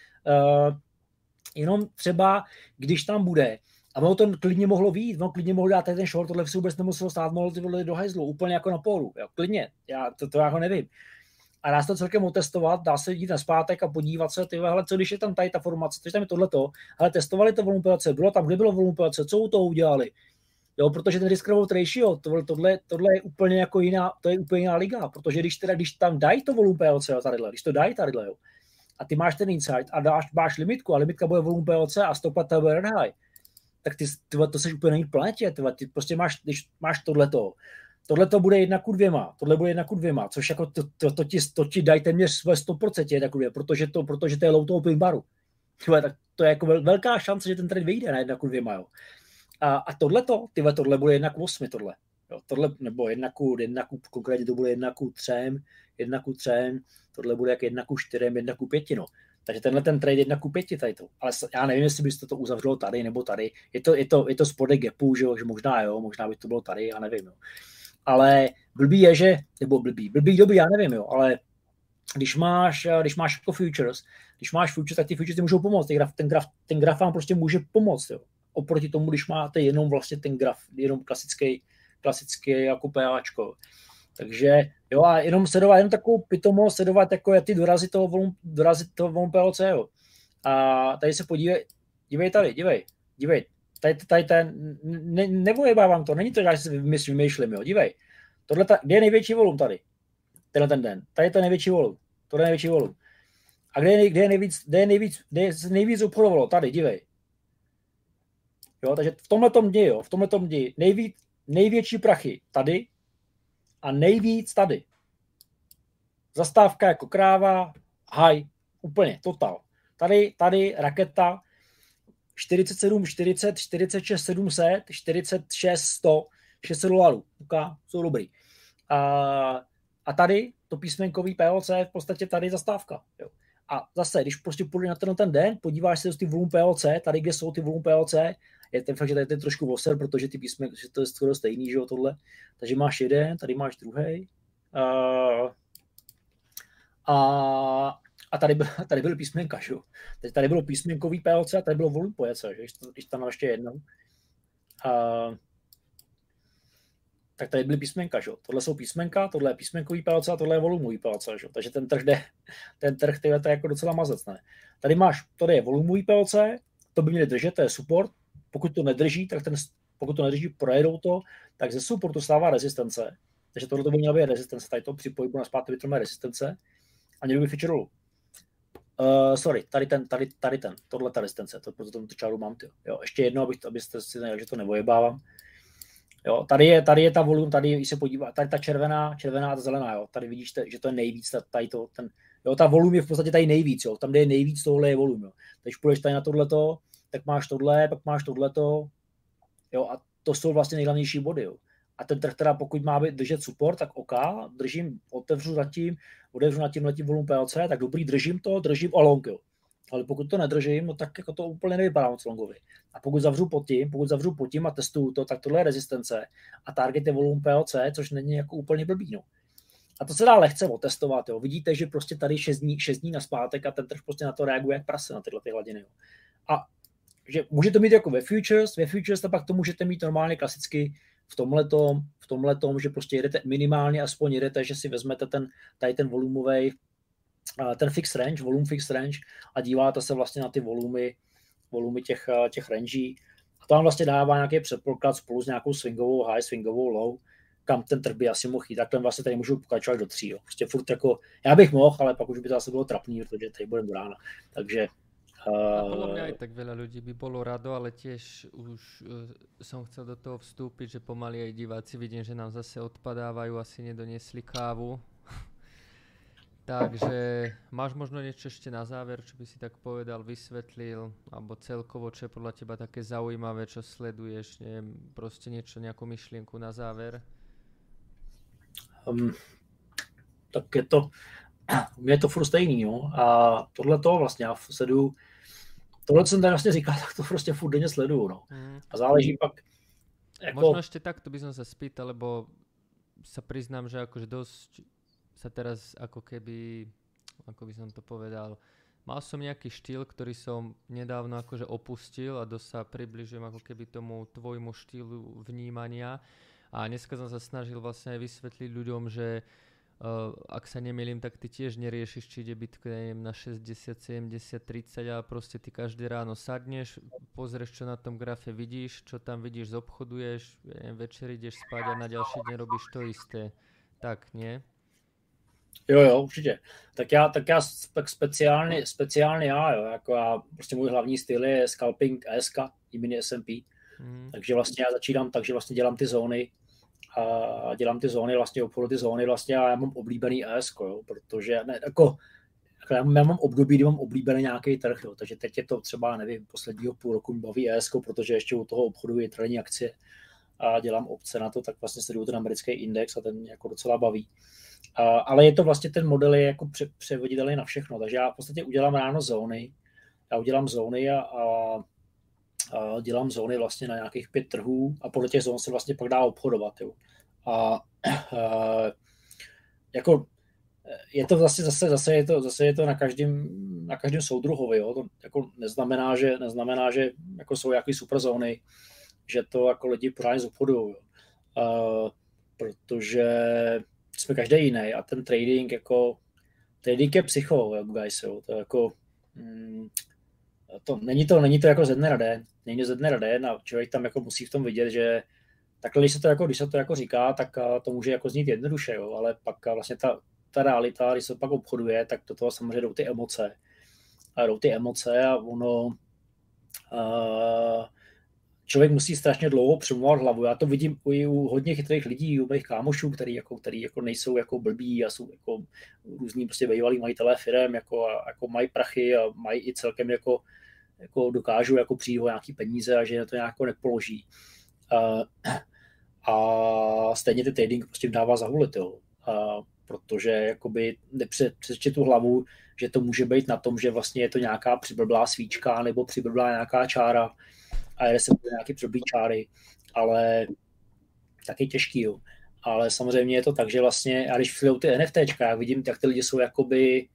jenom třeba, když tam bude, a ono to klidně mohlo vyjít, ono klidně mohlo dát ten short, tohle si vůbec nemuselo stát, mohlo ty vole do hajzlu, úplně jako na pólu, jo, klidně, to já ho nevím. A dá se to celkem otestovat, dá se jít naspátek a podívat se, hele, co když je tam tady ta formace, co tam je tohleto, ale testovali to volum PLC, bylo tam, kde bylo volum PLC, co u toho udělali, jo, protože ten risk reward ratio, tohle je úplně jako jiná, to je úplně jiná liga, protože když tam dají to volum PLC tadyhle, když to dají tadyhle, jo, a ty máš ten insight a máš limitku a limitka bude volum PLC a stopa to bude red high, tak ty to seš úplně na jiný planetě, ty prostě když máš tohleto, tohle to bude 1:2, tohle bude 1:2, což jako to ti dají téměř své 100% 1:2, protože to je low toho pin baru. Tak to je jako velká šance, že ten trade vyjde na 1:2, jo. A tohle bude 1:8, tohle. Jo, tohle, nebo 1, konkrétně to bude 1:3, tohle bude jak 1:4, 1:5, no. Takže tenhle ten trade 1:5 tady to. Ale já nevím, jestli byste to uzavřelo tady nebo tady. Je to spodek gapu, že možná by to bylo tady, já nevím, jo. Ale blbý je, že, nebo blbý, já nevím, jo, ale když máš jako futures, tak ty futures ti můžou pomoct, ten graf vám prostě může pomoct, jo. Oproti tomu, když máte jenom vlastně ten graf, jenom klasický jako PAčko. Takže jo, a jenom takovou pitomost, sledovat jako ty dorazit toho volum PLC, jo. A tady se dívej tady, dívej. Tady nevojebávám to, není to, že já si vymýšlím, jo, dívej. Kde je největší volum tady? Tenhle ten den. Tady je to největší volum. Tohle je největší volum. A kde je nejvíc obchodovalo? Tady, dívej. Jo, takže v tomhletom dni, největší prachy tady a nejvíc tady. Zastávka jako kráva, high, úplně, total. Tady raketa, 47, 40, 46, 700, 46, 100, 600 dolarů. Jsou dobrý. A tady to písmenkový PLC v podstatě tady zastávka. Jo. A zase, když prostě půjde na ten den, podíváš se do ty volum PLC, tady, kde jsou ty volum PLC, je ten fakt, že tady je trošku voser, protože ty písmenky, že to je skoro stejný, že jo, tohle. Takže máš jeden, tady máš druhý. A tady byl písmenka, že jo. Tady bylo písmenkový PLC a tady bylo volum PLC, že? Když tam ještě jednou. tak tady byly písmenka, že? Tohle jsou písmenka, tohle je písmenkový PLC a tohle je volumový PLC, že? Takže ten trh to je jako docela mazec, ne? Tady je volumový PLC, to by měli držet, to je support, pokud to nedrží, projedou to, tak ze supportu stává rezistence, takže tohle to by měla být rezistence, tady to při pohybu na zpátky vytrhne rezistence a měl by feature rolu. Sorry, tady ten, tohle ta rezistence, proto tomu čáru mám, tyjo. Jo, ještě jedno, abyste si nevěděli, že to nevojebávám. Jo, tady je ta volum, tady, když se podívá, tady ta červená a ta zelená, jo, tady vidíš, že to je nejvíc, ta volum je v podstatě tady nejvíc, jo, tam, kde je nejvíc, tohle je volum, jo. Když půjdeš tady na tohleto, tak máš tohle, pak máš tohleto, jo, a to jsou vlastně nejhlavnější body, jo. A ten trh teda, pokud má držet support, tak OK, otevřu nad tím volum PLC, tak dobrý, držím a long, jo. Ale pokud to nedržím, no tak jako to úplně nevypadá moc longově. A pokud zavřu pod tím a testuju to, tak tohle je rezistence a target je volum PLC, což není jako úplně blbý, no. A to se dá lehce otestovat, jo. Vidíte, že prostě tady 6 dní naspátek a ten trh prostě na to reaguje jak prase na tyhle ty hladiny, jo. A že můžete mít jako ve futures a pak to můžete mít normálně klasicky v tomhletom, že prostě jedete minimálně, aspoň jedete, že si vezmete tady ten volumový, ten fixed range, volume fixed range a díváte se vlastně na ty volumy těch rangí. A to vám vlastně dává nějaký předpoklad spolu s nějakou swingovou high, swingovou low, kam ten trh by asi mohl jít. Takhle vlastně tady můžu pokračovat do 3. Jo. Prostě furt jako, já bych mohl, ale pak už by to asi bylo trapný, protože tady budeme do rána. Takže a podľa mňa aj tak veľa ľudí by bolo rado, ale tiež už som chcel do toho vstúpiť, že pomaly aj diváci vidím, že nám zase odpadávajú, asi nedoniesli kávu. Takže máš možno niečo ešte na záver, čo by si tak povedal, vysvetlil, alebo celkovo, čo je podľa teba také zaujímavé, čo sleduješ, neviem, proste nejakú myšlienku na záver? Tak je to furt stejný, jo. A tohleto vlastně já sleduju, tohle jsem tady vlastně říkal, tak to prostě furt denně sleduju, no. A záleží pak, jako... Možno ešte takto by som sa spýtal, lebo sa priznám, že akože dosť sa teraz ako keby, ako by som to povedal, mal som nejaký štýl, ktorý som nedávno akože opustil a dosť sa približujem ako keby tomu tvojmu štýlu vnímania. A dneska som sa snažil vlastne aj vysvetliť ľuďom, že ak sa nemýlim, tak ty tiež neriešiš, či ide Bitcoin na 60, 70, 30 a proste ty každé ráno sadneš, pozrieš, čo na tom grafe vidíš, čo tam vidíš, zobchoduješ, večer ideš spať a na ďalší deň robíš to isté. Tak, nie? Jo, určitě. Tak já speciálně já, jo, jako já, prostě můj hlavní styl je scalping ESK, jmény S&P. Takže vlastně já začínám tak, že vlastně dělám ty zóny a vlastně obchodu ty zóny vlastně a já mám oblíbený ESK, jo, protože ne, jako já mám období, kdy mám oblíbený nějaký trh, jo, takže teď je to třeba, nevím, posledního půl roku baví ESK, protože ještě u toho obchodu je trading akcie a dělám opce na to, tak vlastně sleduju ten americký index a ten jako docela baví. Ale je to vlastně, ten model je jako převoditelný na všechno, takže já v podstatě udělám ráno zóny, a dělám zóny vlastně na nějakých 5 trhů a podle těch zón se vlastně pak dá obchodovat. Jo. A jako je to vlastně zase je to na každém soudruhovi. Jo. To jako neznamená, že jako jsou nějaké super zóny, že to jako lidi pořádně zobchodují. Protože jsme každý jiný a ten trading je psycho, guys, jo. To jako není to jako ze dne na den a člověk tam jako musí v tom vidět, že takhle, když se to jako říká, tak to může jako znít jednoduše, jo, ale pak vlastně ta realita, když se pak obchoduje, tak do toho samozřejmě jdou ty emoce a ono člověk musí strašně dlouho přemlouvat hlavu. Já to vidím u hodně chytrých lidí, u mých kámošů, který jako nejsou jako blbí a jsou jako různí prostě bývalí majitelé firem, jako mají prachy a mají i celkem jako dokážou jako přijít o nějaký peníze a že to nějak nepoloží. A stejně ten trading prostě dává zahulit, jo. Protože jakoby nepřečte tu hlavu, že to může být na tom, že vlastně je to nějaká přiblblá svíčka nebo přiblblá nějaká čára a jde se do nějaký přiblblý čáry, ale taky těžký, jo. Ale samozřejmě je to tak, že vlastně, a když sleduju ty NFTčka, já vidím, jak ty lidi jsou jakoby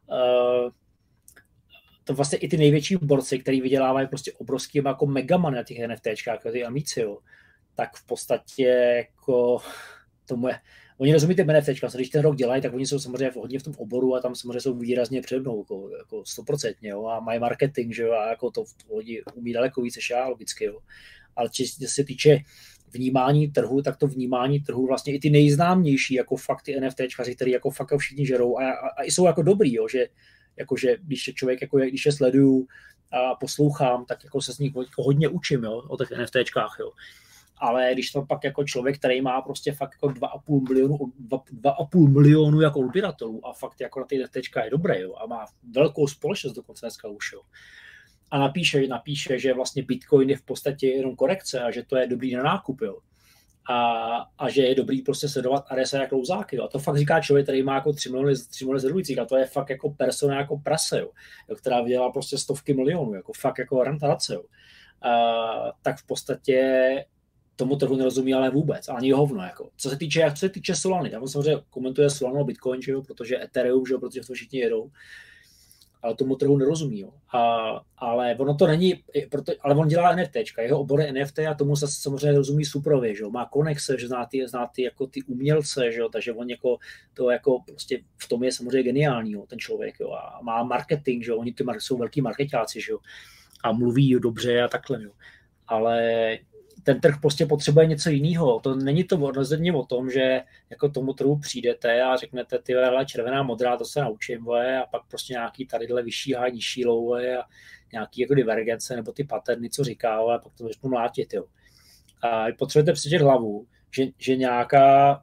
to vlastně i ty největší borci, který vydělávají prostě obrovský jako megamany na těch NFTčkách, jako ty Amici, jo, tak v podstatě jako tomu je, oni rozumí ty NFTčka, když ten rok dělají, tak oni jsou samozřejmě hodně v tom oboru a tam samozřejmě jsou výrazně přede mnou, jako 100%, jo, a mají marketing, že jo, a jako to oni umí daleko víc než já, logicky, jo. Ale co se týče vnímání trhu, tak to vnímání trhu vlastně i ty nejznámější jako fakt ty NFTčkaři, který jako fakt všichni žerou a jsou jako dobrý, jo, že jakože když člověk, jako když je sleduju a poslouchám, tak jako se z nich hodně učím, jo, o těch NFTčkách, jo. Ale když to pak jako člověk, který má prostě fakt jako 2,5 milionu jako odběratelů a fakt jako na ty NFTčka je dobré, jo, a má velkou společnost dokonce dneska už, jo. A napíše, že vlastně Bitcoin je v podstatě jenom korekce a že to je dobrý na nákup, jo. A že je dobrý prostě sledovat RSI jako klouzáky, jo. A to fakt říká člověk, který má jako 3 miliony sledujících a to je fakt jako persona jako prase, jo, která vydělá prostě stovky milionů, jako fakt jako rentace, jo. Tak v podstatě tomu trhu nerozumí ale vůbec, ani hovno, jako. Co se týče Solany, tam samozřejmě komentuje Solanu a Bitcoin, že jo, protože Ethereum, že jo, protože v tom všichni jedou, ale tomu trhu nerozumí, jo. Ale ono to není, ale on dělá NFTčka, jeho obor je NFT a tomu se samozřejmě rozumí suprově, že jo, má konexe, že zná ty jako ty umělce, že jo, takže on jako to jako prostě v tom je samozřejmě geniální, jo, ten člověk, jo, a má marketing, že jo, oni jsou velký marketáci, že jo, a mluví dobře a takhle, jo, ale ten trh prostě potřebuje něco jiného. To není to rozhodně o tom, že jako tomu trhu přijdete a řeknete, ty hele, červená, modrá, to se naučím, a pak prostě nějaký tadyhle vyšší high, nižší low, a nějaký jako divergence nebo ty paterny, co říká, a pak to začnu mlátit, jo. A potřebujete přečet hlavu, že nějaká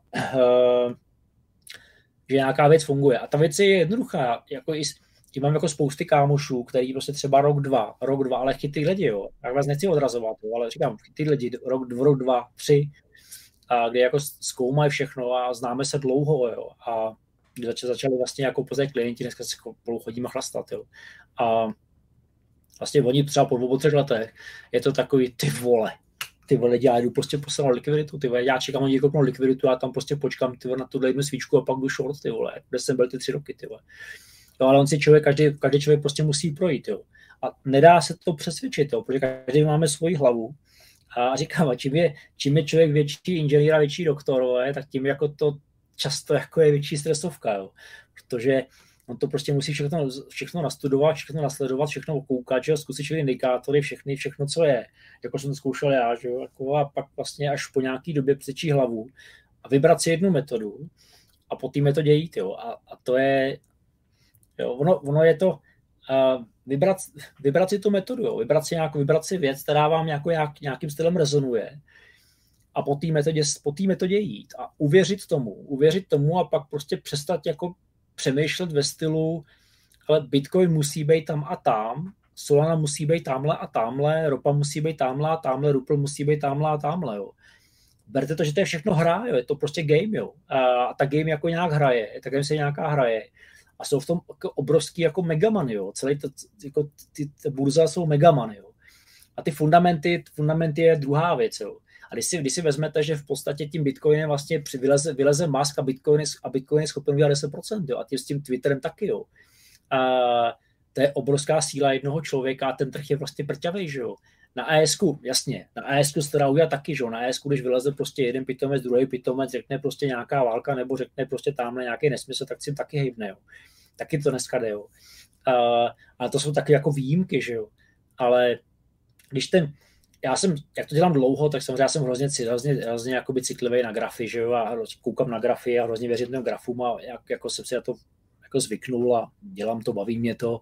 věc funguje. A ta věc je jednoduchá, jako mám jako spousty kámošů, který prostě třeba rok, dva, ale chytrý lidi, jo. Já vás nechci odrazovat, jo, ale říkám, chytrý lidi, rok, 2, 3, a kde jako zkoumají všechno a známe se dlouho, jo. A kdy začali vlastně jako později klienti, dneska se spolu chodíme chlastat, jo. A vlastně oni třeba po 2-3 letech je to takový, ty vole, já jdu prostě poslat likviditu, ty vole, já čekám, oni koupnou likviditu, já tam prostě počkám, ty vole, na tuhle jednu svíčku a pak jdu short, ty vole, kde jsem byl ty 3 roky, ty vole. Jo, ale on si každý člověk prostě musí projít, jo. A nedá se to přesvědčit, jo, protože každý máme svoji hlavu. A říkám, čím je člověk větší inženýr a větší doktor, jo, tak tím jako to často jako je větší stresovka, jo. Protože on to prostě musí všechno nastudovat, všechno nasledovat, všechno koukat, že jo, zkusit všechny indikátory, všechno, co je. Jako jsem to zkoušel já, že jo, jako a pak vlastně až po nějaký době přečí hlavu a vybrat si jednu metodu a po té metodě jít, jo. A to je jo, ono je to vybrat si tu metodu, jo, vybrat si věc, která vám nějakým stylem rezonuje a po té metodě jít a uvěřit tomu a pak prostě přestat jako přemýšlet ve stylu, ale Bitcoin musí být tam a tam, Solana musí být tamhle a tamhle, ropa musí být tamhle a tamhle, Rupl musí být tamhle a tamhle, jo. Berte to, že to je všechno hra, jo, je to prostě game, jo. A ta game jako nějak hraje, ta game se nějaká hraje. A jsou v tom jako obrovský jako megamany, jo. Celý to, jako ty burza jsou megamany, jo. A ty fundamenty je druhá věc, jo. A když si vezmete, že v podstatě tím Bitcoinem vlastně vyleze Musk a Bitcoin je schopen udělat 10%, jo. A tím s tím Twitterem taky, jo. A to je obrovská síla jednoho člověka a ten trh je prostě prťavej, že jo. Na ASku, jasně, na ASku se teda udělá taky, že jo. Na ASku, když vyleze prostě jeden pitomec, druhý pitomec, řekne prostě nějaká válka nebo řekne prostě tamhle nějaký nesmysl, tak si taky hejbne, jo. Taky to dneska jde, jo. A to jsou taky jako výjimky, že jo. Ale když jak to dělám dlouho, tak samozřejmě já jsem hrozně jakoby citlivý na grafy, že jo, a koukám na grafy a hrozně věřím těm grafům a jako jsem si na to jako zvyknul a dělám to, baví mě to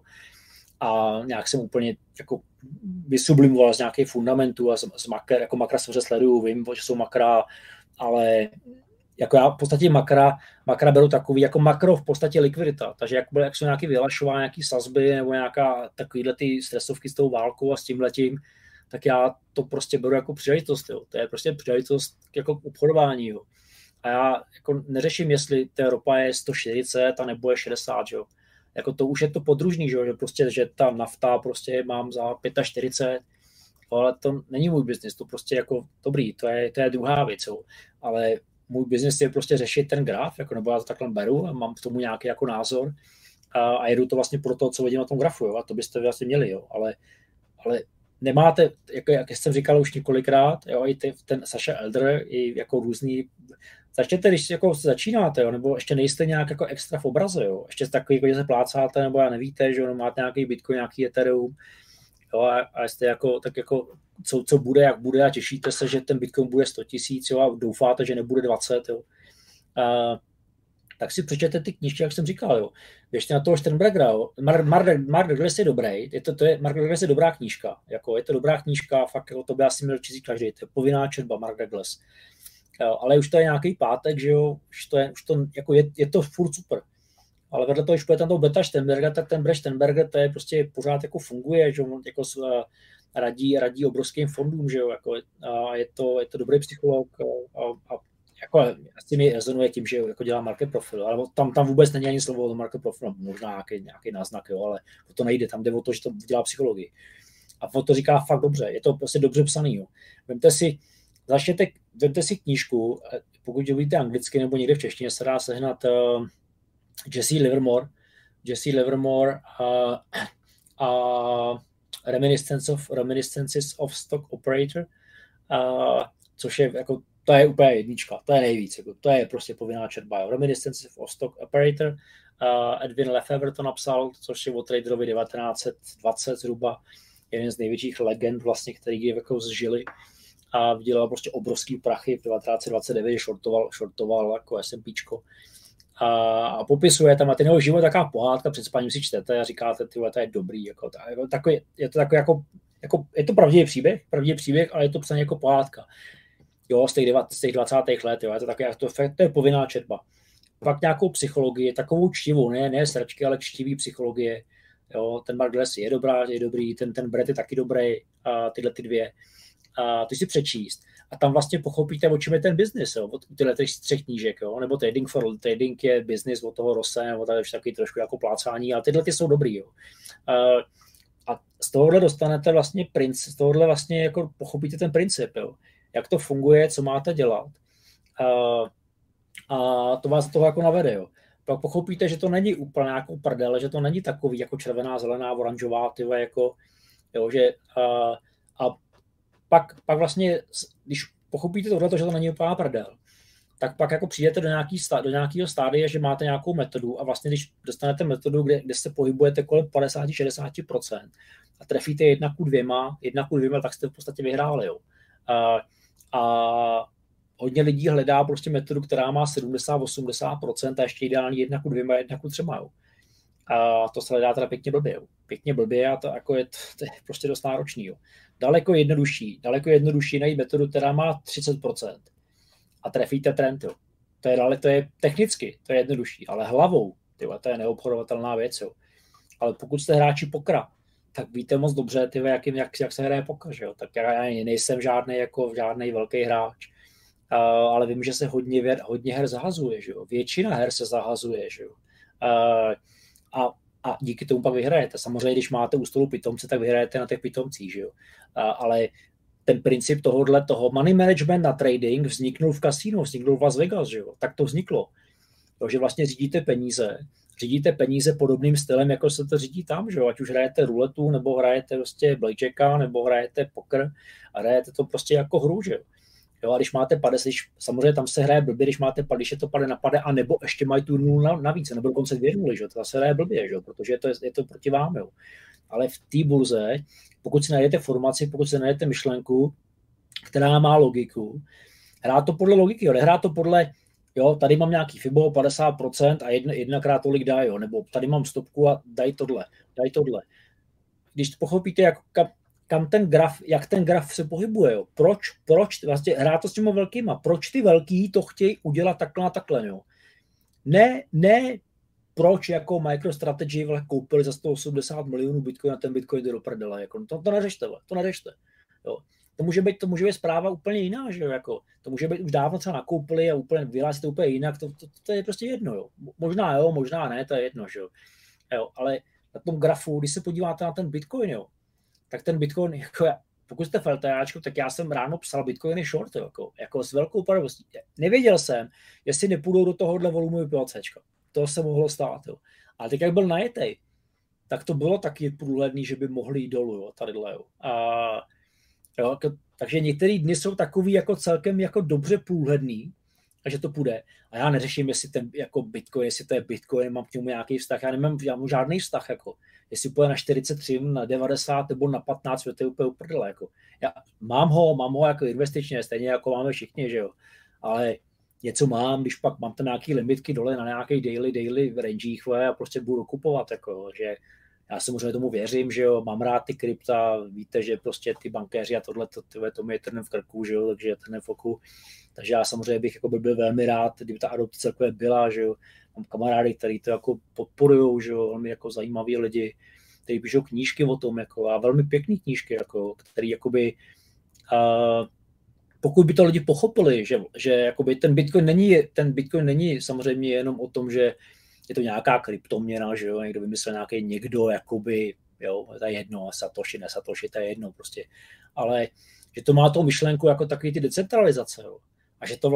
a nějak jsem úplně jako vysublimoval z nějakých fundamentů a z makra, jako makra samozřejmě sleduju, vím, že jsou makra, ale jako já v podstatě makra beru takový, jako makro v podstatě likvidita, takže jak jsou nějaké vyhlašování, nějaké sazby nebo nějaká takovýhle ty stresovky s tou válkou a s tímhletím, tak já to prostě beru jako příležitost, jo. To je prostě příležitost jako obchodování, jo. A já jako neřeším, jestli ta ropa je 140 a nebo je 60, jo. Jako to už je to podružný, že prostě, že ta nafta prostě mám za 45, ale to není můj biznis, to prostě jako dobrý, to je druhá věc, jo. Ale můj biznis je prostě řešit ten graf, jako, nebo já to takhle beru a mám k tomu nějaký jako názor a jedu to vlastně pro to, co vidím na tom grafu, jo, a to byste vlastně měli, jo, ale nemáte, jak jsem říkal už několikrát, jo, i ten Sasha Elder, i jako různý, začněte, když jako začínáte, jo, nebo ještě nejste nějak jako extra v obraze, jo, ještě takový, jako, že se plácáte, nebo já nevíte, že jo, máte nějaký Bitcoin, nějaký Ethereum, jo, a jste jako, tak jako, co bude, jak bude a těšíte se, že ten Bitcoin bude 100 000, jo, a doufáte, že nebude 20, jo. Tak si přečtěte ty knížky, jak jsem říkal, jo. Běžte na toho Sternbergera, jo. Mark Douglas je dobrý, Mark Douglas je dobrá knížka, jako je to dobrá knížka, fakt jako to by asi měl číst každý, to je povinná četba Mark Douglas. Jo, ale už to je nějaký pátek, že jo, už to jako je to furt super. Ale vedle toho, když půjde tam toho Beta Sternberga, tak ten Brett Sternberger, to je prostě pořád jako funguje, že on jako radí obrovským fondům, že jo, jako, a je to dobrý psycholog a jako asi mi rezonuje tím, že jako dělá market profil, ale tam vůbec není ani slovo o market profilu, možná nějaký náznak, jo, ale to nejde, tam jde o to, že to dělá psychologii. A on to říká fakt dobře, je to prostě dobře psaný, jo. Vemte si knížku, pokud budete anglicky nebo někde v češtině, se dá sehnat Jesse Livermore a Reminiscences of Stock Operator, což je jako, to je úplně jednička, to je nejvíc, jako, to je prostě povinná četba. Jo. Reminiscences of Stock Operator, Edwin Lefevre to napsal, což je o traderovi 1920 zhruba, jeden z největších legend vlastně, který jako zžili a vydělal prostě obrovský prachy v 1929, shortoval jako S&Pčko. A popisuje tam a ten jeho život taková pohádka, před spaním si čtete a říkáte, tyhle, to je dobrý, jako, je to takový jako je to pravdivý příběh, ale je to psaný jako pohádka. Jo, z těch 20. let, jo, je to takové, to je povinná četba. Pak nějakou psychologii, takovou čtivou, ne sračky, ale čtivý psychologie. Jo, ten Mark Douglas je dobrý, ten Brett je taky dobrý, tyhle ty dvě. Ty si přečíst. A tam vlastně pochopíte, o čem je ten biznis, jo, od tyhle 3 knížek, jo, nebo Trading je business od toho Rosse, nebo tady už taky trošku jako plácání, ale tyhle ty jsou dobrý, jo. A z tohohle dostanete vlastně z tohohle vlastně jako pochopíte ten princip, jo. Jak to funguje, co máte dělat. A to vás toho jako navede, jo. Pak pochopíte, že to není úplně jako prdele, že to není takový jako červená, zelená, oranžová, tyhle jako, jo, že a pak vlastně, když pochopíte tohle, že to není úplně prdel, tak pak jako přijdete do nějakého stádia, že máte nějakou metodu a vlastně, když dostanete metodu, kde se pohybujete kolem 50-60% a trefíte 1:2, tak jste v podstatě vyhráli, jo. A hodně lidí hledá prostě metodu, která má 70-80% a ještě ideální 1:2, 1:3, jo. A to se hledá teda pěkně blbě a to jako je prostě dost náročný, jo. Daleko jednodušší najít metodu, která má 30% a trefíte trend, jo. To je technicky, to je jednodušší, ale hlavou, tyhle, to je neobchodovatelná věc, jo. Ale pokud jste hráči pokra, tak víte moc dobře, jak se hraje poker, jo. Tak já nejsem žádný velký hráč, ale vím, že se hodně her zahazuje, že jo. Většina her se zahazuje, že jo. A díky tomu pak vyhrajete. Samozřejmě, když máte u stolu pitomce, tak vyhrajete na těch pitomcích, že jo. Ale ten princip toho money management na trading vzniknul v kasínu, vzniknul v Las Vegas, že jo. Tak to vzniklo. Jo, že vlastně řídíte peníze podobným stylem, jako se to řídí tam, že jo. Ať už hrajete ruletu, nebo hrajete prostě blackjacka, nebo hrajete poker a hrajete to prostě jako hru, že jo. Jo, a když máte pade, samozřejmě tam se hraje blbě, když je to pade na pade, a nebo ještě mají tu nulu navíc, nebo dokonce 2 nuly, že? To se hraje blbě, že? Protože je to proti vám. Jo. Ale v té burze, pokud si najdete formaci, pokud si najdete myšlenku, která má logiku, hrá to podle logiky, jo. Nehrá to podle, jo, tady mám nějaký FIBO 50% a jednakrát tolik dá, jo, nebo tady mám stopku a daj tohle. Když pochopíte, jak ten graf se pohybuje, jo. Proč vlastně hrát to s těmi velkýma, proč ty velký to chtějí udělat takhle, jo. Ne, proč jako MicroStrategy koupili za 180 milionů Bitcoin a ten Bitcoin jde do prdele, jako, to neřešte, jo. To může být zpráva úplně jiná, že jo, jako, to může být už dávno třeba nakoupili a úplně vyhlásí to úplně jinak, to je prostě jedno, jo. Možná ne, to je jedno, že jo. Ale na tom grafu, když se podíváte na ten Bitcoin, jo, tak ten Bitcoin, jako pokud jste feltajáčku, tak já jsem ráno psal Bitcoin je short, jako s velkou pravostí. Nevěděl jsem, jestli nepůjdou do tohohle volumu PLCčka. To se mohlo stát, jo. Ale teď jak byl najetej, tak to bylo taky průhledný, že by mohli jít dolů, jo, tadyhle, jo. Jo, takže některé dny jsou takový jako celkem jako dobře průhledný, a že to půjde. A já neřeším, jestli ten jako Bitcoin, jestli to je Bitcoin, mám k němu nějaký vztah, já nemám žádný vztah, jako. Jestli půjde na 43, na 90 nebo na 15, to je úplně uprdele, jako. Já mám ho jako investičně, stejně jako máme všichni, že jo. Ale něco mám, když pak mám tam nějaký limitky dole na nějaký daily rangech a prostě budu kupovat, jako, že já samozřejmě tomu věřím, že jo, mám rád ty krypta, víte, že prostě ty bankéři a tohle, to mi je trnem v krku, že jo, takže je trnem v oku. Takže já samozřejmě bych jako byl velmi rád, kdyby ta adopce celkově byla, že jo. Mám kamarády, kteří to jako podporujou, že jo, velmi jako zajímaví lidi, kteří píšou knížky o tom, jako, a velmi pěkný knížky, jako, který jakoby, pokud by to lidi pochopili, že jakoby ten Bitcoin není samozřejmě jenom o tom, že je to nějaká kryptoměna, že jo, někdo vymyslel někdo, jakoby, jo, to je jedno, Satoshi, ne Satoshi, to je jedno prostě, ale že to má tou myšlenku jako takový ty decentralizace, jo, a že to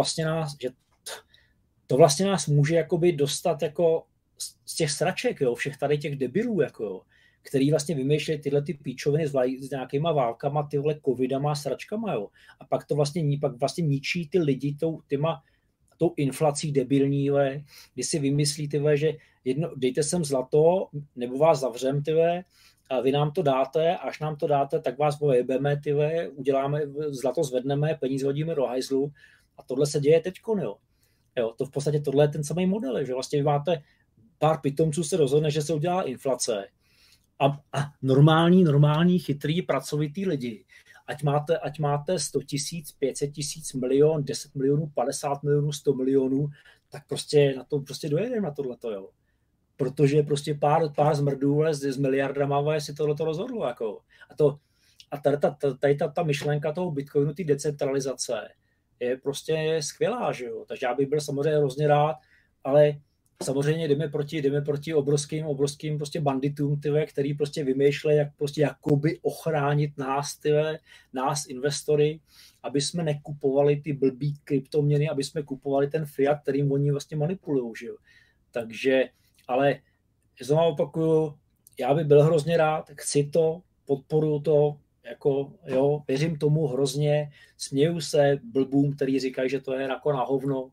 vlastně nás může jakoby dostat jako z těch sraček, jo, všech tady těch debilů, jako jo, který vlastně vymýšlejí tyhle ty píčoviny s nějakýma válkama, tyhle covidama a sračkama, jo, a pak to vlastně ničí ty lidi tou inflací debilní, kdy si vymyslí, že dejte sem zlato, nebo vás zavřem, a vy nám to dáte, až nám to dáte, tak vás pojebeme, uděláme, zlato zvedneme, peníze hodíme do hajzlu a tohle se děje teďko, jo. To v podstatě tohle je ten samý model, že vlastně vy máte pár pitomců se rozhodne, že se udělá inflace a normální, chytrý, pracovitý lidi, ať máte 100 000, 500 000, milion, 10 milionů, 50 milionů, 100 milionů, tak prostě na to prostě dojedeme na tohleto, jo. Protože prostě pár zmrdů s miliardama si tohleto rozhodlo, jako. A tady ta myšlenka toho Bitcoinu, ty decentralizace, je prostě skvělá, že jo. Takže já bych byl samozřejmě hrozně rád, ale samozřejmě jdeme proti obrovským prostě banditům, který prostě vymýšlejí, jak prostě jakoby ochránit nás investory, aby jsme nekupovali ty blbý kryptoměny, aby jsme kupovali ten fiat, kterým oni vlastně manipulují, že jo. Takže, ale znovu opakuju, já bych byl hrozně rád, chci to, podporuju to, jako, jo, věřím tomu hrozně, směju se blbům, který říkají, že to je jako na hovno,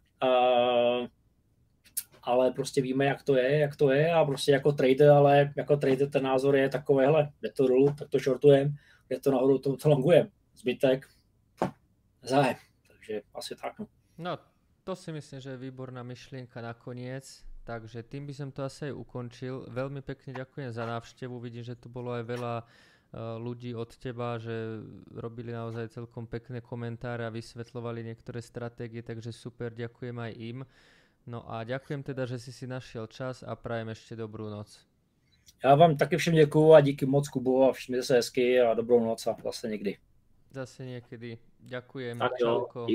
ale prostě víme, jak to je a prostě jako trader ten názor je takový, hele, jde to dolů, tak to shortujem, jde to nahoru, to longujem, zbytek zájem, takže asi tak. No, to si myslím, že je výborná myšlienka nakoniec, takže tým by som to asi aj ukončil. Veľmi pekne ďakujem za návštevu, vidím, že tu bolo aj veľa ľudí od teba, že robili naozaj celkom pekné komentáre a vysvetľovali niektoré stratégie, takže super, ďakujem aj im. No a ďakujem teda, že si našiel čas a prajem ešte dobrú noc. Já vám taky všem děkuju a díky moc, Kubo, a všem se hezky a dobrou noc a zase někdy. Zase niekedy. Ďakujem. Tak jo.